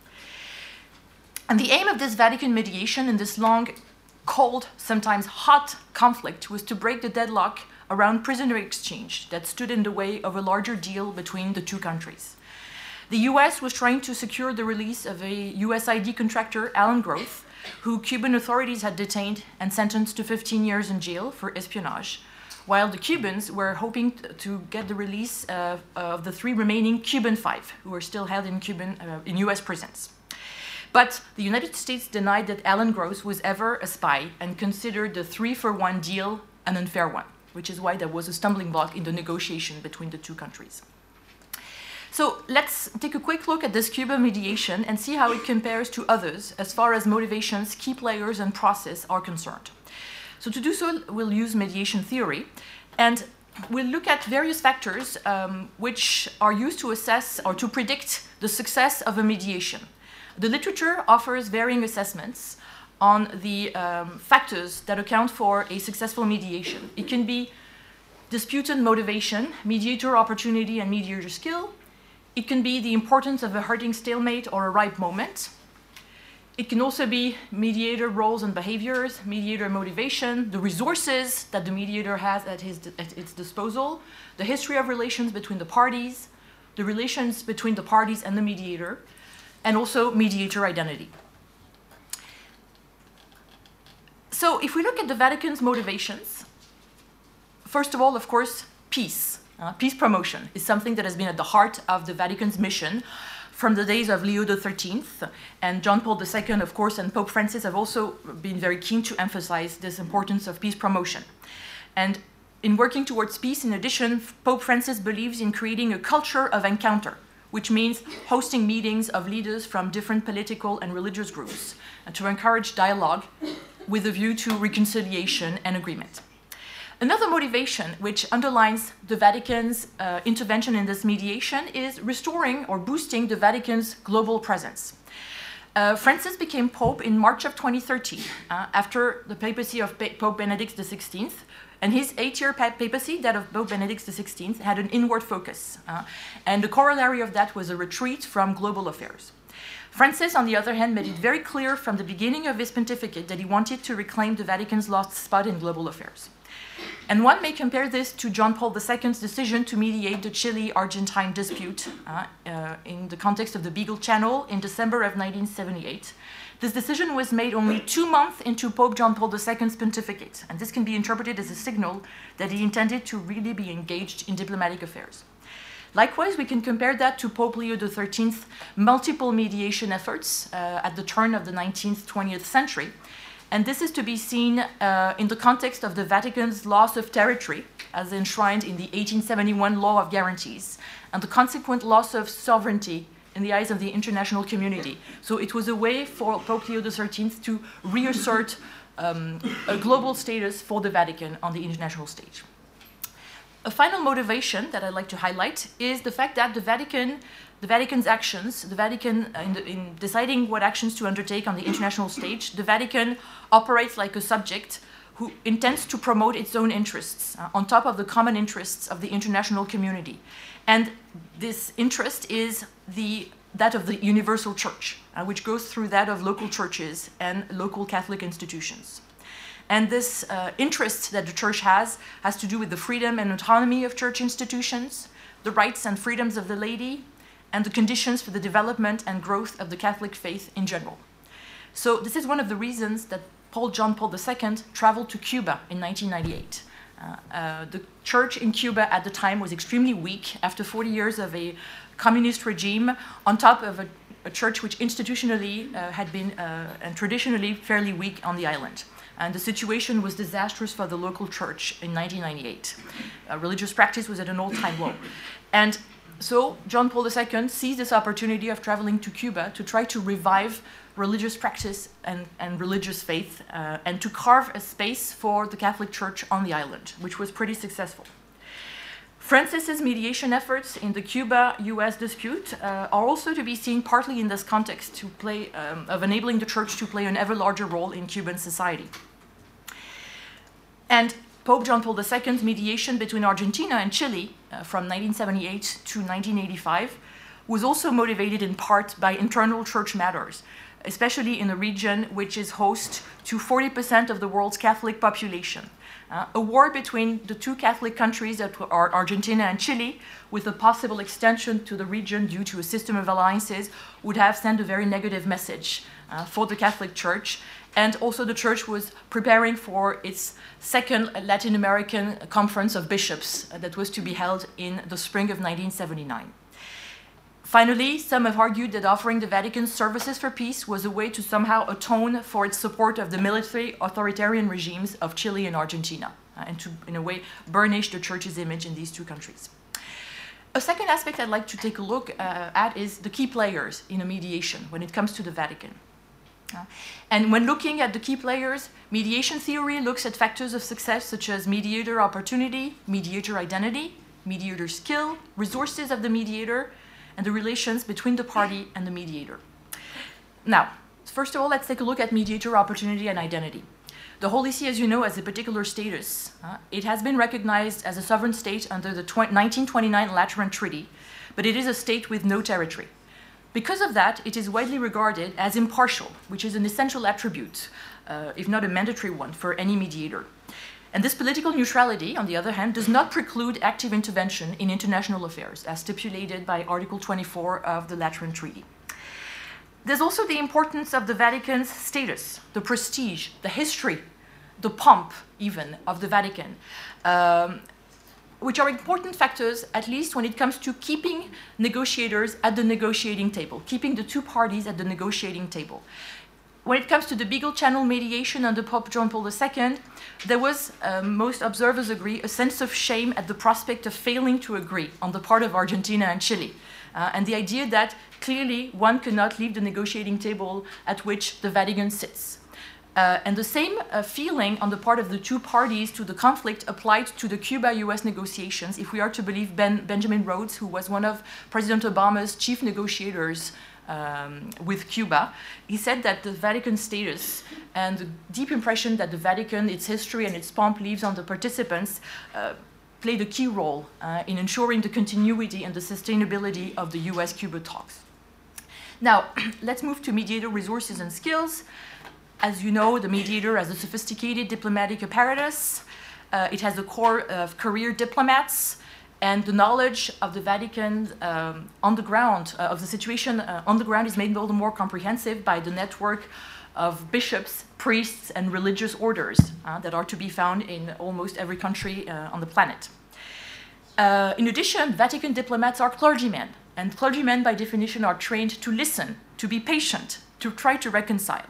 Speaker 8: And the aim of this Vatican mediation in this long, cold, sometimes hot conflict was to break the deadlock around prisoner exchange that stood in the way of a larger deal between the two countries. The US was trying to secure the release of a USID contractor, Alan Groth, who Cuban authorities had detained and sentenced to 15 years in jail for espionage, while the Cubans were hoping to get the release of the 3 remaining Cuban 5, who were still held in US prisons. But the United States denied that Alan Gross was ever a spy and considered the 3-for-1 deal an unfair one, which is why there was a stumbling block in the negotiation between the two countries. So let's take a quick look at this Cuban mediation and see how it compares to others as far as motivations, key players, and process are concerned. So to do so, we'll use mediation theory, and we'll look at various factors which are used to assess or to predict the success of a mediation. The literature offers varying assessments on the factors that account for a successful mediation. It can be disputant motivation, mediator opportunity, and mediator skill. It can be the importance of a hurting stalemate or a ripe moment. It can also be mediator roles and behaviors, mediator motivation, the resources that the mediator has at its disposal, the history of relations between the parties, the relations between the parties and the mediator, and also mediator identity. So if we look at the Vatican's motivations, first of all, of course, peace. Peace promotion is something that has been at the heart of the Vatican's mission from the days of Leo XIII, and John Paul II, of course, and Pope Francis have also been very keen to emphasize this importance of peace promotion. And in working towards peace, in addition, Pope Francis believes in creating a culture of encounter, which means hosting meetings of leaders from different political and religious groups, and to encourage dialogue with a view to reconciliation and agreement. Another motivation which underlines the Vatican's intervention in this mediation is restoring or boosting the Vatican's global presence. Francis became Pope in March of 2013 after the papacy of Pope Benedict XVI, and his 8-year papacy, that of Pope Benedict XVI, had an inward focus. And the corollary of that was a retreat from global affairs. Francis, on the other hand, made it very clear from the beginning of his pontificate that he wanted to reclaim the Vatican's lost spot in global affairs. And one may compare this to John Paul II's decision to mediate the Chile-Argentine dispute in the context of the Beagle Channel in December of 1978. This decision was made only 2 months into Pope John Paul II's pontificate, and this can be interpreted as a signal that he intended to really be engaged in diplomatic affairs. Likewise, we can compare that to Pope Leo XIII's multiple mediation efforts at the turn of the 19th, 20th century. And this is to be seen in the context of the Vatican's loss of territory, as enshrined in the 1871 Law of Guarantees, and the consequent loss of sovereignty in the eyes of the international community. So it was a way for Pope Leo XIII to reassert a global status for the Vatican on the international stage. A final motivation that I'd like to highlight is the fact that the Vatican's actions, the Vatican, in deciding what actions to undertake on the international stage, the Vatican operates like a subject who intends to promote its own interests on top of the common interests of the international community. And this interest is that of the universal church, which goes through that of local churches and local Catholic institutions. And this interest that the church has to do with the freedom and autonomy of church institutions, the rights and freedoms of the laity, and the conditions for the development and growth of the Catholic faith in general. So this is one of the reasons that John Paul II traveled to Cuba in 1998. The church in Cuba at the time was extremely weak after 40 years of a communist regime, on top of a church which institutionally had been and traditionally fairly weak on the island. And the situation was disastrous for the local church in 1998. Religious practice was at an all-time low. And so John Paul II seized this opportunity of traveling to Cuba to try to revive religious practice and religious faith, and to carve a space for the Catholic Church on the island, which was pretty successful. Francis's mediation efforts in the Cuba-US dispute are also to be seen partly in this context of enabling the Church to play an ever larger role in Cuban society. And Pope John Paul II's mediation between Argentina and Chile from 1978 to 1985 was also motivated in part by internal church matters, especially in a region which is host to 40% of the world's Catholic population. A war between the two Catholic countries that are Argentina and Chile, with a possible extension to the region due to a system of alliances, would have sent a very negative message for the Catholic Church, And also the Church was preparing for its second Latin American Conference of Bishops that was to be held in the spring of 1979. Finally, some have argued that offering the Vatican services for peace was a way to somehow atone for its support of the military authoritarian regimes of Chile and Argentina, and to, in a way, burnish the Church's image in these two countries. A second aspect I'd like to take a look at is the key players in a mediation when it comes to the Vatican. And when looking at the key players, mediation theory looks at factors of success such as mediator opportunity, mediator identity, mediator skill, resources of the mediator, and the relations between the party and the mediator. Now, first of all, let's take a look at mediator opportunity and identity. The Holy See, as you know, has a particular status. It has been recognized as a sovereign state under the 1929 Lateran Treaty, but it is a state with no territory. Because of that, it is widely regarded as impartial, which is an essential attribute, if not a mandatory one, for any mediator. And this political neutrality, on the other hand, does not preclude active intervention in international affairs, as stipulated by Article 24 of the Lateran Treaty. There's also the importance of the Vatican's status, the prestige, the history, the pomp, even, of the Vatican, which are important factors, at least when it comes to keeping negotiators at the negotiating table, keeping the two parties at the negotiating table. When it comes to the Beagle Channel mediation under Pope John Paul II, there was, most observers agree, a sense of shame at the prospect of failing to agree on the part of Argentina and Chile, and the idea that clearly one cannot leave the negotiating table at which the Vatican sits. And the same feeling on the part of the two parties to the conflict applied to the Cuba-US negotiations, if we are to believe Benjamin Rhodes, who was one of President Obama's chief negotiators with Cuba. He said that the Vatican status and the deep impression that the Vatican, its history and its pomp leaves on the participants played a key role in ensuring the continuity and the sustainability of the US-Cuba talks. Now, let's move to mediator resources and skills. As you know, the mediator has a sophisticated diplomatic apparatus. It has a corps of career diplomats, and the knowledge of the Vatican on the ground, of the situation on the ground, is made all the more comprehensive by the network of bishops, priests, and religious orders that are to be found in almost every country on the planet. In addition, Vatican diplomats are clergymen, and clergymen by definition are trained to listen, to be patient, to try to reconcile.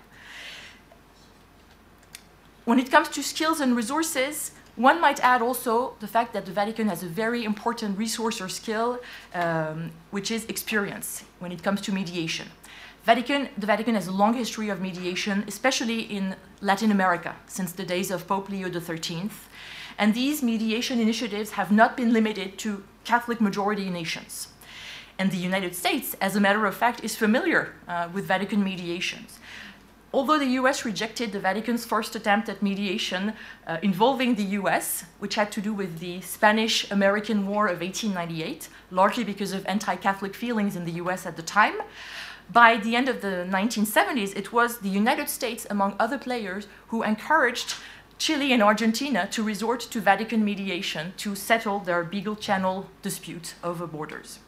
Speaker 8: When it comes to skills and resources, one might add also the fact that the Vatican has a very important resource or skill, which is experience when it comes to mediation. The Vatican has a long history of mediation, especially in Latin America, since the days of Pope Leo XIII. And these mediation initiatives have not been limited to Catholic majority nations. And the United States, as a matter of fact, is familiar with Vatican mediations. Although the US rejected the Vatican's first attempt at mediation involving the US, which had to do with the Spanish-American War of 1898, largely because of anti-Catholic feelings in the US at the time, by the end of the 1970s, it was the United States, among other players, who encouraged Chile and Argentina to resort to Vatican mediation to settle their Beagle Channel dispute over borders.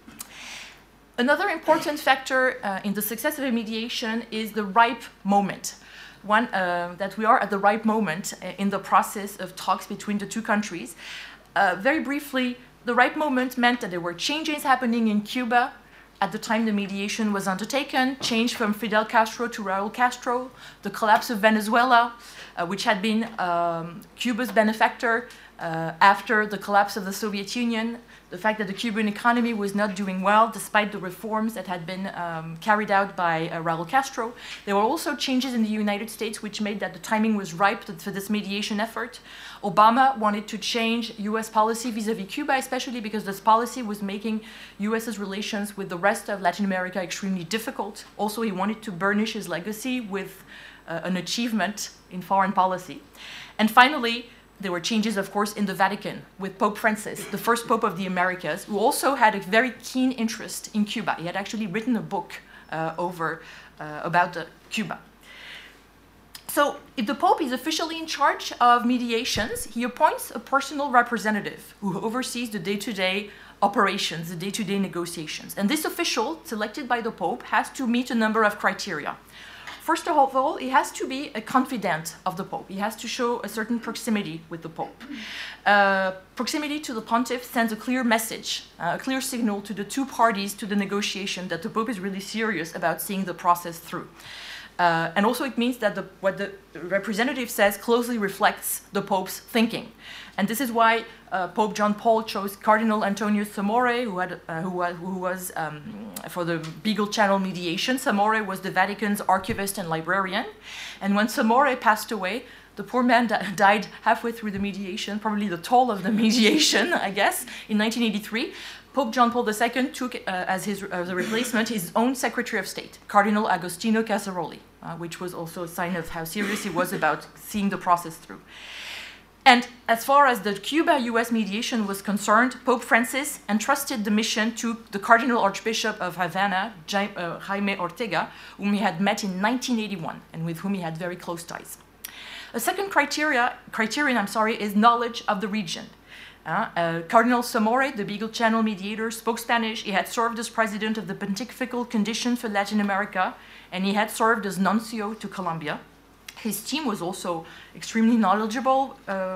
Speaker 8: Another important factor in the success of a mediation is the ripe moment. One, that we are at the ripe moment in the process of talks between the two countries. Very briefly, the ripe moment meant that there were changes happening in Cuba at the time the mediation was undertaken, change from Fidel Castro to Raul Castro, the collapse of Venezuela, which had been Cuba's benefactor after the collapse of the Soviet Union, the fact that the Cuban economy was not doing well despite the reforms that had been carried out by Raul Castro. There were also changes in the United States which made that the timing was ripe for this mediation effort. Obama wanted to change US policy vis-à-vis Cuba, especially because this policy was making US's relations with the rest of Latin America extremely difficult. Also, he wanted to burnish his legacy with an achievement in foreign policy. And finally, there were changes, of course, in the Vatican with Pope Francis, the first Pope of the Americas, who also had a very keen interest in Cuba. He had actually written a book about Cuba. So if the Pope is officially in charge of mediations, he appoints a personal representative who oversees the day-to-day operations, the day-to-day negotiations. And this official, selected by the Pope, has to meet a number of criteria. First of all, he has to be a confidant of the Pope. He has to show a certain proximity with the Pope. Proximity to the pontiff sends a clear message, a clear signal to the two parties to the negotiation that the Pope is really serious about seeing the process through. And also it means that what the representative says closely reflects the Pope's thinking. And this is why Pope John Paul chose Cardinal Antonio Samore, who was for the Beagle Channel mediation. Samore was the Vatican's archivist and librarian. And when Samore passed away, the poor man died halfway through the mediation, probably the toll of the mediation, I guess, in 1983. Pope John Paul II took as a replacement his own Secretary of State, Cardinal Agostino Casaroli, which was also a sign of how serious he was about seeing the process through. And as far as the Cuba-US mediation was concerned, Pope Francis entrusted the mission to the Cardinal Archbishop of Havana, Jaime Ortega, whom he had met in 1981 and with whom he had very close ties. A second criterion is knowledge of the region. Cardinal Samore, the Beagle Channel mediator, spoke Spanish. He had served as president of the Pontifical Commission for Latin America, and he had served as nuncio to Colombia. His team was also extremely knowledgeable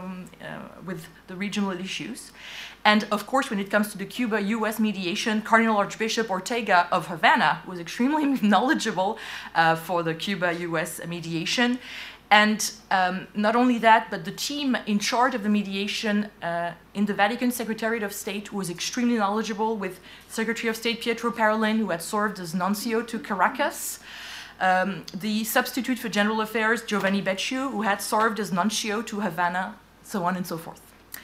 Speaker 8: with the regional issues. And of course, when it comes to the Cuba-US mediation, Cardinal Archbishop Ortega of Havana was extremely knowledgeable for the Cuba-US mediation. And not only that, but the team in charge of the mediation in the Vatican Secretariat of State was extremely knowledgeable, with Secretary of State Pietro Parolin, who had served as nuncio to Caracas, the substitute for General Affairs, Giovanni Becciu, who had served as nuncio to Havana, so on and so forth.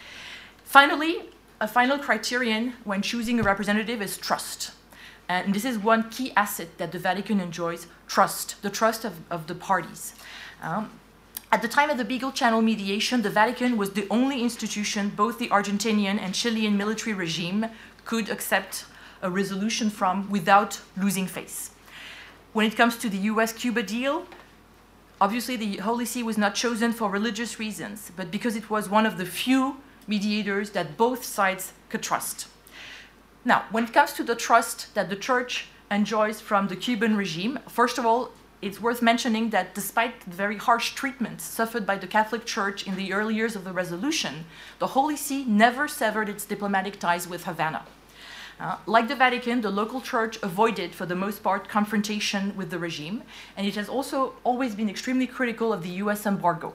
Speaker 8: Finally, a final criterion when choosing a representative is trust. And this is one key asset that the Vatican enjoys, trust, the trust of the parties. At the time of the Beagle Channel mediation, the Vatican was the only institution both the Argentinian and Chilean military regime could accept a resolution from without losing face. When it comes to the US-Cuba deal, obviously the Holy See was not chosen for religious reasons, but because it was one of the few mediators that both sides could trust. Now, when it comes to the trust that the Church enjoys from the Cuban regime, first of all, it's worth mentioning that despite the very harsh treatment suffered by the Catholic Church in the early years of the resolution, the Holy See never severed its diplomatic ties with Havana. Like the Vatican, the local church avoided, for the most part, confrontation with the regime, and it has also always been extremely critical of the US embargo.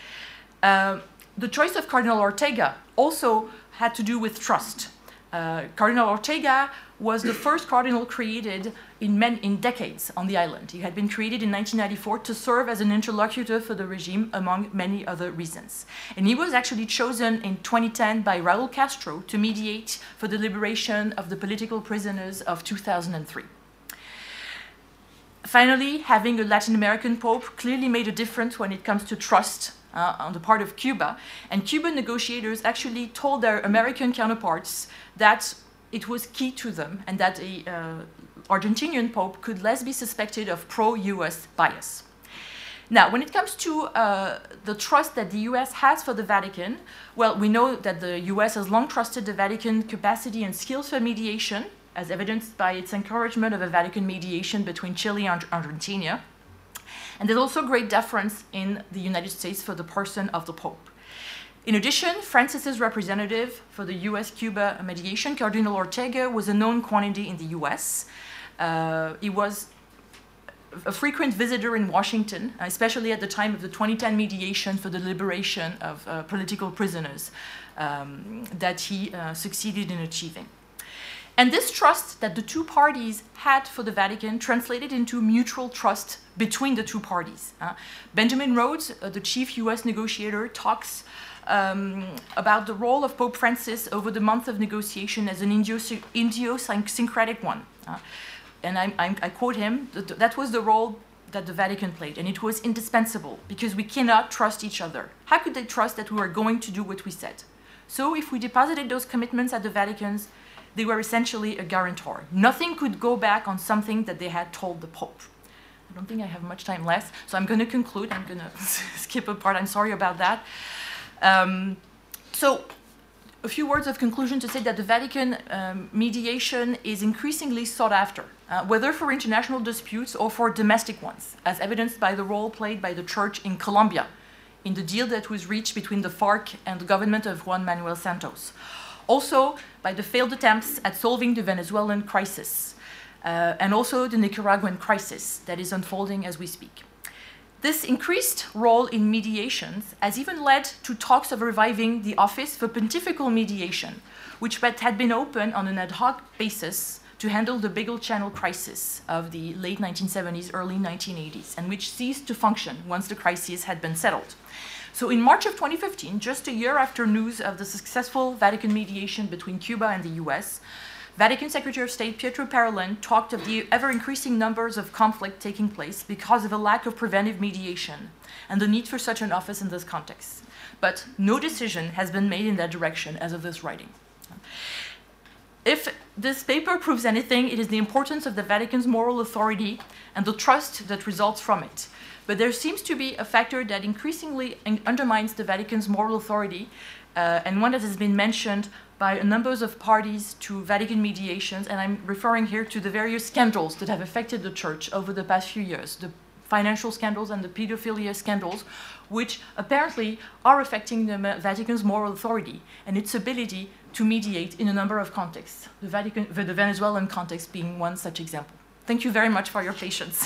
Speaker 8: The choice of Cardinal Ortega also had to do with trust. Cardinal Ortega was the first cardinal created in decades on the island. He had been created in 1994 to serve as an interlocutor for the regime, among many other reasons. And he was actually chosen in 2010 by Raúl Castro to mediate for the liberation of the political prisoners of 2003. Finally, having a Latin American pope clearly made a difference when it comes to trust on the part of Cuba. And Cuban negotiators actually told their American counterparts that it was key to them and that an Argentinian pope could less be suspected of pro-US bias. Now, when it comes to the trust that the US has for the Vatican, well, we know that the US has long trusted the Vatican capacity and skills for mediation, as evidenced by its encouragement of a Vatican mediation between Chile and Argentina. And there's also great deference in the United States for the person of the Pope. In addition, Francis's representative for the US-Cuba mediation, Cardinal Ortega, was a known quantity in the US. He was a frequent visitor in Washington, especially at the time of the 2010 mediation for the liberation of political prisoners that he succeeded in achieving. And this trust that the two parties had for the Vatican translated into mutual trust between the two parties. Benjamin Rhodes, the chief US negotiator, talks about the role of Pope Francis over the month of negotiation as an idiosyncratic one. And I quote him, that was the role that the Vatican played, and it was indispensable because we cannot trust each other. How could they trust that we were going to do what we said? So if we deposited those commitments at the Vatican's, they were essentially a guarantor. Nothing could go back on something that they had told the Pope. I don't think I have much time left, so I'm going to conclude. I'm going to skip a part. I'm sorry about that. So a few words of conclusion to say that the Vatican mediation is increasingly sought after, whether for international disputes or for domestic ones, as evidenced by the role played by the Church in Colombia in the deal that was reached between the FARC and the government of Juan Manuel Santos. Also by the failed attempts at solving the Venezuelan crisis, and also the Nicaraguan crisis that is unfolding as we speak. This increased role in mediations has even led to talks of reviving the Office for Pontifical Mediation, which had been opened on an ad hoc basis to handle the Beagle Channel crisis of the late 1970s, early 1980s, and which ceased to function once the crisis had been settled. So in March of 2015, just a year after news of the successful Vatican mediation between Cuba and the US, Vatican Secretary of State Pietro Parolin talked of the ever-increasing numbers of conflict taking place because of a lack of preventive mediation and the need for such an office in this context. But no decision has been made in that direction as of this writing. If this paper proves anything, it is the importance of the Vatican's moral authority and the trust that results from it. But there seems to be a factor that increasingly undermines the Vatican's moral authority, and one that has been mentioned by a number of parties to Vatican mediations, and I'm referring here to the various scandals that have affected the Church over the past few years, the financial scandals and the pedophilia scandals, which apparently are affecting the Vatican's moral authority and its ability to mediate in a number of contexts, the Venezuelan context being one such example. Thank you very much for your patience.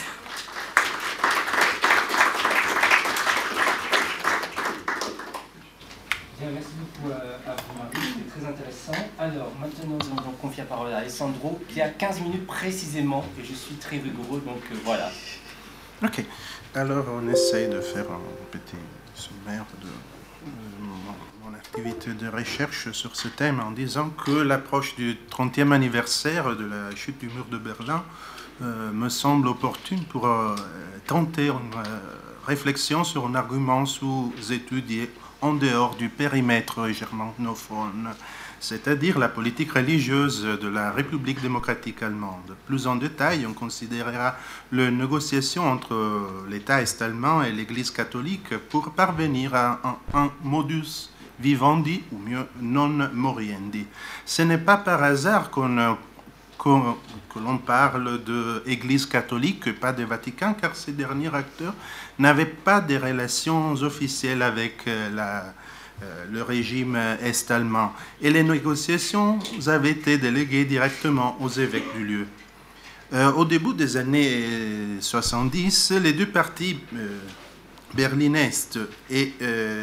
Speaker 2: Bien, merci beaucoup à vous, Marie, c'était très intéressant. Alors, maintenant, nous allons donc confier la parole à Alessandro, qui a 15 minutes précisément, et je suis très rigoureux, donc voilà.
Speaker 9: Ok, alors on essaye de faire un petit sommaire de mon activité de recherche sur ce thème en disant que l'approche du 30e anniversaire de la chute du mur de Berlin me semble opportune pour tenter une réflexion sur un argument sous-étudié en dehors du périmètre germanophone, c'est-à-dire la politique religieuse de la République démocratique allemande. Plus en détail, on considérera les négociations entre l'État est-allemand et l'Église catholique pour parvenir à un modus vivendi, ou mieux non moriendi. Ce n'est pas par hasard que l'on parle d'Église catholique et pas de Vatican, car ces derniers acteurs n'avaient pas de relations officielles avec le régime est-allemand. Et les négociations avaient été déléguées directement aux évêques du lieu. Au début des années 70, les deux partis Berlin-Est et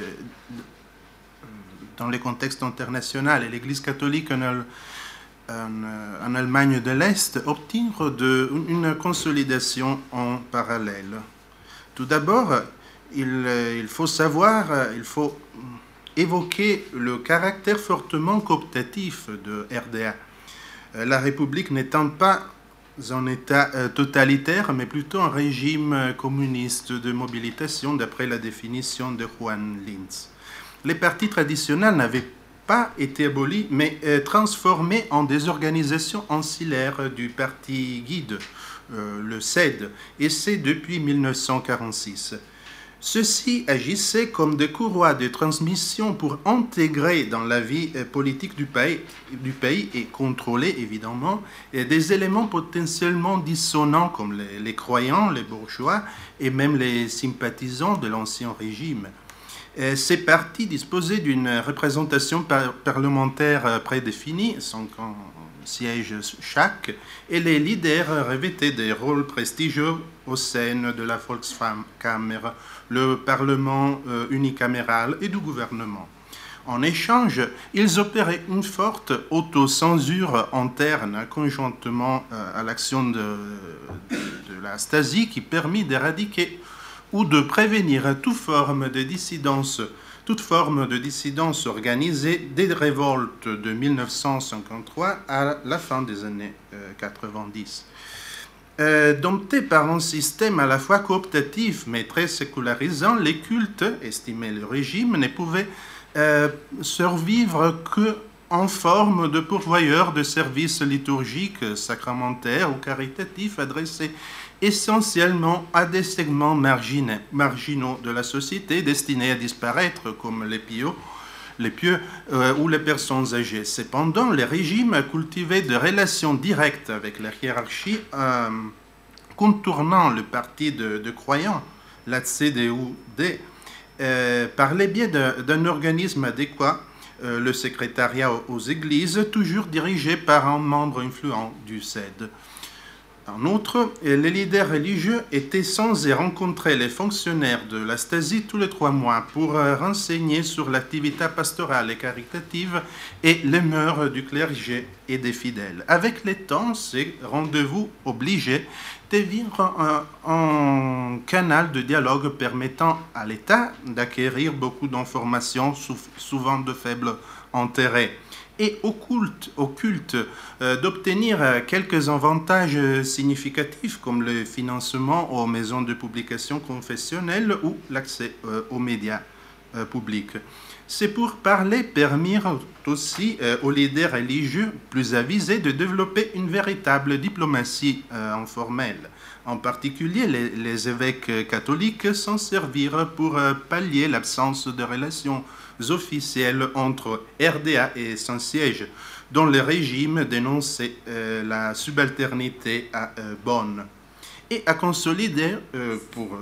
Speaker 9: dans le contexte international et l'Église catholique en Allemagne de l'Est obtinrent une consolidation en parallèle. Tout d'abord, il faut évoquer le caractère fortement cooptatif de RDA. La République n'étant pas un État totalitaire, mais plutôt un régime communiste de mobilisation d'après la définition de Juan Linz. Les partis traditionnels n'avaient pas été abolis, mais transformés en des organisations ancillaires du parti guide, le CED, et c'est depuis 1946. Ceux-ci agissaient comme des courroies de transmission pour intégrer dans la vie politique du pays et contrôler évidemment des éléments potentiellement dissonants comme les croyants, les bourgeois et même les sympathisants de l'ancien régime. Ces partis disposaient d'une représentation parlementaire prédéfinie, 50 sièges chaque, et les leaders revêtaient des rôles prestigieux au sein de la Volkskammer, le Parlement unicaméral et du gouvernement. En échange, ils opéraient une forte autocensure interne conjointement à l'action de la Stasi qui permit d'éradiquer ou de prévenir toute forme de dissidence organisée des révoltes de 1953 à la fin des années 90. Domptés par un système à la fois cooptatif mais très sécularisant, les cultes, estimait le régime, ne pouvaient survivre qu'en forme de pourvoyeurs de services liturgiques, sacramentaires ou caritatifs adressés essentiellement à des segments marginaux de la société destinés à disparaître comme les les pieux ou les personnes âgées. Cependant, le régime cultivait des relations directes avec la hiérarchie, contournant le parti de croyants, la CDU-D, par le biais d'un organisme adéquat, le secrétariat aux églises, toujours dirigé par un membre influent du CED. En outre, les leaders religieux étaient censés rencontrer les fonctionnaires de la Stasi tous les 3 mois pour renseigner sur l'activité pastorale et caritative et les mœurs du clergé et des fidèles. Avec le temps, ces rendez-vous obligés devinrent un canal de dialogue permettant à l'État d'acquérir beaucoup d'informations, souvent de faible intérêt, et au culte d'obtenir quelques avantages significatifs comme le financement aux maisons de publication confessionnelles ou l'accès aux médias publics. C'est pour parler permettre aussi aux leaders religieux plus avisés de développer une véritable diplomatie informelle. En particulier, les évêques catholiques s'en servirent pour pallier l'absence de relations officielles entre RDA et Saint-Siège, dont le régime dénonçait la subalternité à Bonn, et à consolider pour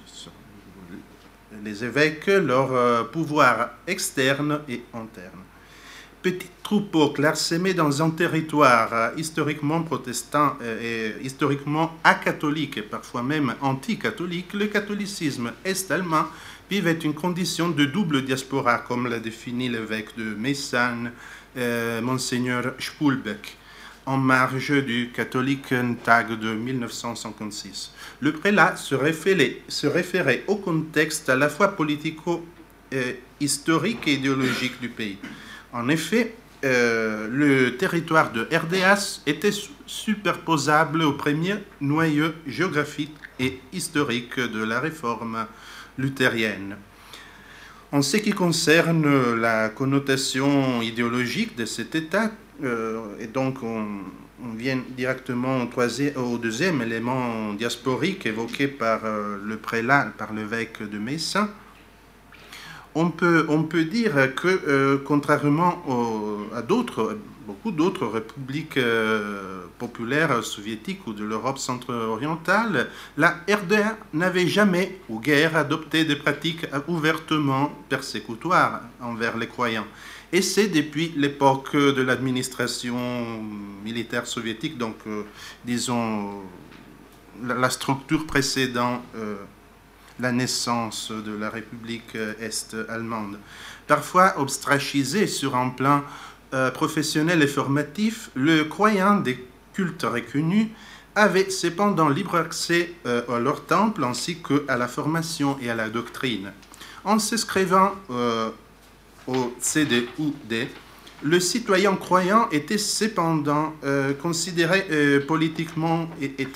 Speaker 9: les évêques leur pouvoir externe et interne. Petits troupeaux clairsemés dans un territoire historiquement protestant et historiquement acatholique et parfois même anti-catholique, le catholicisme est-allemand vivait une condition de double diaspora, comme l'a défini l'évêque de Meissen, Monseigneur Spulbeck, en marge du Katholikentag de 1956. Le prélat se référait au contexte à la fois politico-historique et idéologique du pays. En effet, le territoire de RDA était superposable au premier noyau géographique et historique de la réforme luthérienne. En ce qui concerne la connotation idéologique de cet État, et donc on vient directement au deuxième élément diasporique évoqué par le prélat, par l'évêque de Meissen, on peut dire que, contrairement à beaucoup d'autres républiques populaires soviétiques ou de l'Europe centre-orientale, la RDA n'avait jamais ou guère adopté des pratiques ouvertement persécutoires envers les croyants. Et c'est depuis l'époque de l'administration militaire soviétique, donc disons la structure précédant la naissance de la République est-allemande. Parfois ostracisé sur un plan professionnel et formatif, le croyant des cultes reconnus avait cependant libre accès à leur temple ainsi qu'à la formation et à la doctrine. En s'inscrivant au CDU-D, le citoyen croyant était cependant considéré politiquement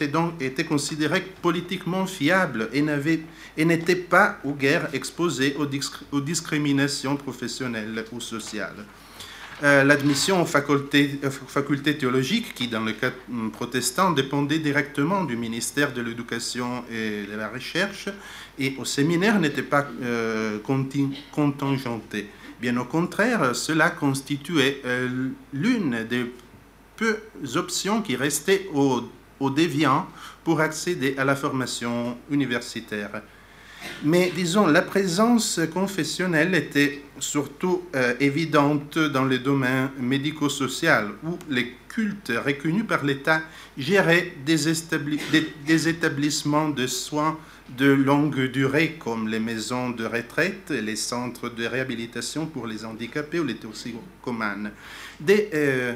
Speaker 9: fiable et n'était pas ou guère exposé aux discriminations professionnelles ou sociales. L'admission aux facultés théologiques, qui dans le cas protestant dépendait directement du ministère de l'Éducation et de la Recherche, et au séminaire n'était pas contingentée. Bien au contraire, cela constituait l'une des peu options qui restaient aux déviants pour accéder à la formation universitaire. Mais disons, la présence confessionnelle était surtout évidente dans le domaine médico-social, où les cultes reconnus par l'État géraient des établissements de soins de longue durée, comme les maisons de retraite, les centres de réhabilitation pour les handicapés ou les toxicomanes. Des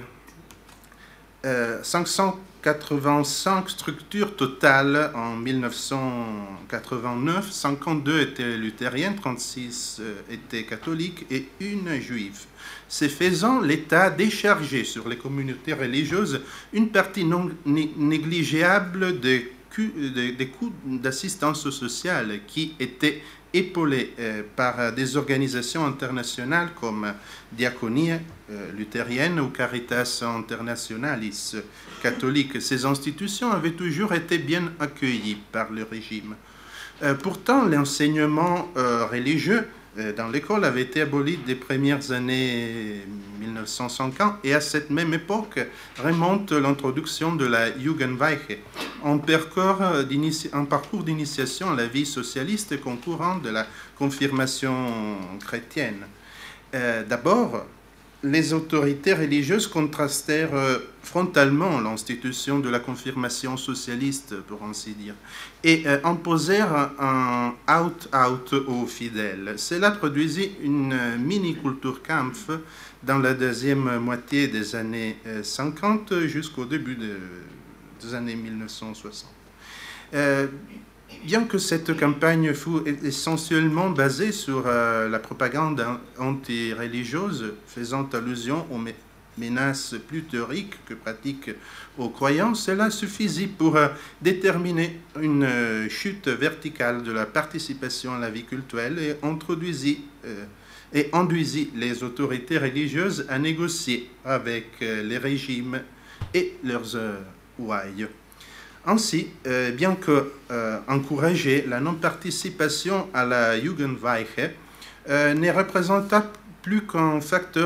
Speaker 9: 585 structures totales en 1989, 52 étaient luthériennes, 36 étaient catholiques et une juive. Ce faisant, l'État déchargeait sur les communautés religieuses une partie non négligeable des coûts d'assistance sociale qui étaient épaulés par des organisations internationales comme Diaconie luthérienne ou Caritas Internationalis catholique. Ces institutions avaient toujours été bien accueillies par le régime. Pourtant, l'enseignement religieux dans l'école avait été abolie des premières années 1950 et à cette même époque remonte l'introduction de la Jugendweihe, un parcours d'initiation à la vie socialiste concourant de la confirmation chrétienne. D'abord, les autorités religieuses contrastèrent frontalement l'institution de la confirmation socialiste, pour ainsi dire, et imposèrent un out-out aux fidèles. Cela produisit une mini-Kulturkampf dans la deuxième moitié des années 50 jusqu'au début des années 1960. Bien que cette campagne fût essentiellement basée sur la propagande anti-religieuse, faisant allusion aux menaces plus théoriques que pratiques aux croyants, cela suffisait pour déterminer une chute verticale de la participation à la vie cultuelle et induisit les autorités religieuses à négocier avec les régimes et leurs ouailles. Ainsi, bien que encourager la non-participation à la Jugendweihe ne représenta plus un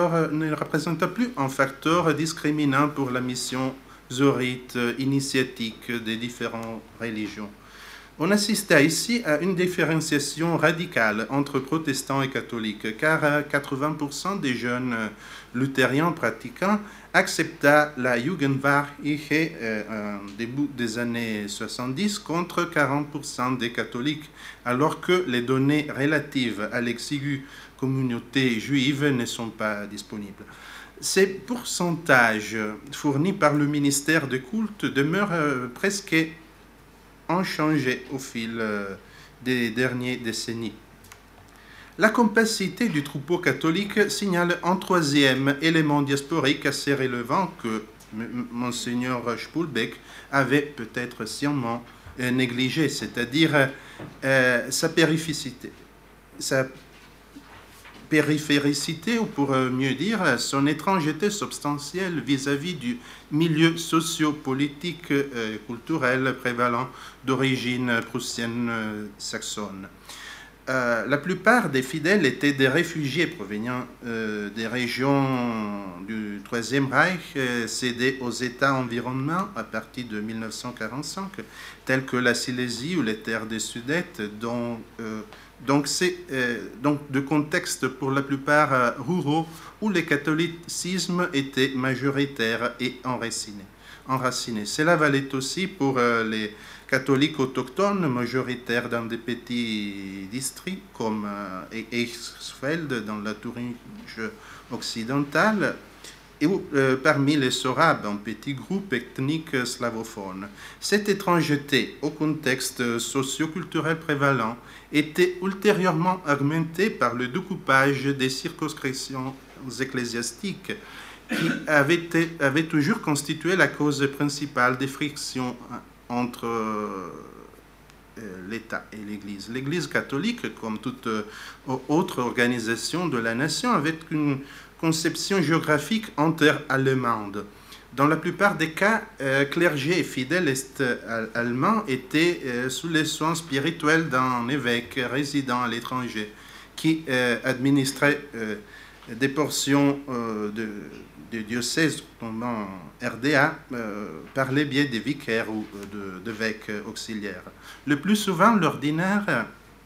Speaker 9: facteur discriminant pour la mission zorite initiatique des différentes religions. On assista ici à une différenciation radicale entre protestants et catholiques, car 80% des jeunes luthériens pratiquants accepta la Jugendweihe début des années 70 contre 40% des catholiques, alors que les données relatives à l'exiguë communauté juive ne sont pas disponibles. Ces pourcentages fournis par le ministère des cultes demeurent presque inchangés au fil des dernières décennies. La compacité du troupeau catholique signale un troisième élément diasporique assez relevant que Monseigneur Spulbeck avait peut-être sciemment négligé, c'est-à-dire sa périphéricité, ou pour mieux dire, son étrangeté substantielle vis-à-vis du milieu socio-politique culturel prévalent d'origine prussienne saxonne. La plupart des fidèles étaient des réfugiés provenant des régions du Troisième Reich cédées aux États environnants à partir de 1945, tels que la Silésie ou les terres des Sudètes, donc de contextes pour la plupart ruraux où le catholicisme était majoritaire et enraciné. Cela valait aussi pour les catholiques autochtones majoritaires dans des petits districts comme Eichsfeld dans la Thuringe occidentale et parmi les Sorabes, un petit groupe ethnique slavophone. Cette étrangeté au contexte socio-culturel prévalent était ultérieurement augmentée par le découpage des circonscriptions ecclésiastiques qui avait toujours constitué la cause principale des frictions entre l'État et l'Église. L'Église catholique, comme toute autre organisation de la nation, avait une conception géographique inter-allemande. Dans la plupart des cas, clergés et fidèles est-allemands étaient sous les soins spirituels d'un évêque résident à l'étranger qui administrait des portions de diocèses tombant RDA par le biais des vicaires ou d'évêques auxiliaires. Le plus souvent, l'ordinaire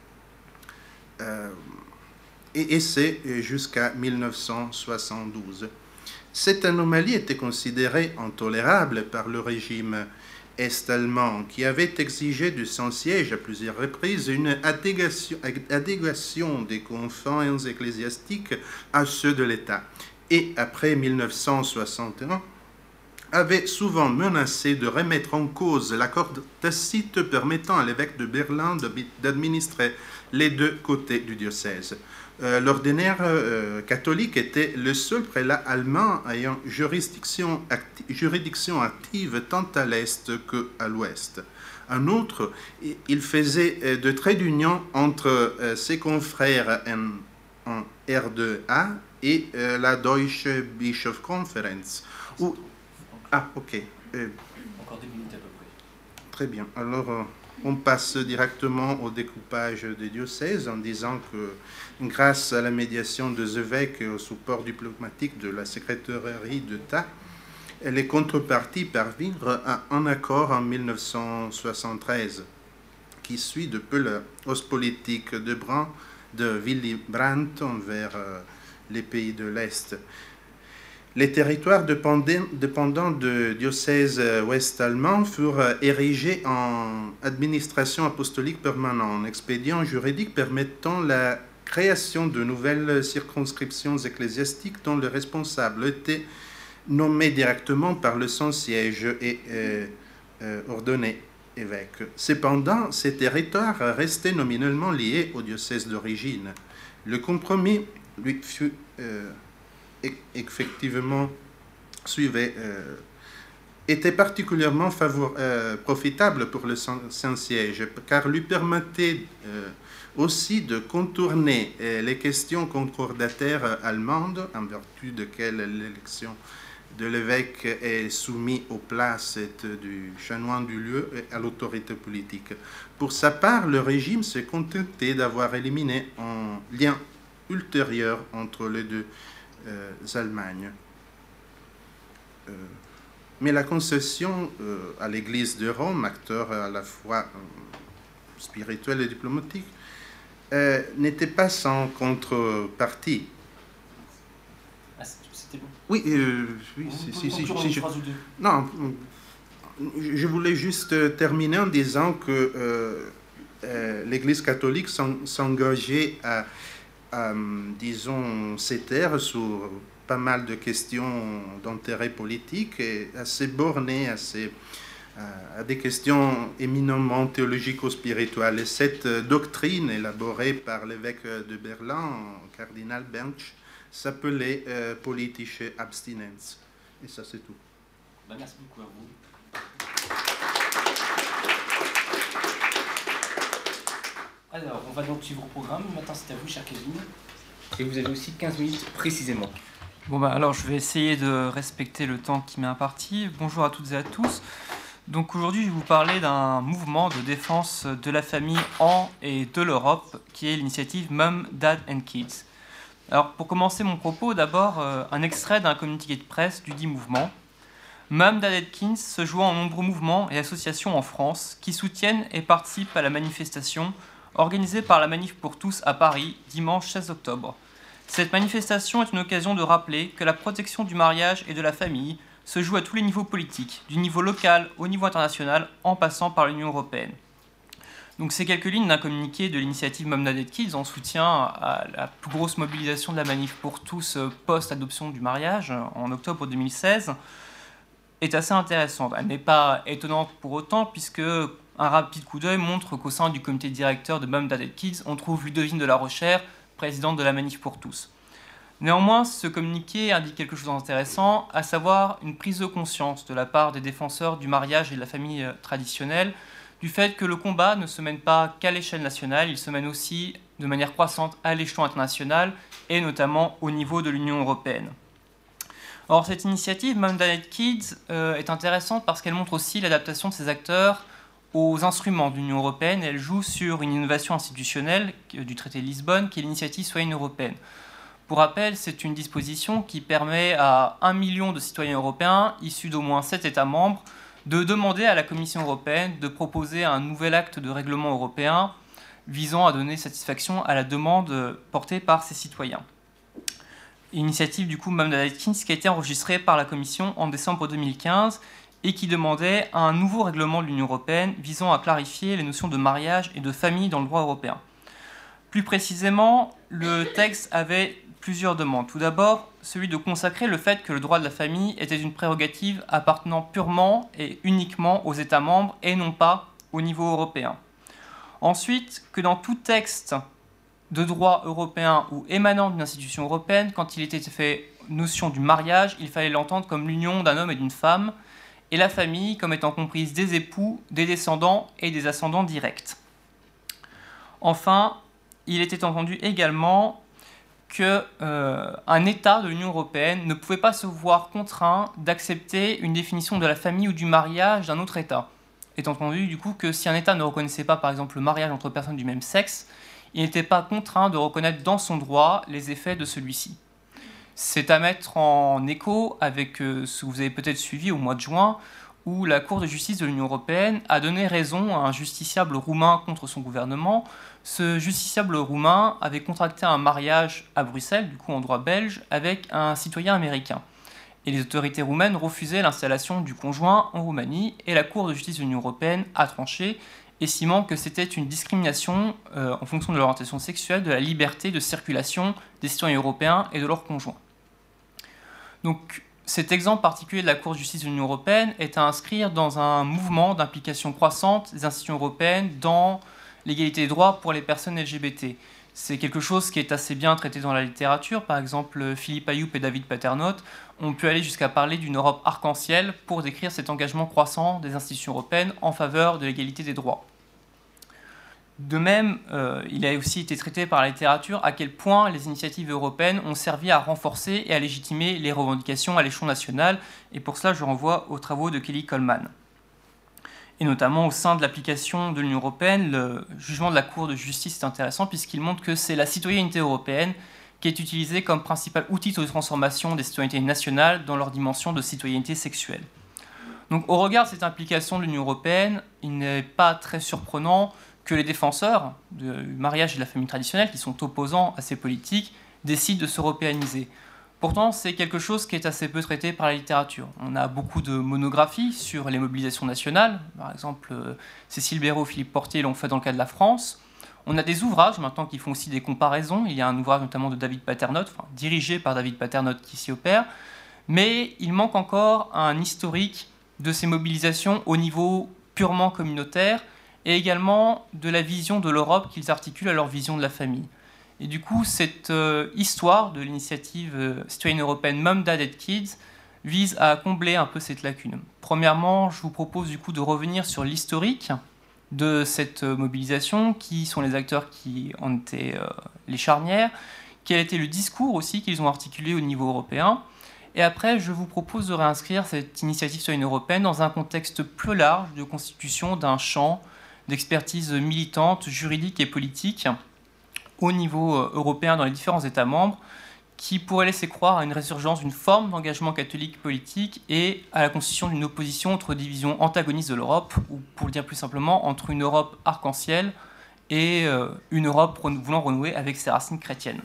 Speaker 9: et c'est jusqu'à 1972. Cette anomalie était considérée intolérable par le régime est-allemand qui avait exigé de son siège à plusieurs reprises une adéquation des confins ecclésiastiques à ceux de l'État. Et après 1961, avait souvent menacé de remettre en cause l'accord tacite permettant à l'évêque de Berlin d'administrer les deux côtés du diocèse. L'ordinaire catholique était le seul prélat allemand ayant juridiction active tant à l'est qu'à l'ouest. En outre, il faisait de traits d'union entre ses confrères en R2A et la Deutsche Bischofskonferenz.
Speaker 2: Ah, ok.
Speaker 5: Encore 2 minutes à peu près.
Speaker 9: Très bien. Alors, on passe directement au découpage des diocèses en disant que grâce à la médiation des évêques et au support diplomatique de la secrétairerie d'État, les contreparties parvinrent à un accord en 1973 qui suit de peu la hausse politique de Willy Brandt envers les pays de l'Est. Les territoires dépendants de diocèses ouest-allemands furent érigés en administration apostolique permanente, un expédient juridique permettant la création de nouvelles circonscriptions ecclésiastiques dont le responsable était nommé directement par le Saint-Siège et ordonné évêque. Cependant, ces territoires restaient nominalement liés au diocèse d'origine. Le compromis lui fut effectivement était particulièrement profitable pour le Saint-Siège, car lui permettait aussi de contourner les questions concordataires allemandes, en vertu desquelles l'élection de l'évêque est soumise aux places du chanoine du lieu et à l'autorité politique. Pour sa part, le régime s'est contenté d'avoir éliminé un lien ultérieur entre les deux Allemagnes. Mais la concession à l'Église de Rome, acteur à la fois spirituel et diplomatique, n'était pas sans contrepartie.
Speaker 7: C'était bon.
Speaker 9: Oui, non, je voulais juste terminer en disant que l'Église catholique s'engageait à, disons, s'étaire sur pas mal de questions d'intérêt politique et assez bornées, à des questions éminemment théologico-spirituelles. Et cette doctrine élaborée par l'évêque de Berlin, cardinal Bench, s'appelait politische Abstinenz. Et ça, c'est tout.
Speaker 7: Merci beaucoup à vous.
Speaker 2: Alors, on va donc suivre le programme. Maintenant, c'est à vous, chère Kevin. Et vous avez aussi 15 minutes précisément.
Speaker 4: Bon, alors, je vais essayer de respecter le temps qui m'est imparti. Bonjour à toutes et à tous. Donc, aujourd'hui, je vais vous parler d'un mouvement de défense de la famille en et de l'Europe, qui est l'initiative Mum, Dad and Kids. Alors, pour commencer mon propos, d'abord, un extrait d'un communiqué de presse du dit mouvement. Mum, Dad and Kids se joint en nombreux mouvements et associations en France qui soutiennent et participent à la manifestation organisée par la Manif pour tous à Paris, dimanche 16 octobre. Cette manifestation est une occasion de rappeler que la protection du mariage et de la famille se joue à tous les niveaux politiques, du niveau local au niveau international, en passant par l'Union européenne. Donc ces quelques lignes d'un communiqué de l'initiative Mum, Dad and Kids en soutien à la plus grosse mobilisation de la Manif pour tous post-adoption du mariage en octobre 2016 est assez intéressante. Elle n'est pas étonnante pour autant puisque un rapide coup d'œil montre qu'au sein du comité directeur de Mum, Dad and Kids, on trouve Ludovine de la Rochère, présidente de la Manif pour tous. Néanmoins, ce communiqué indique quelque chose d'intéressant, à savoir une prise de conscience de la part des défenseurs du mariage et de la famille traditionnelle, du fait que le combat ne se mène pas qu'à l'échelle nationale, il se mène aussi de manière croissante à l'échelon international et notamment au niveau de l'Union européenne. Or, cette initiative, Mum, Dad and Kids, est intéressante parce qu'elle montre aussi l'adaptation de ses acteurs aux instruments de l'Union européenne. Elle joue sur une innovation institutionnelle du traité de Lisbonne, qui est l'initiative citoyenne européenne. Pour rappel, c'est une disposition qui permet à 1 million de citoyens européens, issus d'au moins 7 États membres, de demander à la Commission européenne de proposer un nouvel acte de règlement européen visant à donner satisfaction à la demande portée par ces citoyens. Initiative du coup Mum, Dad and Kids qui a été enregistrée par la Commission en décembre 2015 et qui demandait un nouveau règlement de l'Union européenne visant à clarifier les notions de mariage et de famille dans le droit européen. Plus précisément, le texte avait plusieurs demandes. Tout d'abord, celui de consacrer le fait que le droit de la famille était une prérogative appartenant purement et uniquement aux États membres et non pas au niveau européen. Ensuite, que dans tout texte de droit européen ou émanant d'une institution européenne, quand il était fait notion du mariage, il fallait l'entendre comme l'union d'un homme et d'une femme, et la famille comme étant comprise des époux, des descendants et des ascendants directs. Enfin, il était entendu également qu'un État de l'Union européenne ne pouvait pas se voir contraint d'accepter une définition de la famille ou du mariage d'un autre État.
Speaker 10: étant entendu du coup que si un État ne reconnaissait pas par exemple le mariage entre personnes du même sexe, il n'était pas contraint de reconnaître dans son droit les effets de celui-ci. C'est à mettre en écho avec ce que vous avez peut-être suivi au mois de juin, où la Cour de justice de l'Union européenne a donné raison à un justiciable roumain contre son gouvernement. Ce justiciable roumain avait contracté un mariage à Bruxelles, du coup en droit belge, avec un citoyen américain. Et les autorités roumaines refusaient l'installation du conjoint en Roumanie, et la Cour de justice de l'Union européenne a tranché, estimant que c'était une discrimination en fonction de l'orientation sexuelle de la liberté de circulation des citoyens européens et de leurs conjoints. Donc, cet exemple particulier de la Cour de justice de l'Union européenne est à inscrire dans un mouvement d'implication croissante des institutions européennes dans l'égalité des droits pour les personnes LGBT. C'est quelque chose qui est assez bien traité dans la littérature. Par exemple, Philippe Ayoup et David Paternotte ont pu aller jusqu'à parler d'une Europe arc-en-ciel pour décrire cet engagement croissant des institutions européennes en faveur de l'égalité des droits. De même, il a aussi été traité par la littérature à quel point les initiatives européennes ont servi à renforcer et à légitimer les revendications à l'échelon national, et pour cela je renvoie aux travaux de Kelly Coleman. Et notamment au sein de l'application de l'Union européenne, le jugement de la Cour de justice est intéressant puisqu'il montre que c'est la citoyenneté européenne qui est utilisée comme principal outil de transformation des citoyennetés nationales dans leur dimension de citoyenneté sexuelle. Donc au regard de cette implication de l'Union européenne, il n'est pas très surprenant que les défenseurs du mariage et de la famille traditionnelle, qui sont opposants à ces politiques, décident de s'européaniser. Pourtant, c'est quelque chose qui est assez peu traité par la littérature. On a beaucoup de monographies sur les mobilisations nationales. Par exemple, Cécile Béraud, Philippe Portier l'ont fait dans le cas de la France. On a des ouvrages maintenant qui font aussi des comparaisons. Il y a un ouvrage notamment de David Paternotte, dirigé par David Paternotte, qui s'y opère. Mais il manque encore un historique de ces mobilisations au niveau purement communautaire, et également de la vision de l'Europe qu'ils articulent à leur vision de la famille. Et du coup, cette histoire de l'initiative citoyenne européenne Mum, Dad and Kids vise à combler un peu cette lacune. Premièrement, je vous propose du coup de revenir sur l'historique de cette mobilisation, qui sont les acteurs qui en étaient les charnières, quel était le discours aussi qu'ils ont articulé au niveau européen. Et après, je vous propose de réinscrire cette initiative citoyenne européenne dans un contexte plus large de constitution d'un champ d'expertise militante, juridique et politique au niveau européen dans les différents États membres, qui pourrait laisser croire à une résurgence d'une forme d'engagement catholique politique et à la constitution d'une opposition entre divisions antagonistes de l'Europe, ou pour le dire plus simplement, entre une Europe arc-en-ciel et une Europe voulant renouer avec ses racines chrétiennes.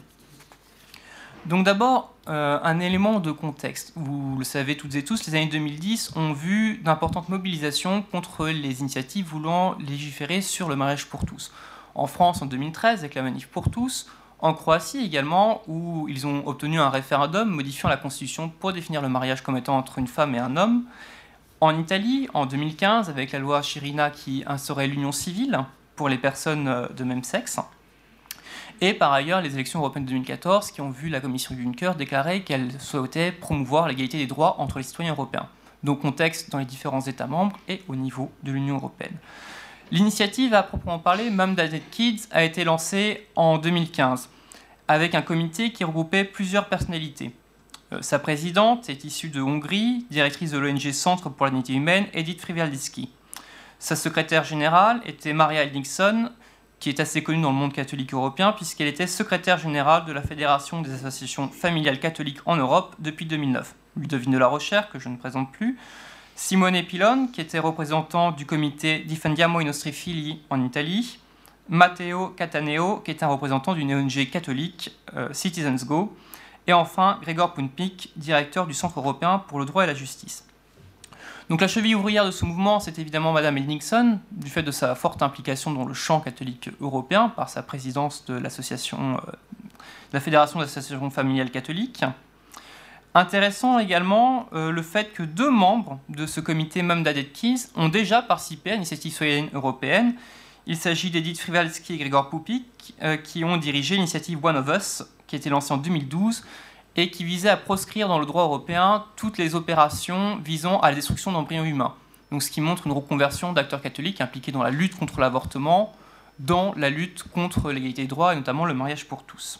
Speaker 10: Donc d'abord, un élément de contexte. Vous le savez toutes et tous, les années 2010 ont vu d'importantes mobilisations contre les initiatives voulant légiférer sur le mariage pour tous. En France, en 2013, avec la Manif pour tous. En Croatie également, où ils ont obtenu un référendum modifiant la Constitution pour définir le mariage comme étant entre une femme et un homme. En Italie, en 2015, avec la loi Chirina qui instaurait l'union civile pour les personnes de même sexe. Et par ailleurs, les élections européennes de 2014 qui ont vu la commission Juncker déclarer qu'elle souhaitait promouvoir l'égalité des droits entre les citoyens européens. Donc contexte dans les différents États membres et au niveau de l'Union européenne. L'initiative, à proprement parler, Mum, Dad and Kids, a été lancée en 2015 avec un comité qui regroupait plusieurs personnalités. Sa présidente est issue de Hongrie, directrice de l'ONG Centre pour la dignité humaine, Edith Frivaldiski. Sa secrétaire générale était Maria Hendrickson, qui est assez connue dans le monde catholique européen, puisqu'elle était secrétaire générale de la Fédération des associations familiales catholiques en Europe depuis 2009. Ludovine de la Rochère, que je ne présente plus, Simone Pilon, qui était représentant du comité Difendiamo i nostri figli en Italie, Matteo Cataneo, qui est un représentant d'une ONG catholique, Citizens Go, et enfin Gregor Punpik, directeur du Centre européen pour le droit et la justice. Donc la cheville ouvrière de ce mouvement, c'est évidemment Madame Hendrickson, du fait de sa forte implication dans le champ catholique européen, par sa présidence de l'association, de la Fédération des associations familiales catholiques. Intéressant également le fait que 2 membres de ce comité Mum, Dad and Kids ont déjà participé à l'initiative citoyenne européenne. Il s'agit d'Edith Frivaldiski et Gregor Punpik, qui ont dirigé l'initiative One of Us, qui a été lancée en 2012, et qui visait à proscrire dans le droit européen toutes les opérations visant à la destruction d'embryons humains. Donc, ce qui montre une reconversion d'acteurs catholiques impliqués dans la lutte contre l'avortement, dans la lutte contre l'égalité des droits et notamment le mariage pour tous.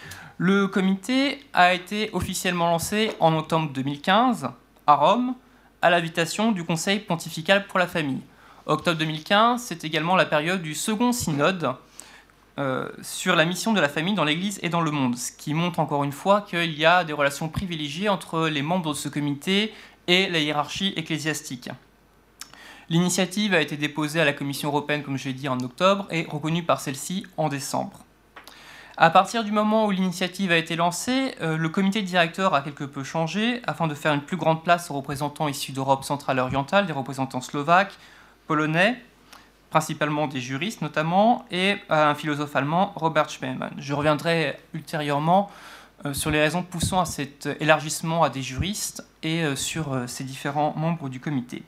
Speaker 10: Le comité a été officiellement lancé en octobre 2015 à Rome, à l'invitation du Conseil pontifical pour la famille. Octobre 2015, c'est également la période du second synode sur la mission de la famille dans l'Église et dans le monde, ce qui montre encore une fois qu'il y a des relations privilégiées entre les membres de ce comité et la hiérarchie ecclésiastique. L'initiative a été déposée à la Commission européenne, comme je l'ai dit, en octobre et reconnue par celle-ci en décembre. À partir du moment où l'initiative a été lancée, le comité directeur a quelque peu changé afin de faire une plus grande place aux représentants issus d'Europe centrale et orientale, des représentants slovaques, polonais, principalement des juristes notamment, et un philosophe allemand, Robert Schmemann. Je reviendrai ultérieurement sur les raisons poussant à cet élargissement à des juristes et sur ces différents membres du comité.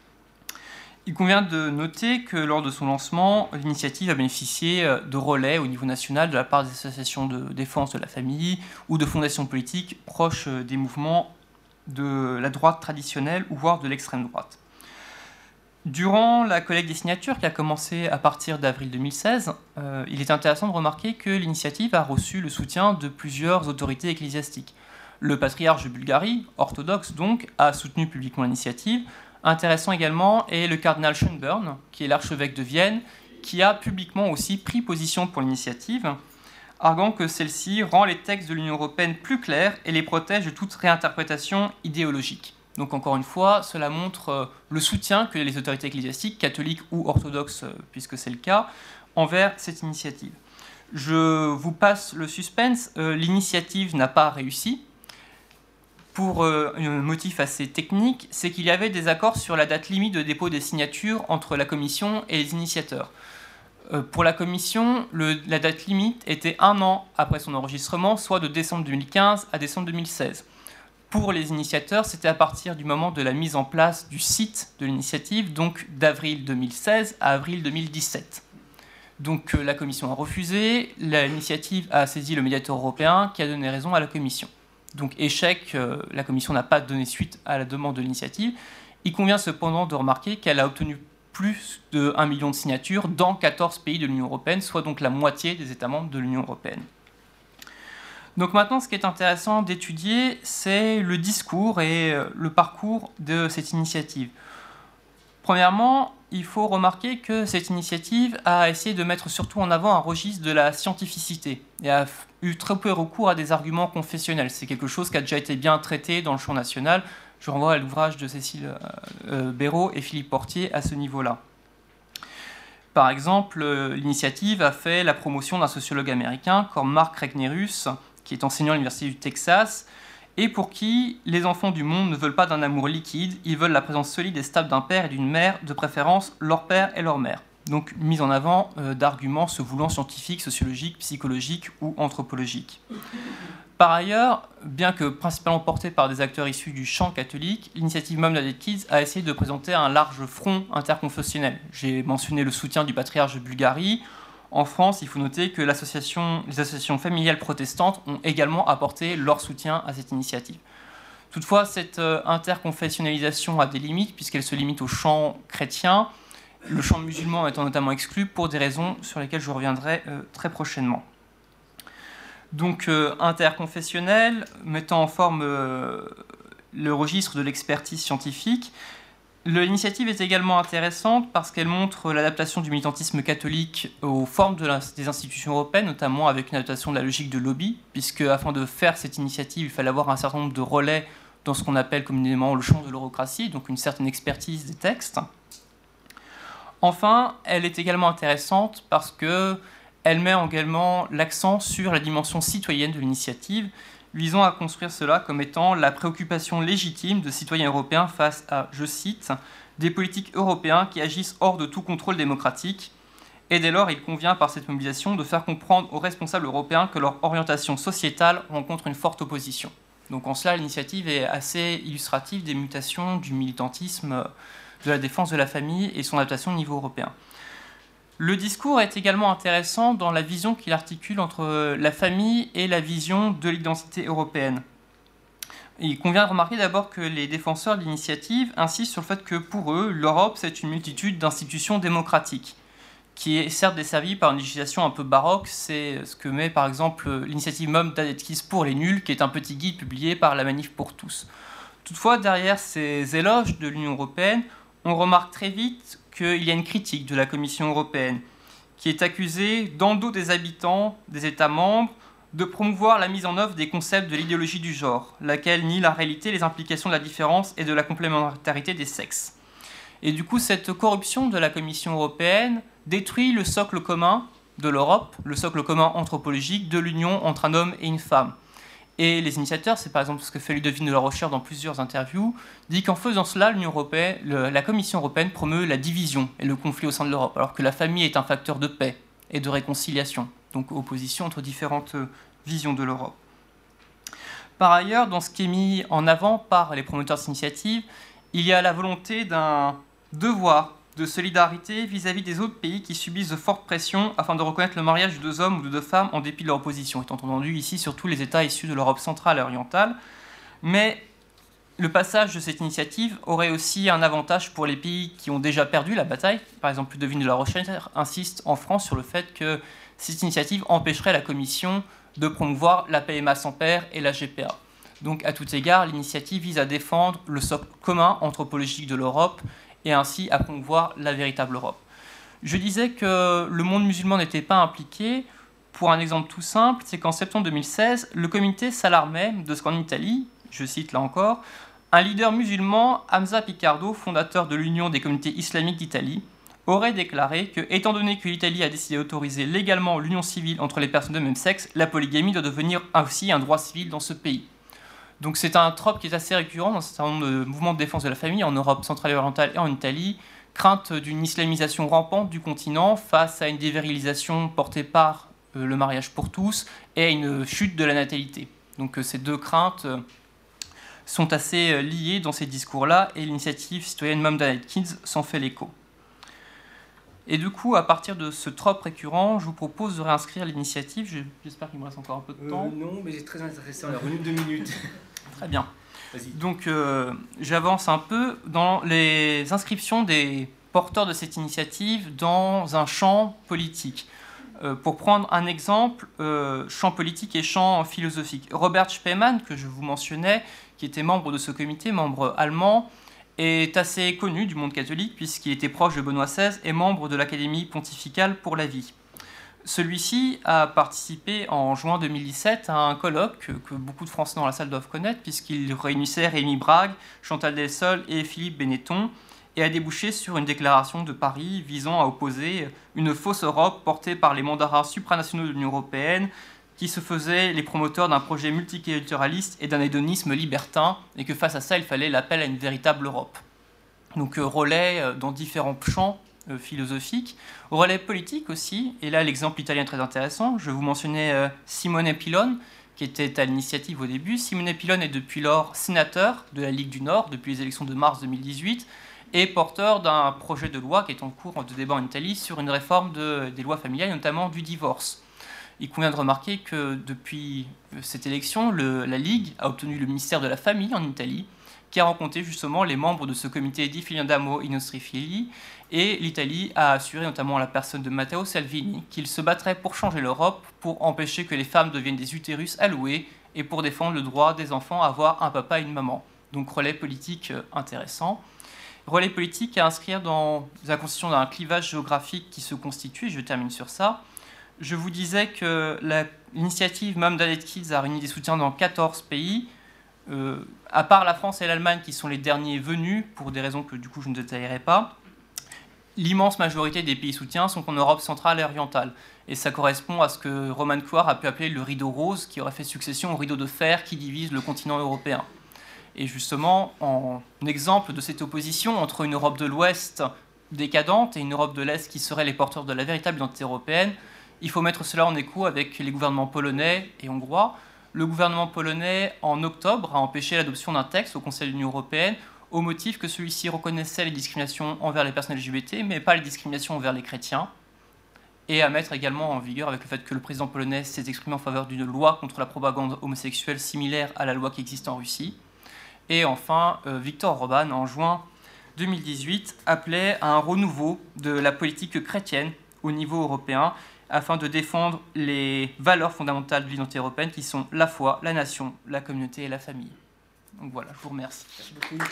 Speaker 10: Il convient de noter que lors de son lancement, l'initiative a bénéficié de relais au niveau national de la part des associations de défense de la famille ou de fondations politiques proches des mouvements de la droite traditionnelle ou voire de l'extrême droite. Durant la collecte des signatures qui a commencé à partir d'avril 2016, il est intéressant de remarquer que l'initiative a reçu le soutien de plusieurs autorités ecclésiastiques. Le patriarche de Bulgarie, orthodoxe donc, a soutenu publiquement l'initiative. Intéressant également est le cardinal Schönborn, qui est l'archevêque de Vienne, qui a publiquement aussi pris position pour l'initiative, arguant que celle-ci rend les textes de l'Union européenne plus clairs et les protège de toute réinterprétation idéologique. Donc encore une fois, cela montre le soutien que les autorités ecclésiastiques, catholiques ou orthodoxes, puisque c'est le cas, envers cette initiative. Je vous passe le suspense, l'initiative n'a pas réussi. Pour un motif assez technique, c'est qu'il y avait des accords sur la date limite de dépôt des signatures entre la Commission et les initiateurs. Pour la Commission, la date limite était 1 an après son enregistrement, soit de décembre 2015 à décembre 2016. Pour les initiateurs, c'était à partir du moment de la mise en place du site de l'initiative, donc d'avril 2016 à avril 2017. Donc la Commission a refusé, l'initiative a saisi le médiateur européen qui a donné raison à la Commission. Donc échec, la Commission n'a pas donné suite à la demande de l'initiative. Il convient cependant de remarquer qu'elle a obtenu plus de 1 million de signatures dans 14 pays de l'Union européenne, soit donc la moitié des États membres de l'Union européenne. Donc maintenant, ce qui est intéressant d'étudier, c'est le discours et le parcours de cette initiative. Premièrement, il faut remarquer que cette initiative a essayé de mettre surtout en avant un registre de la scientificité et a eu très peu recours à des arguments confessionnels. C'est quelque chose qui a déjà été bien traité dans le champ national. Je renvoie à l'ouvrage de Cécile Béraud et Philippe Portier à ce niveau-là. Par exemple, l'initiative a fait la promotion d'un sociologue américain comme Mark Regnerus, qui est enseignant à l'Université du Texas, et pour qui les enfants du monde ne veulent pas d'un amour liquide, ils veulent la présence solide et stable d'un père et d'une mère, de préférence leur père et leur mère. Donc mise en avant d'arguments se voulant scientifiques, sociologiques, psychologiques ou anthropologiques. Par ailleurs, bien que principalement portée par des acteurs issus du champ catholique, l'initiative Mom United Kids a essayé de présenter un large front interconfessionnel. J'ai mentionné le soutien du patriarche de Bulgarie. En France, il faut noter que les associations familiales protestantes ont également apporté leur soutien à cette initiative. Toutefois, cette interconfessionnalisation a des limites puisqu'elle se limite au champ chrétien, le champ musulman étant notamment exclu pour des raisons sur lesquelles je reviendrai très prochainement. Donc interconfessionnel, mettant en forme le registre de l'expertise scientifique. L'initiative est également intéressante parce qu'elle montre l'adaptation du militantisme catholique aux formes des institutions européennes, notamment avec une adaptation de la logique de lobby, puisque afin de faire cette initiative, il fallait avoir un certain nombre de relais dans ce qu'on appelle communément le champ de l'eurocratie, donc une certaine expertise des textes. Enfin, elle est également intéressante parce qu'elle met également l'accent sur la dimension citoyenne de l'initiative, visant à construire cela comme étant la préoccupation légitime de citoyens européens face à, je cite, des politiques européens qui agissent hors de tout contrôle démocratique. Et dès lors, il convient par cette mobilisation de faire comprendre aux responsables européens que leur orientation sociétale rencontre une forte opposition. Donc en cela, l'initiative est assez illustrative des mutations du militantisme de la défense de la famille et son adaptation au niveau européen. Le discours est également intéressant dans la vision qu'il articule entre la famille et la vision de l'identité européenne. Il convient de remarquer d'abord que les défenseurs de l'initiative insistent sur le fait que pour eux, l'Europe, c'est une multitude d'institutions démocratiques, qui est certes desservie par une législation un peu baroque. C'est ce que met par exemple l'initiative Mom United Kids pour les nuls, qui est un petit guide publié par la Manif pour tous. Toutefois, derrière ces éloges de l'Union européenne, on remarque très vite qu'il y a une critique de la Commission européenne, qui est accusée, dans le dos des habitants des États membres, de promouvoir la mise en œuvre des concepts de l'idéologie du genre, laquelle nie la réalité, les implications de la différence et de la complémentarité des sexes. Et du coup, cette corruption de la Commission européenne détruit le socle commun de l'Europe, le socle commun anthropologique de l'union entre un homme et une femme. Et les initiateurs, c'est par exemple ce que fait Ludovine de la Rochère dans plusieurs interviews, dit qu'en faisant cela, la Commission européenne promeut la division et le conflit au sein de l'Europe, alors que la famille est un facteur de paix et de réconciliation, donc opposition entre différentes visions de l'Europe. Par ailleurs, dans ce qui est mis en avant par les promoteurs de cette initiative, il y a la volonté d'un devoir de solidarité vis-à-vis des autres pays qui subissent de fortes pressions afin de reconnaître le mariage de 2 hommes ou de 2 femmes en dépit de leur opposition, étant entendu ici surtout les États issus de l'Europe centrale et orientale. Mais le passage de cette initiative aurait aussi un avantage pour les pays qui ont déjà perdu la bataille. Par exemple, Ludovine de la Rochère insiste en France sur le fait que cette initiative empêcherait la Commission de promouvoir la PMA sans père et la GPA. Donc, à tout égard, l'initiative vise à défendre le socle commun anthropologique de l'Europe et ainsi à promouvoir la véritable Europe. Je disais que le monde musulman n'était pas impliqué. Pour un exemple tout simple, c'est qu'en septembre 2016, le comité s'alarmait de ce qu'en Italie, je cite là encore, un leader musulman, Hamza Picardo, fondateur de l'Union des communautés islamiques d'Italie, aurait déclaré que, étant donné que l'Italie a décidé d'autoriser légalement l'union civile entre les personnes de même sexe, la polygamie doit devenir aussi un droit civil dans ce pays. Donc c'est un trope qui est assez récurrent dans un certain nombre de mouvements de défense de la famille en Europe centrale et orientale et en Italie, crainte d'une islamisation rampante du continent face à une dévirilisation portée par le mariage pour tous et à une chute de la natalité. Donc ces deux craintes sont assez liées dans ces discours-là et l'initiative citoyenne Mom Dad Kids s'en fait l'écho. Et du coup, à partir de ce trope récurrent, je vous propose de réinscrire l'initiative. J'espère qu'il me reste encore un peu de temps.
Speaker 2: Non, mais c'est très intéressant, on a revenu 2 minutes.
Speaker 10: Très bien. Donc, j'avance un peu dans les inscriptions des porteurs de cette initiative dans un champ politique. Pour prendre un exemple, champ politique et champ philosophique. Robert Spemann, que je vous mentionnais, qui était membre de ce comité, membre allemand, est assez connu du monde catholique puisqu'il était proche de Benoît XVI et membre de l'Académie pontificale pour la vie. Celui-ci a participé en juin 2017 à un colloque que beaucoup de Français dans la salle doivent connaître puisqu'il réunissait Rémi Brague, Chantal Delsol et Philippe Benetton et a débouché sur une déclaration de Paris visant à opposer une fausse Europe portée par les mandarins supranationaux de l'Union européenne qui se faisaient les promoteurs d'un projet multiculturaliste et d'un hédonisme libertin, et que face à ça, il fallait l'appel à une véritable Europe. Donc relais dans différents champs philosophiques, relais politiques aussi, et là l'exemple italien est très intéressant, je vous mentionnais Simone Pillon, qui était à l'initiative au début. Simone Pillon est depuis lors sénateur de la Ligue du Nord, depuis les élections de mars 2018, et porteur d'un projet de loi qui est en cours de débat en Italie sur une réforme des lois familiales, notamment du divorce. Il convient de remarquer que depuis cette élection, la Ligue a obtenu le ministère de la Famille en Italie, qui a rencontré justement les membres de ce comité Di Filiandamo i nostri figli, et l'Italie a assuré notamment à la personne de Matteo Salvini qu'il se battrait pour changer l'Europe, pour empêcher que les femmes deviennent des utérus alloués, et pour défendre le droit des enfants à avoir un papa et une maman. Donc relais politique intéressant. Relais politique à inscrire dans la constitution d'un clivage géographique qui se constitue, et je termine sur ça. Je vous disais que l'initiative Mom Dad Kids a réuni des soutiens dans 14 pays, à part la France et l'Allemagne qui sont les derniers venus, pour des raisons que du coup je ne détaillerai pas. L'immense majorité des pays soutiens sont en Europe centrale et orientale. Et ça correspond à ce que Roman Coire a pu appeler le rideau rose, qui aurait fait succession au rideau de fer qui divise le continent européen. Et justement, en exemple de cette opposition entre une Europe de l'Ouest décadente et une Europe de l'Est qui seraient les porteurs de la véritable identité européenne, il faut mettre cela en écho avec les gouvernements polonais et hongrois. Le gouvernement polonais, en octobre, a empêché l'adoption d'un texte au Conseil de l'Union européenne au motif que celui-ci reconnaissait les discriminations envers les personnes LGBT, mais pas les discriminations envers les chrétiens, et à mettre également en vigueur avec le fait que le président polonais s'est exprimé en faveur d'une loi contre la propagande homosexuelle similaire à la loi qui existe en Russie. Et enfin, Viktor Orbán, en juin 2018, appelait à un renouveau de la politique chrétienne au niveau européen, afin de défendre les valeurs fondamentales de l'identité européenne qui sont la foi, la nation, la communauté et la famille. Donc voilà, je vous remercie.
Speaker 2: Merci beaucoup.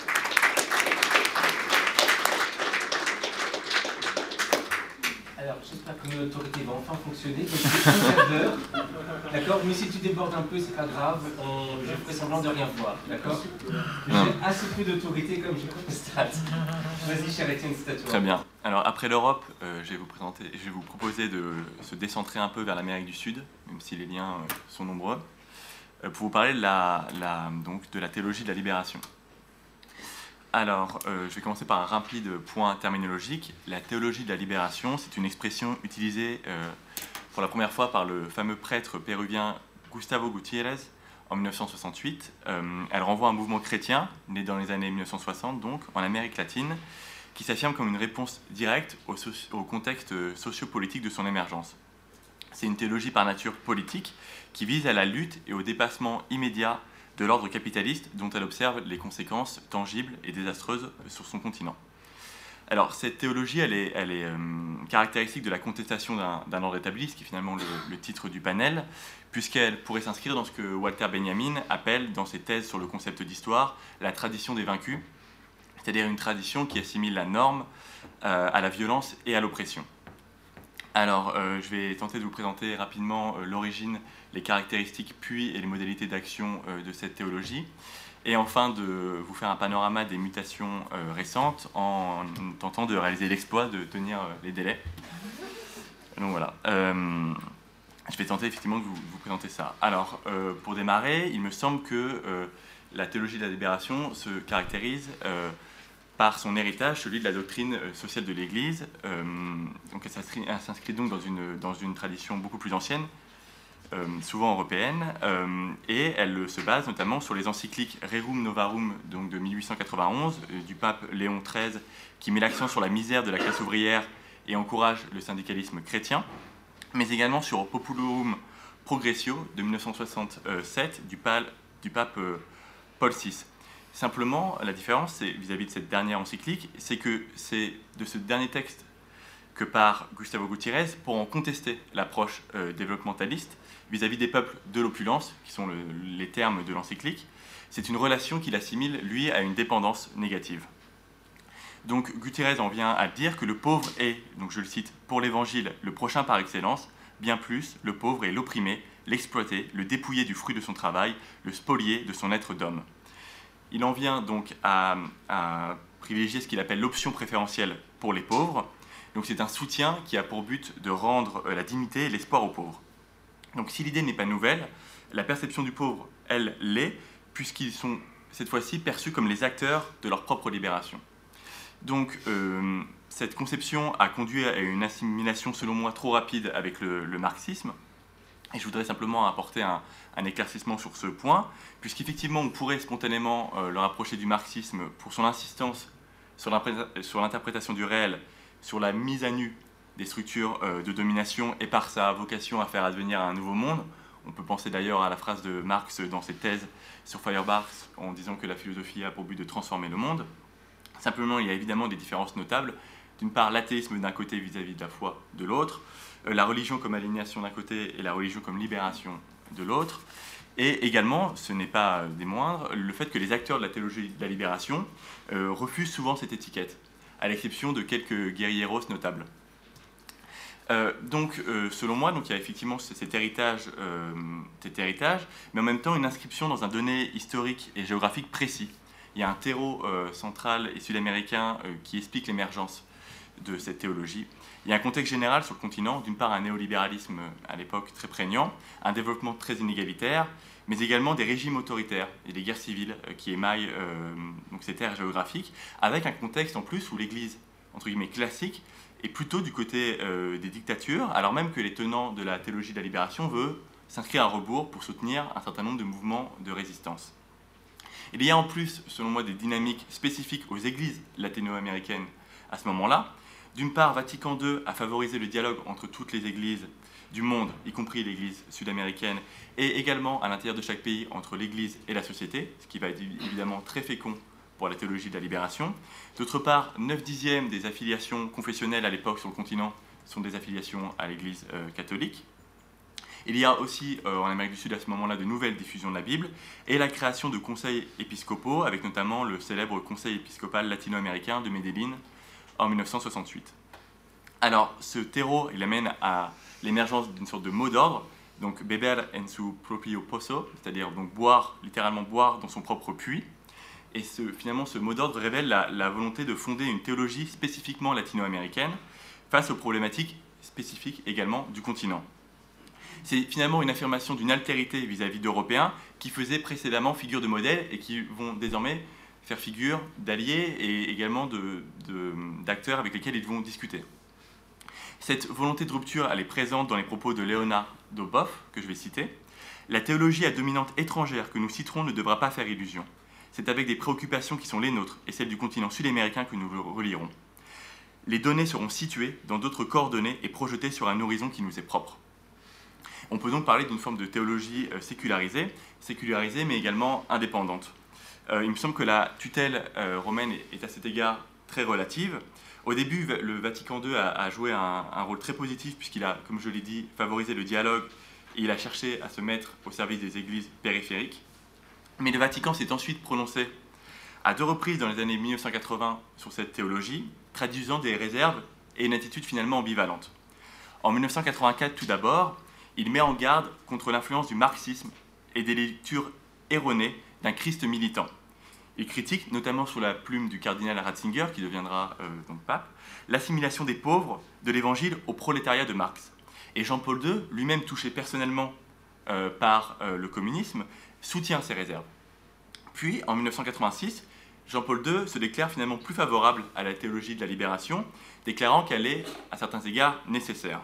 Speaker 2: Alors, j'espère que mon autorité va enfin fonctionner. Donc, c'est un quart d'heure. D'accord? Mais si tu débordes un peu, c'est pas grave. Je ferai semblant de rien voir. D'accord? J'ai assez peu d'autorité comme je constate. Vas-y, cher Étienne, c'est à toi.
Speaker 11: Très bien. Alors, après l'Europe, je vais vous proposer de se décentrer un peu vers l'Amérique du Sud, même si les liens sont nombreux, pour vous parler de la théologie de la libération. Alors, je vais commencer par un rapide point terminologique. La théologie de la libération, c'est une expression utilisée pour la première fois par le fameux prêtre péruvien Gustavo Gutiérrez en 1968. Elle renvoie à un mouvement chrétien, né dans les années 1960, donc, en Amérique latine, qui s'affirme comme une réponse directe au contexte sociopolitique de son émergence. C'est une théologie par nature politique qui vise à la lutte et au dépassement immédiat de l'ordre capitaliste dont elle observe les conséquences tangibles et désastreuses sur son continent. Alors, cette théologie, elle est caractéristique de la contestation d'un ordre établi, ce qui est finalement le titre du panel, puisqu'elle pourrait s'inscrire dans ce que Walter Benjamin appelle, dans ses thèses sur le concept d'histoire, la tradition des vaincus, c'est-à-dire une tradition qui assimile la norme à la violence et à l'oppression. Alors, je vais tenter de vous présenter rapidement l'origine, les caractéristiques, puis et les modalités d'action de cette théologie, et enfin de vous faire un panorama des mutations récentes en tentant de réaliser l'exploit de tenir les délais. Donc voilà, je vais tenter effectivement de vous présenter ça. Alors, pour démarrer, il me semble que la théologie de la libération se caractérise par son héritage, celui de la doctrine sociale de l'Église. Donc elle s'inscrit donc dans une tradition beaucoup plus ancienne, souvent européenne, et elle se base notamment sur les encycliques Rerum Novarum donc de 1891 du pape Léon XIII, qui met l'accent sur la misère de la classe ouvrière et encourage le syndicalisme chrétien, mais également sur Populurum Progressio de 1967 du pape Paul VI. Simplement, la différence vis-à-vis de cette dernière encyclique, c'est que c'est de ce dernier texte que part Gustavo Gutiérrez pour en contester l'approche développementaliste vis-à-vis des peuples de l'opulence, qui sont les termes de l'encyclique. C'est une relation qu'il assimile, lui, à une dépendance négative. Donc Gutiérrez en vient à dire que le pauvre est, donc je le cite, pour l'Évangile, le prochain par excellence, bien plus, le pauvre est l'opprimé, l'exploité, le dépouillé du fruit de son travail, le spolié de son être d'homme. Il en vient donc à privilégier ce qu'il appelle l'option préférentielle pour les pauvres. Donc c'est un soutien qui a pour but de rendre la dignité et l'espoir aux pauvres. Donc si l'idée n'est pas nouvelle, la perception du pauvre, elle, l'est, puisqu'ils sont cette fois-ci perçus comme les acteurs de leur propre libération. Donc cette conception a conduit à une assimilation, selon moi, trop rapide avec le marxisme. Et je voudrais simplement apporter un éclaircissement sur ce point, puisqu'effectivement on pourrait spontanément le rapprocher du marxisme pour son insistance sur l'interprétation du réel, sur la mise à nu des structures de domination et par sa vocation à faire advenir un nouveau monde. On peut penser d'ailleurs à la phrase de Marx dans ses thèses sur Feuerbach en disant que la philosophie a pour but de transformer le monde. Simplement, il y a évidemment des différences notables. D'une part, l'athéisme d'un côté vis-à-vis de la foi de l'autre, la religion comme aliénation d'un côté et la religion comme libération de l'autre, et également, ce n'est pas des moindres, le fait que les acteurs de la théologie de la libération refusent souvent cette étiquette, à l'exception de quelques guerrieros notables. Donc, selon moi, donc, il y a effectivement cet héritage, mais en même temps une inscription dans un donné historique et géographique précis. Il y a un terreau central et sud-américain qui explique l'émergence de cette théologie. Il y a un contexte général sur le continent, d'une part un néolibéralisme à l'époque très prégnant, un développement très inégalitaire, mais également des régimes autoritaires et des guerres civiles qui émaillent donc ces terres géographiques, avec un contexte en plus où l'Église, entre guillemets, classique, est plutôt du côté des dictatures, alors même que les tenants de la théologie de la libération veulent s'inscrire à rebours pour soutenir un certain nombre de mouvements de résistance. Il y a en plus, selon moi, des dynamiques spécifiques aux églises latino-américaines à ce moment-là. D'une part, Vatican II a favorisé le dialogue entre toutes les églises du monde, y compris l'église sud-américaine, et également à l'intérieur de chaque pays entre l'église et la société, ce qui va être évidemment très fécond pour la théologie de la libération. D'autre part, 9/10 des affiliations confessionnelles à l'époque sur le continent sont des affiliations à l'église catholique. Il y a aussi en Amérique du Sud à ce moment-là de nouvelles diffusions de la Bible et la création de conseils épiscopaux, avec notamment le célèbre conseil épiscopal latino-américain de Medellín en 1968. Alors ce terreau, il amène à l'émergence d'une sorte de mot d'ordre, donc beber en su propio pozo, c'est-à-dire donc boire, littéralement boire dans son propre puits. Et finalement ce mot d'ordre révèle la volonté de fonder une théologie spécifiquement latino-américaine face aux problématiques spécifiques également du continent. C'est finalement une affirmation d'une altérité vis-à-vis d'Européens qui faisaient précédemment figure de modèle et qui vont désormais faire figure d'alliés et également d'acteurs avec lesquels ils vont discuter. Cette volonté de rupture, elle est présente dans les propos de Leonardo Boff, que je vais citer. « La théologie à dominante étrangère que nous citerons ne devra pas faire illusion. C'est avec des préoccupations qui sont les nôtres et celles du continent sud-américain que nous le relierons. Les données seront situées dans d'autres coordonnées et projetées sur un horizon qui nous est propre. » On peut donc parler d'une forme de théologie sécularisée mais également indépendante. Il me semble que la tutelle romaine est à cet égard très relative. Au début, le Vatican II a joué un rôle très positif puisqu'il a, comme je l'ai dit, favorisé le dialogue et il a cherché à se mettre au service des églises périphériques. Mais le Vatican s'est ensuite prononcé à 2 reprises dans les années 1980 sur cette théologie, traduisant des réserves et une attitude finalement ambivalente. En 1984, tout d'abord, il met en garde contre l'influence du marxisme et des lectures erronées d'un Christ militant. Il critique, notamment sous la plume du cardinal Ratzinger, qui deviendra donc pape, l'assimilation des pauvres de l'évangile au prolétariat de Marx. Et Jean-Paul II, lui-même touché personnellement par le communisme, soutient ces réserves. Puis, en 1986, Jean-Paul II se déclare finalement plus favorable à la théologie de la libération, déclarant qu'elle est, à certains égards, nécessaire.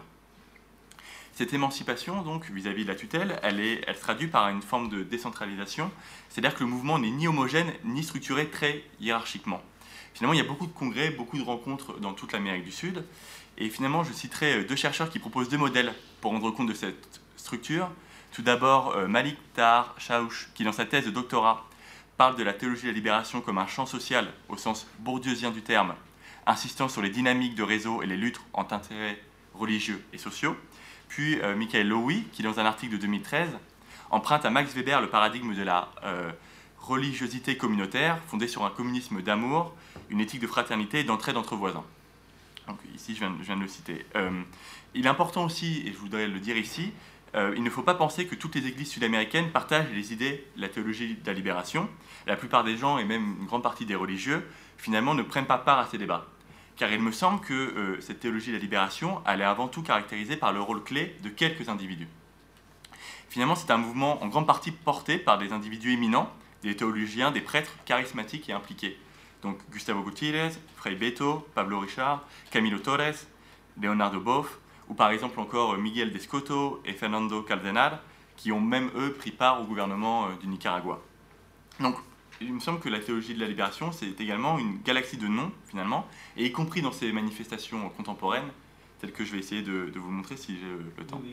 Speaker 11: Cette émancipation, donc, vis-à-vis de la tutelle, elle se traduit par une forme de décentralisation, c'est-à-dire que le mouvement n'est ni homogène, ni structuré très hiérarchiquement. Finalement, il y a beaucoup de congrès, beaucoup de rencontres dans toute l'Amérique du Sud, et finalement, je citerai 2 chercheurs qui proposent 2 modèles pour rendre compte de cette structure. Tout d'abord, Malik Tahar Chahouch, qui dans sa thèse de doctorat parle de la théologie de la libération comme un champ social au sens bourdieusien du terme, insistant sur les dynamiques de réseau et les luttes entre intérêts religieux et sociaux. Puis Michael Lowy, qui dans un article de 2013 emprunte à Max Weber le paradigme de la religiosité communautaire fondée sur un communisme d'amour, une éthique de fraternité et d'entraide entre voisins. Donc, ici, je viens de le citer. Il est important aussi, et je voudrais le dire ici, il ne faut pas penser que toutes les églises sud-américaines partagent les idées de la théologie de la libération. La plupart des gens, et même une grande partie des religieux, finalement ne prennent pas part à ces débats. Car il me semble que cette théologie de la libération, elle est avant tout caractérisée par le rôle clé de quelques individus. Finalement, c'est un mouvement en grande partie porté par des individus éminents, des théologiens, des prêtres charismatiques et impliqués. Donc Gustavo Gutiérrez, Frei Beto, Pablo Richard, Camilo Torres, Leonardo Boff, ou par exemple encore Miguel Descoto et Fernando Cardenal, qui ont même eux pris part au gouvernement du Nicaragua. Donc, il me semble que la théologie de la libération, c'est également une galaxie de noms, finalement, et y compris dans ces manifestations contemporaines, telles que je vais essayer de vous montrer si j'ai le temps.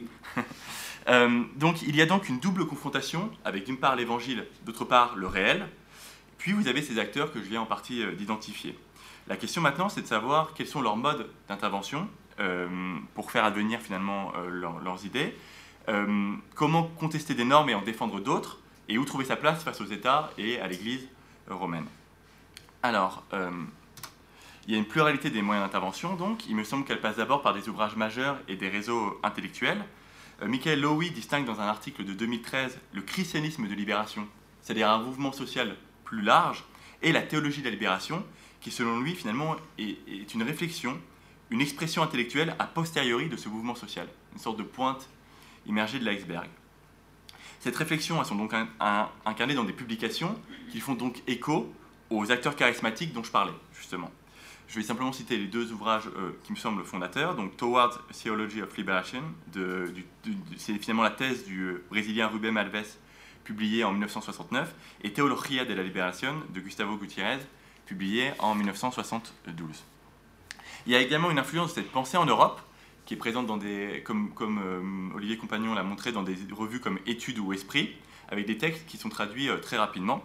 Speaker 11: Oui. Donc, il y a donc une double confrontation avec, d'une part, l'évangile, d'autre part, le réel, puis vous avez ces acteurs que je viens en partie d'identifier. La question maintenant, c'est de savoir quels sont leurs modes d'intervention pour faire advenir, finalement, leurs idées, comment contester des normes et en défendre d'autres, et où trouver sa place face aux États et à l'Église romaine. Alors, il y a une pluralité des moyens d'intervention, donc. Il me semble qu'elle passe d'abord par des ouvrages majeurs et des réseaux intellectuels. Michael Lowy distingue dans un article de 2013 le christianisme de libération, c'est-à-dire un mouvement social plus large, et la théologie de la libération, qui selon lui, finalement, est une réflexion, une expression intellectuelle a posteriori de ce mouvement social, une sorte de pointe immergée de l'iceberg. Cette réflexion, elles sont donc incarnées dans des publications qui font donc écho aux acteurs charismatiques dont je parlais, justement. Je vais simplement citer les 2 ouvrages qui me semblent fondateurs. Donc, Towards a Theology of Liberation, c'est finalement la thèse du Brésilien Rubem Alves, publiée en 1969, et Teología de la Liberación de Gustavo Gutiérrez, publiée en 1972. Il y a également une influence de cette pensée en Europe, qui est présente dans comme Olivier Compagnon l'a montré, dans des revues comme Études ou Esprit, avec des textes qui sont traduits très rapidement.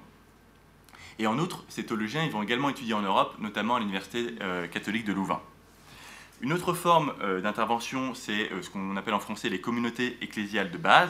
Speaker 11: Et en outre, ces théologiens ils vont également étudier en Europe, notamment à l'Université catholique de Louvain. Une autre forme d'intervention, c'est ce qu'on appelle en français les communautés ecclésiales de base.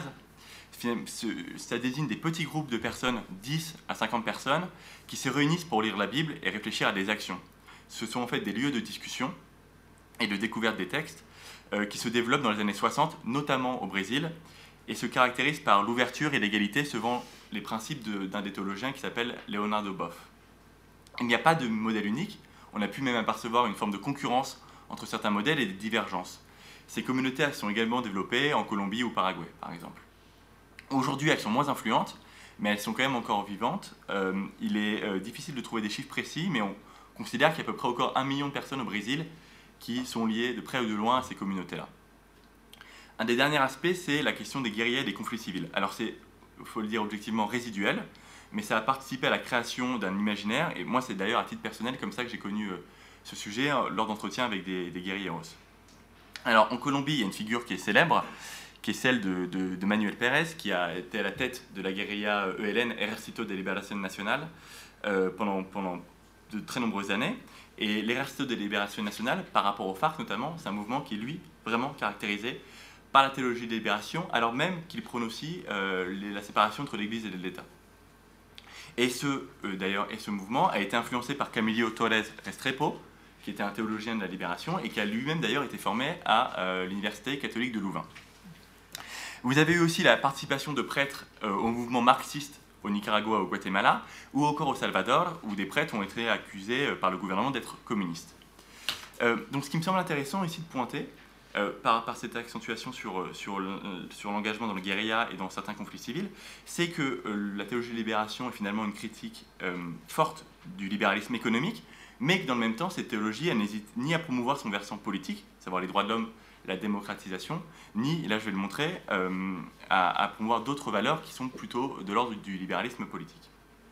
Speaker 11: Ça désigne des petits groupes de personnes, 10 à 50 personnes, qui se réunissent pour lire la Bible et réfléchir à des actions. Ce sont en fait des lieux de discussion et de découverte des textes qui se développent dans les années 60, notamment au Brésil, et se caractérisent par l'ouverture et l'égalité selon les principes d'un des théologiens qui s'appelle Leonardo Boff. Il n'y a pas de modèle unique, on a pu même apercevoir une forme de concurrence entre certains modèles et des divergences. Ces communautés sont également développées en Colombie ou Paraguay, par exemple. Aujourd'hui, elles sont moins influentes, mais elles sont quand même encore vivantes. Il est difficile de trouver des chiffres précis, mais on considère qu'il y a à peu près encore 1 million de personnes au Brésil qui sont liées de près ou de loin à ces communautés-là. Un des derniers aspects, c'est la question des guérillas et des conflits civils. Alors c'est, il faut le dire objectivement, résiduel, mais ça a participé à la création d'un imaginaire, et moi c'est d'ailleurs à titre personnel comme ça que j'ai connu ce sujet lors d'entretiens avec des guérilleros. Alors en Colombie, il y a une figure qui est célèbre, qui est celle de Manuel Pérez, qui a été à la tête de la guérilla ELN, Ejército de Liberación Nacional, pendant de très nombreuses années. Et l'Ejército de Liberación Nacional, par rapport au FARC notamment, c'est un mouvement qui est, lui, vraiment caractérisé par la théologie de libération, alors même qu'il prône aussi la séparation entre l'Église et l'État. Et ce mouvement a été influencé par Camilo Torres Restrepo, qui était un théologien de la libération et qui a lui-même d'ailleurs été formé à l'Université catholique de Louvain. Vous avez eu aussi la participation de prêtres au mouvement marxiste au Nicaragua, au Guatemala, ou encore au Salvador, où des prêtres ont été accusés par le gouvernement d'être communistes. Donc ce qui me semble intéressant ici de pointer, par cette accentuation sur l'engagement dans le guérilla et dans certains conflits civils, c'est que la théologie de libération est finalement une critique forte du libéralisme économique, mais que dans le même temps, cette théologie, elle n'hésite ni à promouvoir son versant politique, savoir les droits de l'homme, la démocratisation, ni, et là je vais le montrer, à promouvoir d'autres valeurs qui sont plutôt de l'ordre du libéralisme politique.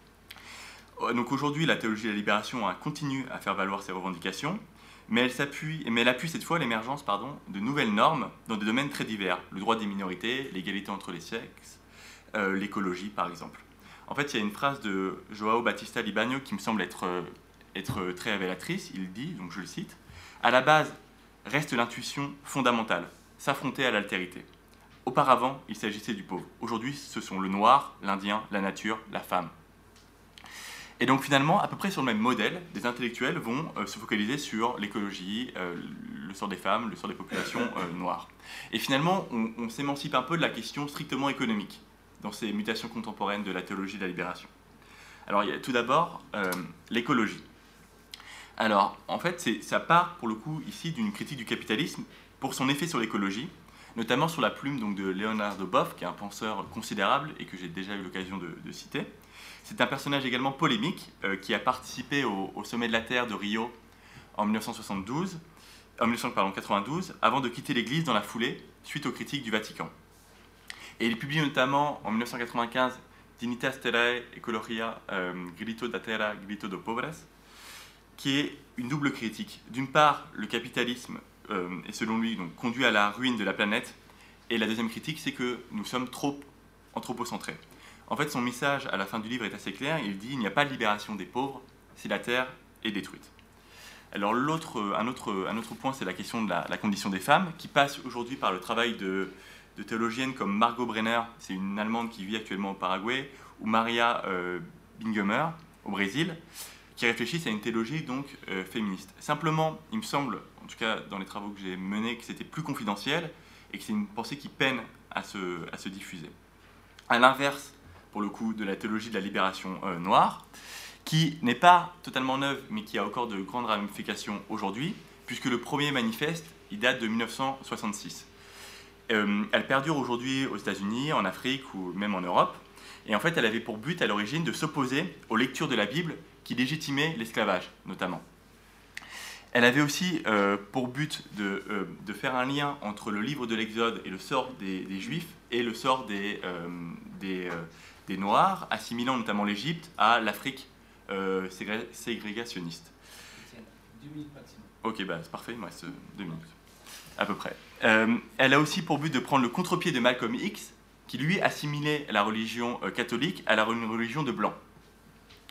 Speaker 11: Donc aujourd'hui, la théologie de la libération continue à faire valoir ses revendications, mais elle appuie cette fois l'émergence de nouvelles normes dans des domaines très divers, le droit des minorités, l'égalité entre les sexes, l'écologie par exemple. En fait, il y a une phrase de João Batista Libânio qui me semble être très révélatrice. Il dit, donc je le cite, « À la base reste l'intuition fondamentale, s'affronter à l'altérité. Auparavant, il s'agissait du pauvre. Aujourd'hui, ce sont le noir, l'indien, la nature, la femme. » Et donc finalement, à peu près sur le même modèle, des intellectuels vont se focaliser sur l'écologie, le sort des femmes, le sort des populations noires. Et finalement, on s'émancipe un peu de la question strictement économique dans ces mutations contemporaines de la théologie de la libération. Alors il y a tout d'abord l'écologie. Alors en fait, ça part pour le coup ici d'une critique du capitalisme pour son effet sur l'écologie, notamment sur la plume donc, de Leonardo Boff, qui est un penseur considérable et que j'ai déjà eu l'occasion de citer. C'est un personnage également polémique qui a participé au sommet de la Terre de Rio en 1992, avant de quitter l'Église dans la foulée, suite aux critiques du Vatican. Et il publie notamment en 1995 Dignitas Terrae Ecologia, Grito da Terra, Grito dos Pobres, qui est une double critique. D'une part, le capitalisme est selon lui donc, conduit à la ruine de la planète, et la deuxième critique, c'est que nous sommes trop anthropocentrés. En fait, son message à la fin du livre est assez clair. Il dit « Il n'y a pas de libération des pauvres si la terre est détruite ». Alors un autre point, c'est la question de la condition des femmes, qui passe aujourd'hui par le travail de théologiennes comme Margot Brenner, c'est une Allemande qui vit actuellement au Paraguay, ou Maria Bingemer au Brésil, qui réfléchissent à une théologie donc féministe. Simplement, il me semble, en tout cas dans les travaux que j'ai menés, que c'était plus confidentiel et que c'est une pensée qui peine à se diffuser. À l'inverse, pour le coup, de la théologie de la libération noire, qui n'est pas totalement neuve, mais qui a encore de grandes ramifications aujourd'hui, puisque le premier manifeste, il date de 1966. Elle perdure aujourd'hui aux États-Unis, en Afrique ou même en Europe, et en fait, elle avait pour but à l'origine de s'opposer aux lectures de la Bible qui légitimaient l'esclavage, notamment. Elle avait aussi pour but de faire un lien entre le livre de l'Exode et le sort des Juifs et le sort des Noirs, assimilant notamment l'Égypte à l'Afrique ségrégationniste.
Speaker 2: 2 minutes maximum.
Speaker 11: Ok, bah, c'est parfait, il me reste 2 minutes, à peu près. Elle a aussi pour but de prendre le contre-pied de Malcolm X, qui lui assimilait la religion catholique à la religion de blanc.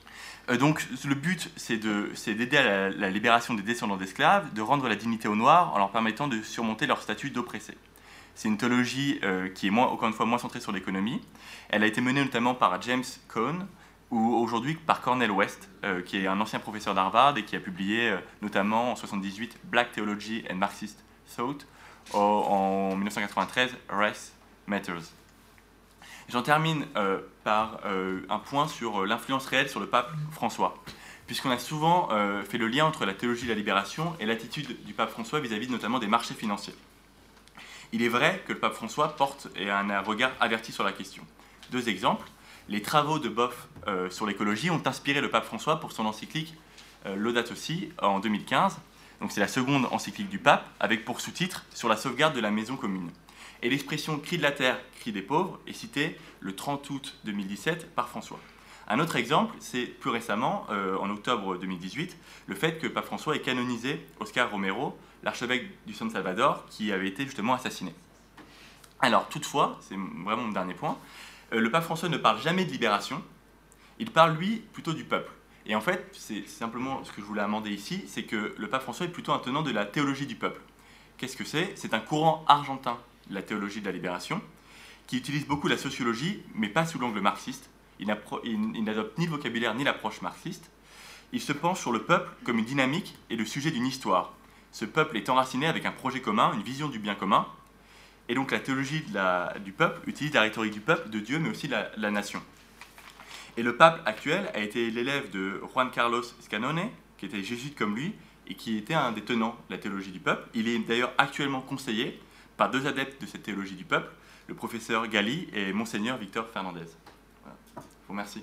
Speaker 11: Donc le but, c'est d'aider à la libération des descendants d'esclaves, de rendre la dignité aux Noirs en leur permettant de surmonter leur statut d'oppressés. C'est une théologie qui est, encore une fois, moins centrée sur l'économie. Elle a été menée notamment par James Cone, ou aujourd'hui par Cornel West, qui est un ancien professeur d'Harvard et qui a publié notamment en 1978 Black Theology and Marxist Thought, en 1993 Race Matters. J'en termine par un point sur l'influence réelle sur le pape François, puisqu'on a souvent fait le lien entre la théologie de la libération et l'attitude du pape François vis-à-vis notamment des marchés financiers. Il est vrai que le pape François porte un regard averti sur la question. 2 exemples. Les travaux de Boff sur l'écologie ont inspiré le pape François pour son encyclique Laudato Si en 2015. Donc c'est la seconde encyclique du pape, avec pour sous-titre « Sur la sauvegarde de la maison commune ». Et l'expression « cri de la terre, cri des pauvres » est citée le 30 août 2017 par François. Un autre exemple, c'est plus récemment, en octobre 2018, le fait que le pape François ait canonisé Oscar Romero, l'archevêque du San Salvador, qui avait été justement assassiné. Alors toutefois, c'est vraiment mon dernier point, le pape François ne parle jamais de libération, il parle lui plutôt du peuple. Et en fait, c'est simplement ce que je voulais amender ici, c'est que le pape François est plutôt un tenant de la théologie du peuple. Qu'est-ce que c'est ? C'est un courant argentin de la théologie de la libération, qui utilise beaucoup la sociologie, mais pas sous l'angle marxiste. Il n'adopte ni le vocabulaire ni l'approche marxiste. Il se penche sur le peuple comme une dynamique et le sujet d'une histoire. Ce peuple est enraciné avec un projet commun, une vision du bien commun. Et donc la théologie du peuple utilise la rhétorique du peuple, de Dieu, mais aussi de la nation. Et le pape actuel a été l'élève de Juan Carlos Scanone, qui était jésuite comme lui, et qui était un des tenants de la théologie du peuple. Il est d'ailleurs actuellement conseillé par 2 adeptes de cette théologie du peuple, le professeur Galli et Monseigneur Victor Fernandez. Voilà. Je vous remercie.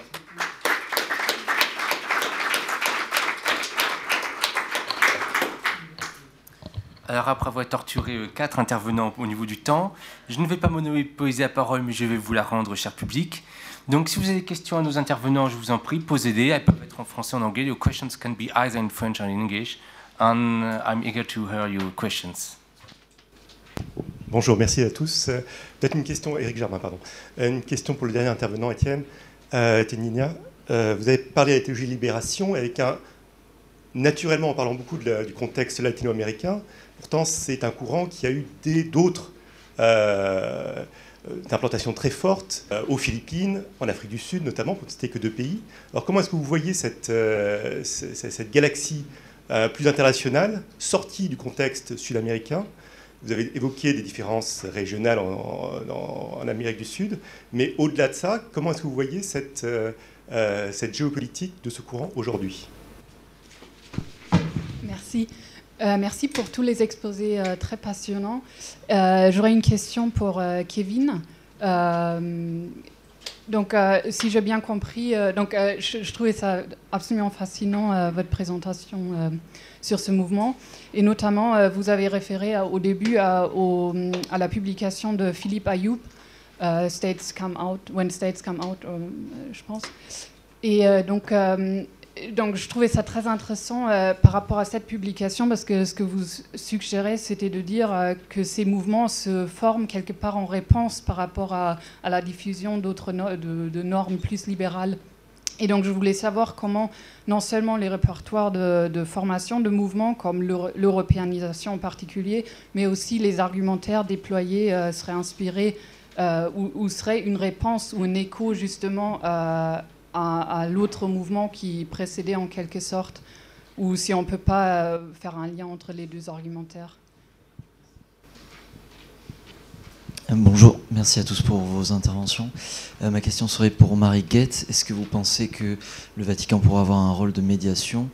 Speaker 2: Alors après avoir torturé 4 intervenants au niveau du temps, je ne vais pas monopoliser la parole, mais je vais vous la rendre, cher public. Donc si vous avez des questions à nos intervenants, je vous en prie, posez-les. Elles peuvent être en français ou en anglais. Your questions can be either in French or in English. And I'm eager to hear your questions.
Speaker 12: Bonjour, merci à tous. Peut-être une question, Éric Germain, pardon. Une question pour le dernier intervenant, Étienne Tenigna. Vous avez parlé de la théologie de libération avec naturellement, en parlant beaucoup du contexte latino-américain. Pourtant, c'est un courant qui a eu d'autres d'implantation très forte aux Philippines, en Afrique du Sud notamment, pour ne citer que 2 pays. Alors comment est-ce que vous voyez cette galaxie plus internationale, sortie du contexte sud-américain? Vous avez évoqué des différences régionales en Amérique du Sud, mais au-delà de ça, comment est-ce que vous voyez cette géopolitique de ce courant aujourd'hui?
Speaker 13: Merci. Merci pour tous les exposés très passionnants. J'aurais une question pour Kevin. Donc, si j'ai bien compris, je trouvais ça absolument fascinant, votre présentation sur ce mouvement. Et notamment, vous avez référé au début à la publication de Philippe Ayoub, States Come Out, When States Come Out, je pense. Et donc, je trouvais ça très intéressant par rapport à cette publication, parce que ce que vous suggérez, c'était de dire que ces mouvements se forment quelque part en réponse par rapport à la diffusion d'autres de normes plus libérales. Et donc, je voulais savoir comment, non seulement les répertoires de formation de mouvements, comme l'européanisation en particulier, mais aussi les argumentaires déployés seraient inspirés ou seraient une réponse ou un écho justement à l'autre mouvement qui précédait en quelque sorte, ou si on ne peut pas faire un lien entre les 2 argumentaires.
Speaker 14: Bonjour, merci à tous pour vos interventions. Ma question serait pour Marie Guette. Est-ce que vous pensez que le Vatican pourra avoir un rôle de médiation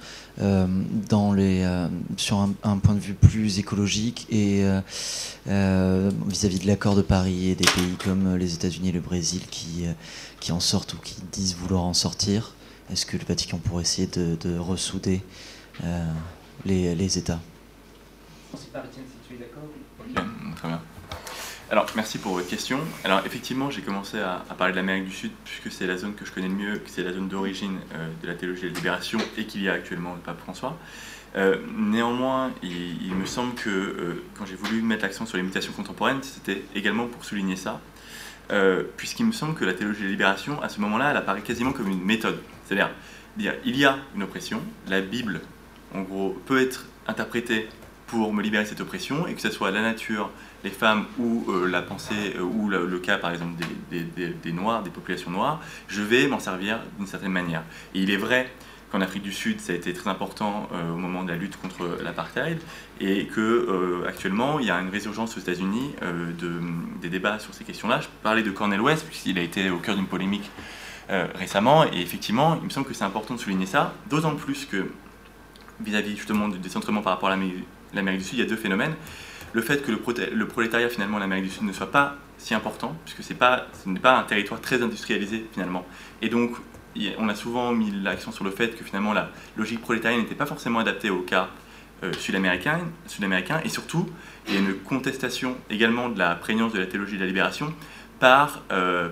Speaker 14: sur un point de vue plus écologique et vis-à-vis de l'accord de Paris et des pays comme les États-Unis et le Brésil qui en sortent ou qui disent vouloir en sortir? Est-ce que le Vatican pourrait essayer de ressouder les États?
Speaker 11: Ok, très bien. Alors, merci pour votre question. Alors, effectivement, j'ai commencé à parler de l'Amérique du Sud, puisque c'est la zone que je connais le mieux, que c'est la zone d'origine de la théologie de la libération et qu'il y a actuellement le pape François. Néanmoins, il me semble que quand j'ai voulu mettre l'accent sur les mutations contemporaines, c'était également pour souligner ça, puisqu'il me semble que la théologie de la libération, à ce moment-là, elle apparaît quasiment comme une méthode. C'est-à-dire, dire il y a une oppression, la Bible, en gros, peut être interprétée pour me libérer de cette oppression, et que ce soit la nature, les femmes ou la pensée, ou le cas par exemple des Noirs, des populations noires, je vais m'en servir d'une certaine manière. Et il est vrai qu'en Afrique du Sud, ça a été très important au moment de la lutte contre l'apartheid, et qu'actuellement, il y a une résurgence aux États-Unis des débats sur ces questions-là. Je parlais de Cornel West, puisqu'il a été au cœur d'une polémique récemment, et effectivement, il me semble que c'est important de souligner ça, d'autant plus que vis-à-vis justement du décentrement par rapport à l'Amérique du Sud, il y a deux phénomènes. Le fait que le prolétariat finalement en Amérique du Sud ne soit pas si important, puisque ce n'est pas un territoire très industrialisé finalement. Et donc, on a souvent mis l'accent sur le fait que finalement la logique prolétarienne n'était pas forcément adaptée au cas sud-américain, et surtout, il y a une contestation également de la prégnance de la théologie de la libération par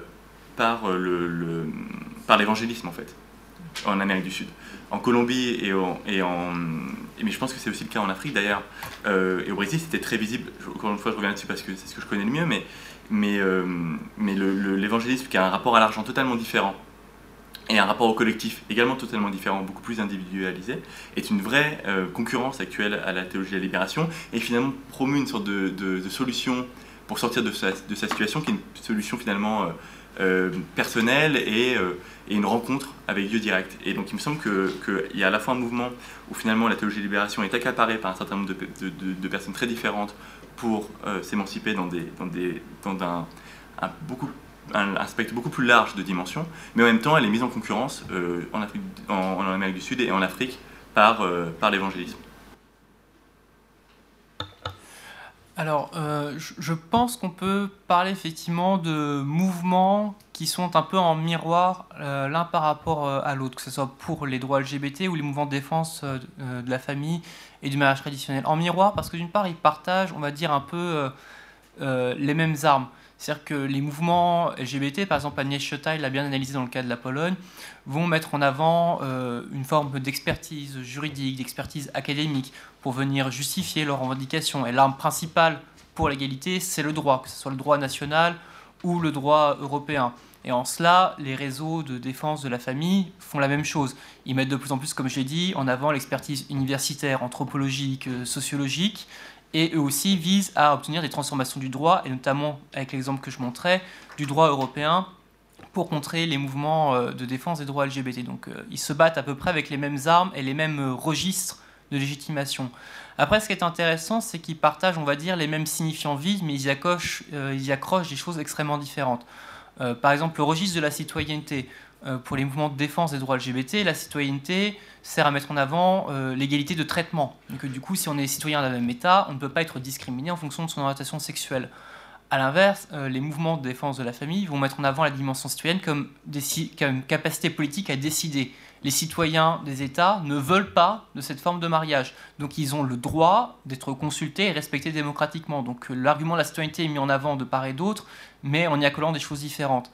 Speaker 11: l'évangélisme en fait, en Amérique du Sud. En Colombie mais je pense que c'est aussi le cas en Afrique d'ailleurs, et au Brésil c'était très visible. Encore une fois je reviens là-dessus parce que c'est ce que je connais le mieux, mais l'évangélisme qui a un rapport à l'argent totalement différent et un rapport au collectif également totalement différent, beaucoup plus individualisé, est une vraie concurrence actuelle à la théologie de la libération, et finalement promeut une sorte de solution pour sortir de sa situation, qui est une solution finalement personnelle et une rencontre avec Dieu direct. Et donc il me semble qu'il y a à la fois un mouvement où finalement la théologie de la libération est accaparée par un certain nombre de personnes très différentes pour s'émanciper dans un spectre beaucoup plus large de dimensions, mais en même temps elle est mise en concurrence en Amérique du Sud et en Afrique par l'évangélisme.
Speaker 10: Alors, je pense qu'on peut parler effectivement de mouvements qui sont un peu en miroir l'un par rapport à l'autre, que ce soit pour les droits LGBT ou les mouvements de défense de la famille et du mariage traditionnel. En miroir parce que d'une part, ils partagent, on va dire, un peu les mêmes armes. C'est-à-dire que les mouvements LGBT, par exemple Agnès Chotai l'a bien analysé dans le cas de la Pologne, vont mettre en avant une forme d'expertise juridique, d'expertise académique, pour venir justifier leurs revendications. Et l'arme principale pour l'égalité, c'est le droit, que ce soit le droit national ou le droit européen. Et en cela, les réseaux de défense de la famille font la même chose. Ils mettent de plus en plus, comme je l'ai dit, en avant l'expertise universitaire, anthropologique, sociologique, et eux aussi visent à obtenir des transformations du droit, et notamment, avec l'exemple que je montrais, du droit européen, pour contrer les mouvements de défense des droits LGBT. Donc ils se battent à peu près avec les mêmes armes et les mêmes registres de légitimation. Après, ce qui est intéressant, c'est qu'ils partagent, on va dire, les mêmes signifiants vides, mais ils y accrochent des choses extrêmement différentes. Par exemple, le registre de la citoyenneté. Pour les mouvements de défense des droits LGBT, la citoyenneté sert à mettre en avant l'égalité de traitement. Donc, du coup, si on est citoyen d'un même État, on ne peut pas être discriminé en fonction de son orientation sexuelle. A l'inverse, les mouvements de défense de la famille vont mettre en avant la dimension citoyenne comme capacité politique à décider. Les citoyens des États ne veulent pas de cette forme de mariage. Donc ils ont le droit d'être consultés et respectés démocratiquement. Donc l'argument de la citoyenneté est mis en avant de part et d'autre, mais en y accolant des choses différentes.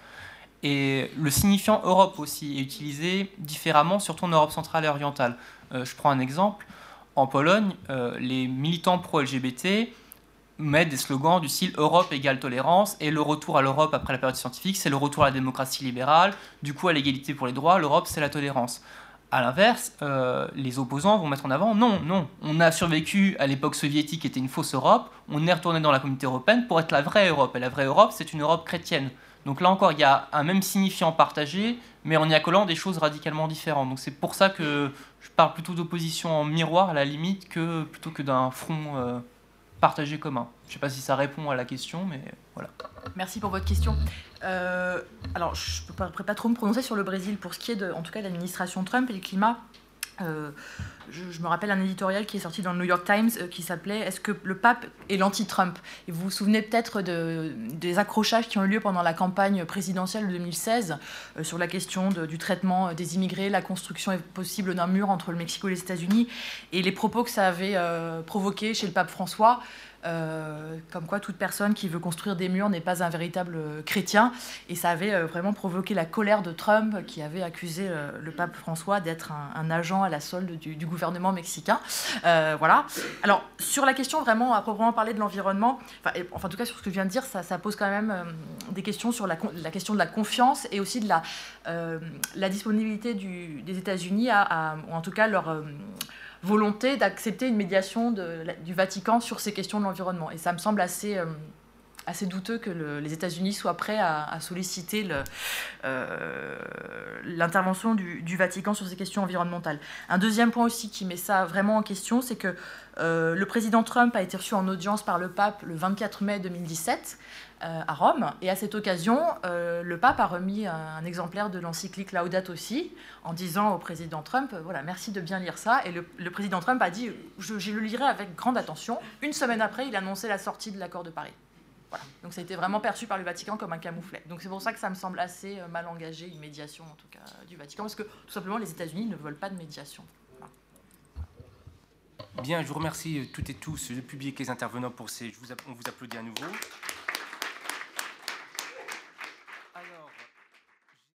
Speaker 10: Et le signifiant Europe aussi est utilisé différemment, surtout en Europe centrale et orientale. Je prends un exemple. En Pologne, les militants pro-LGBT mettent des slogans du style « Europe égale tolérance » et le retour à l'Europe après la période scientifique, c'est le retour à la démocratie libérale, du coup à l'égalité pour les droits, l'Europe c'est la tolérance. A l'inverse, les opposants vont mettre en avant « Non, on a survécu à l'époque soviétique qui était une fausse Europe, on est retourné dans la communauté européenne pour être la vraie Europe, et la vraie Europe c'est une Europe chrétienne ». Donc là encore, il y a un même signifiant partagé, mais en y accolant des choses radicalement différentes. Donc c'est pour ça que je parle plutôt d'opposition en miroir à la limite, plutôt que d'un front partagé commun. Je ne sais pas si ça répond à la question, mais voilà.
Speaker 8: Merci pour votre question. Alors, je ne pourrais pas trop me prononcer sur le Brésil pour ce qui est, en tout cas, de l'administration Trump et le climat. Je me rappelle un éditorial qui est sorti dans le New York Times qui s'appelait « Est-ce que le pape est l'anti-Trump ?» Et vous vous souvenez peut-être des accrochages qui ont eu lieu pendant la campagne présidentielle de 2016 sur la question du traitement des immigrés, la construction possible d'un mur entre le Mexique et les États-Unis, et les propos que ça avait provoqué chez le pape François, comme quoi toute personne qui veut construire des murs n'est pas un véritable chrétien. Et ça avait vraiment provoqué la colère de Trump, qui avait accusé le pape François d'être un agent à la solde du gouvernement mexicain. Voilà. Alors, sur la question vraiment, à proprement parler de l'environnement, enfin, en tout cas sur ce que je viens de dire, ça pose quand même des questions sur la question de la confiance et aussi de la disponibilité des États-Unis ou en tout cas leur volonté d'accepter une médiation du Vatican sur ces questions de l'environnement. Et ça me semble assez douteux que les États-Unis soient prêts à solliciter l'intervention du Vatican sur ces questions environnementales. Un deuxième point aussi qui met ça vraiment en question, c'est que le président Trump a été reçu en audience par le pape le 24 mai 2017 à Rome. Et à cette occasion, le pape a remis un exemplaire de l'encyclique Laudato Si en disant au président Trump, voilà, merci de bien lire ça. Et le président Trump a dit, je le lirai avec grande attention. Une semaine après, il annonçait la sortie de l'accord de Paris. Voilà. Donc ça a été vraiment perçu par le Vatican comme un camouflet. Donc c'est pour ça que ça me semble assez mal engagé, une médiation en tout cas du Vatican, parce que tout simplement les États-Unis ne veulent pas de médiation. Voilà.
Speaker 2: Bien, je vous remercie toutes et tous, le public et les intervenants on vous applaudit à nouveau.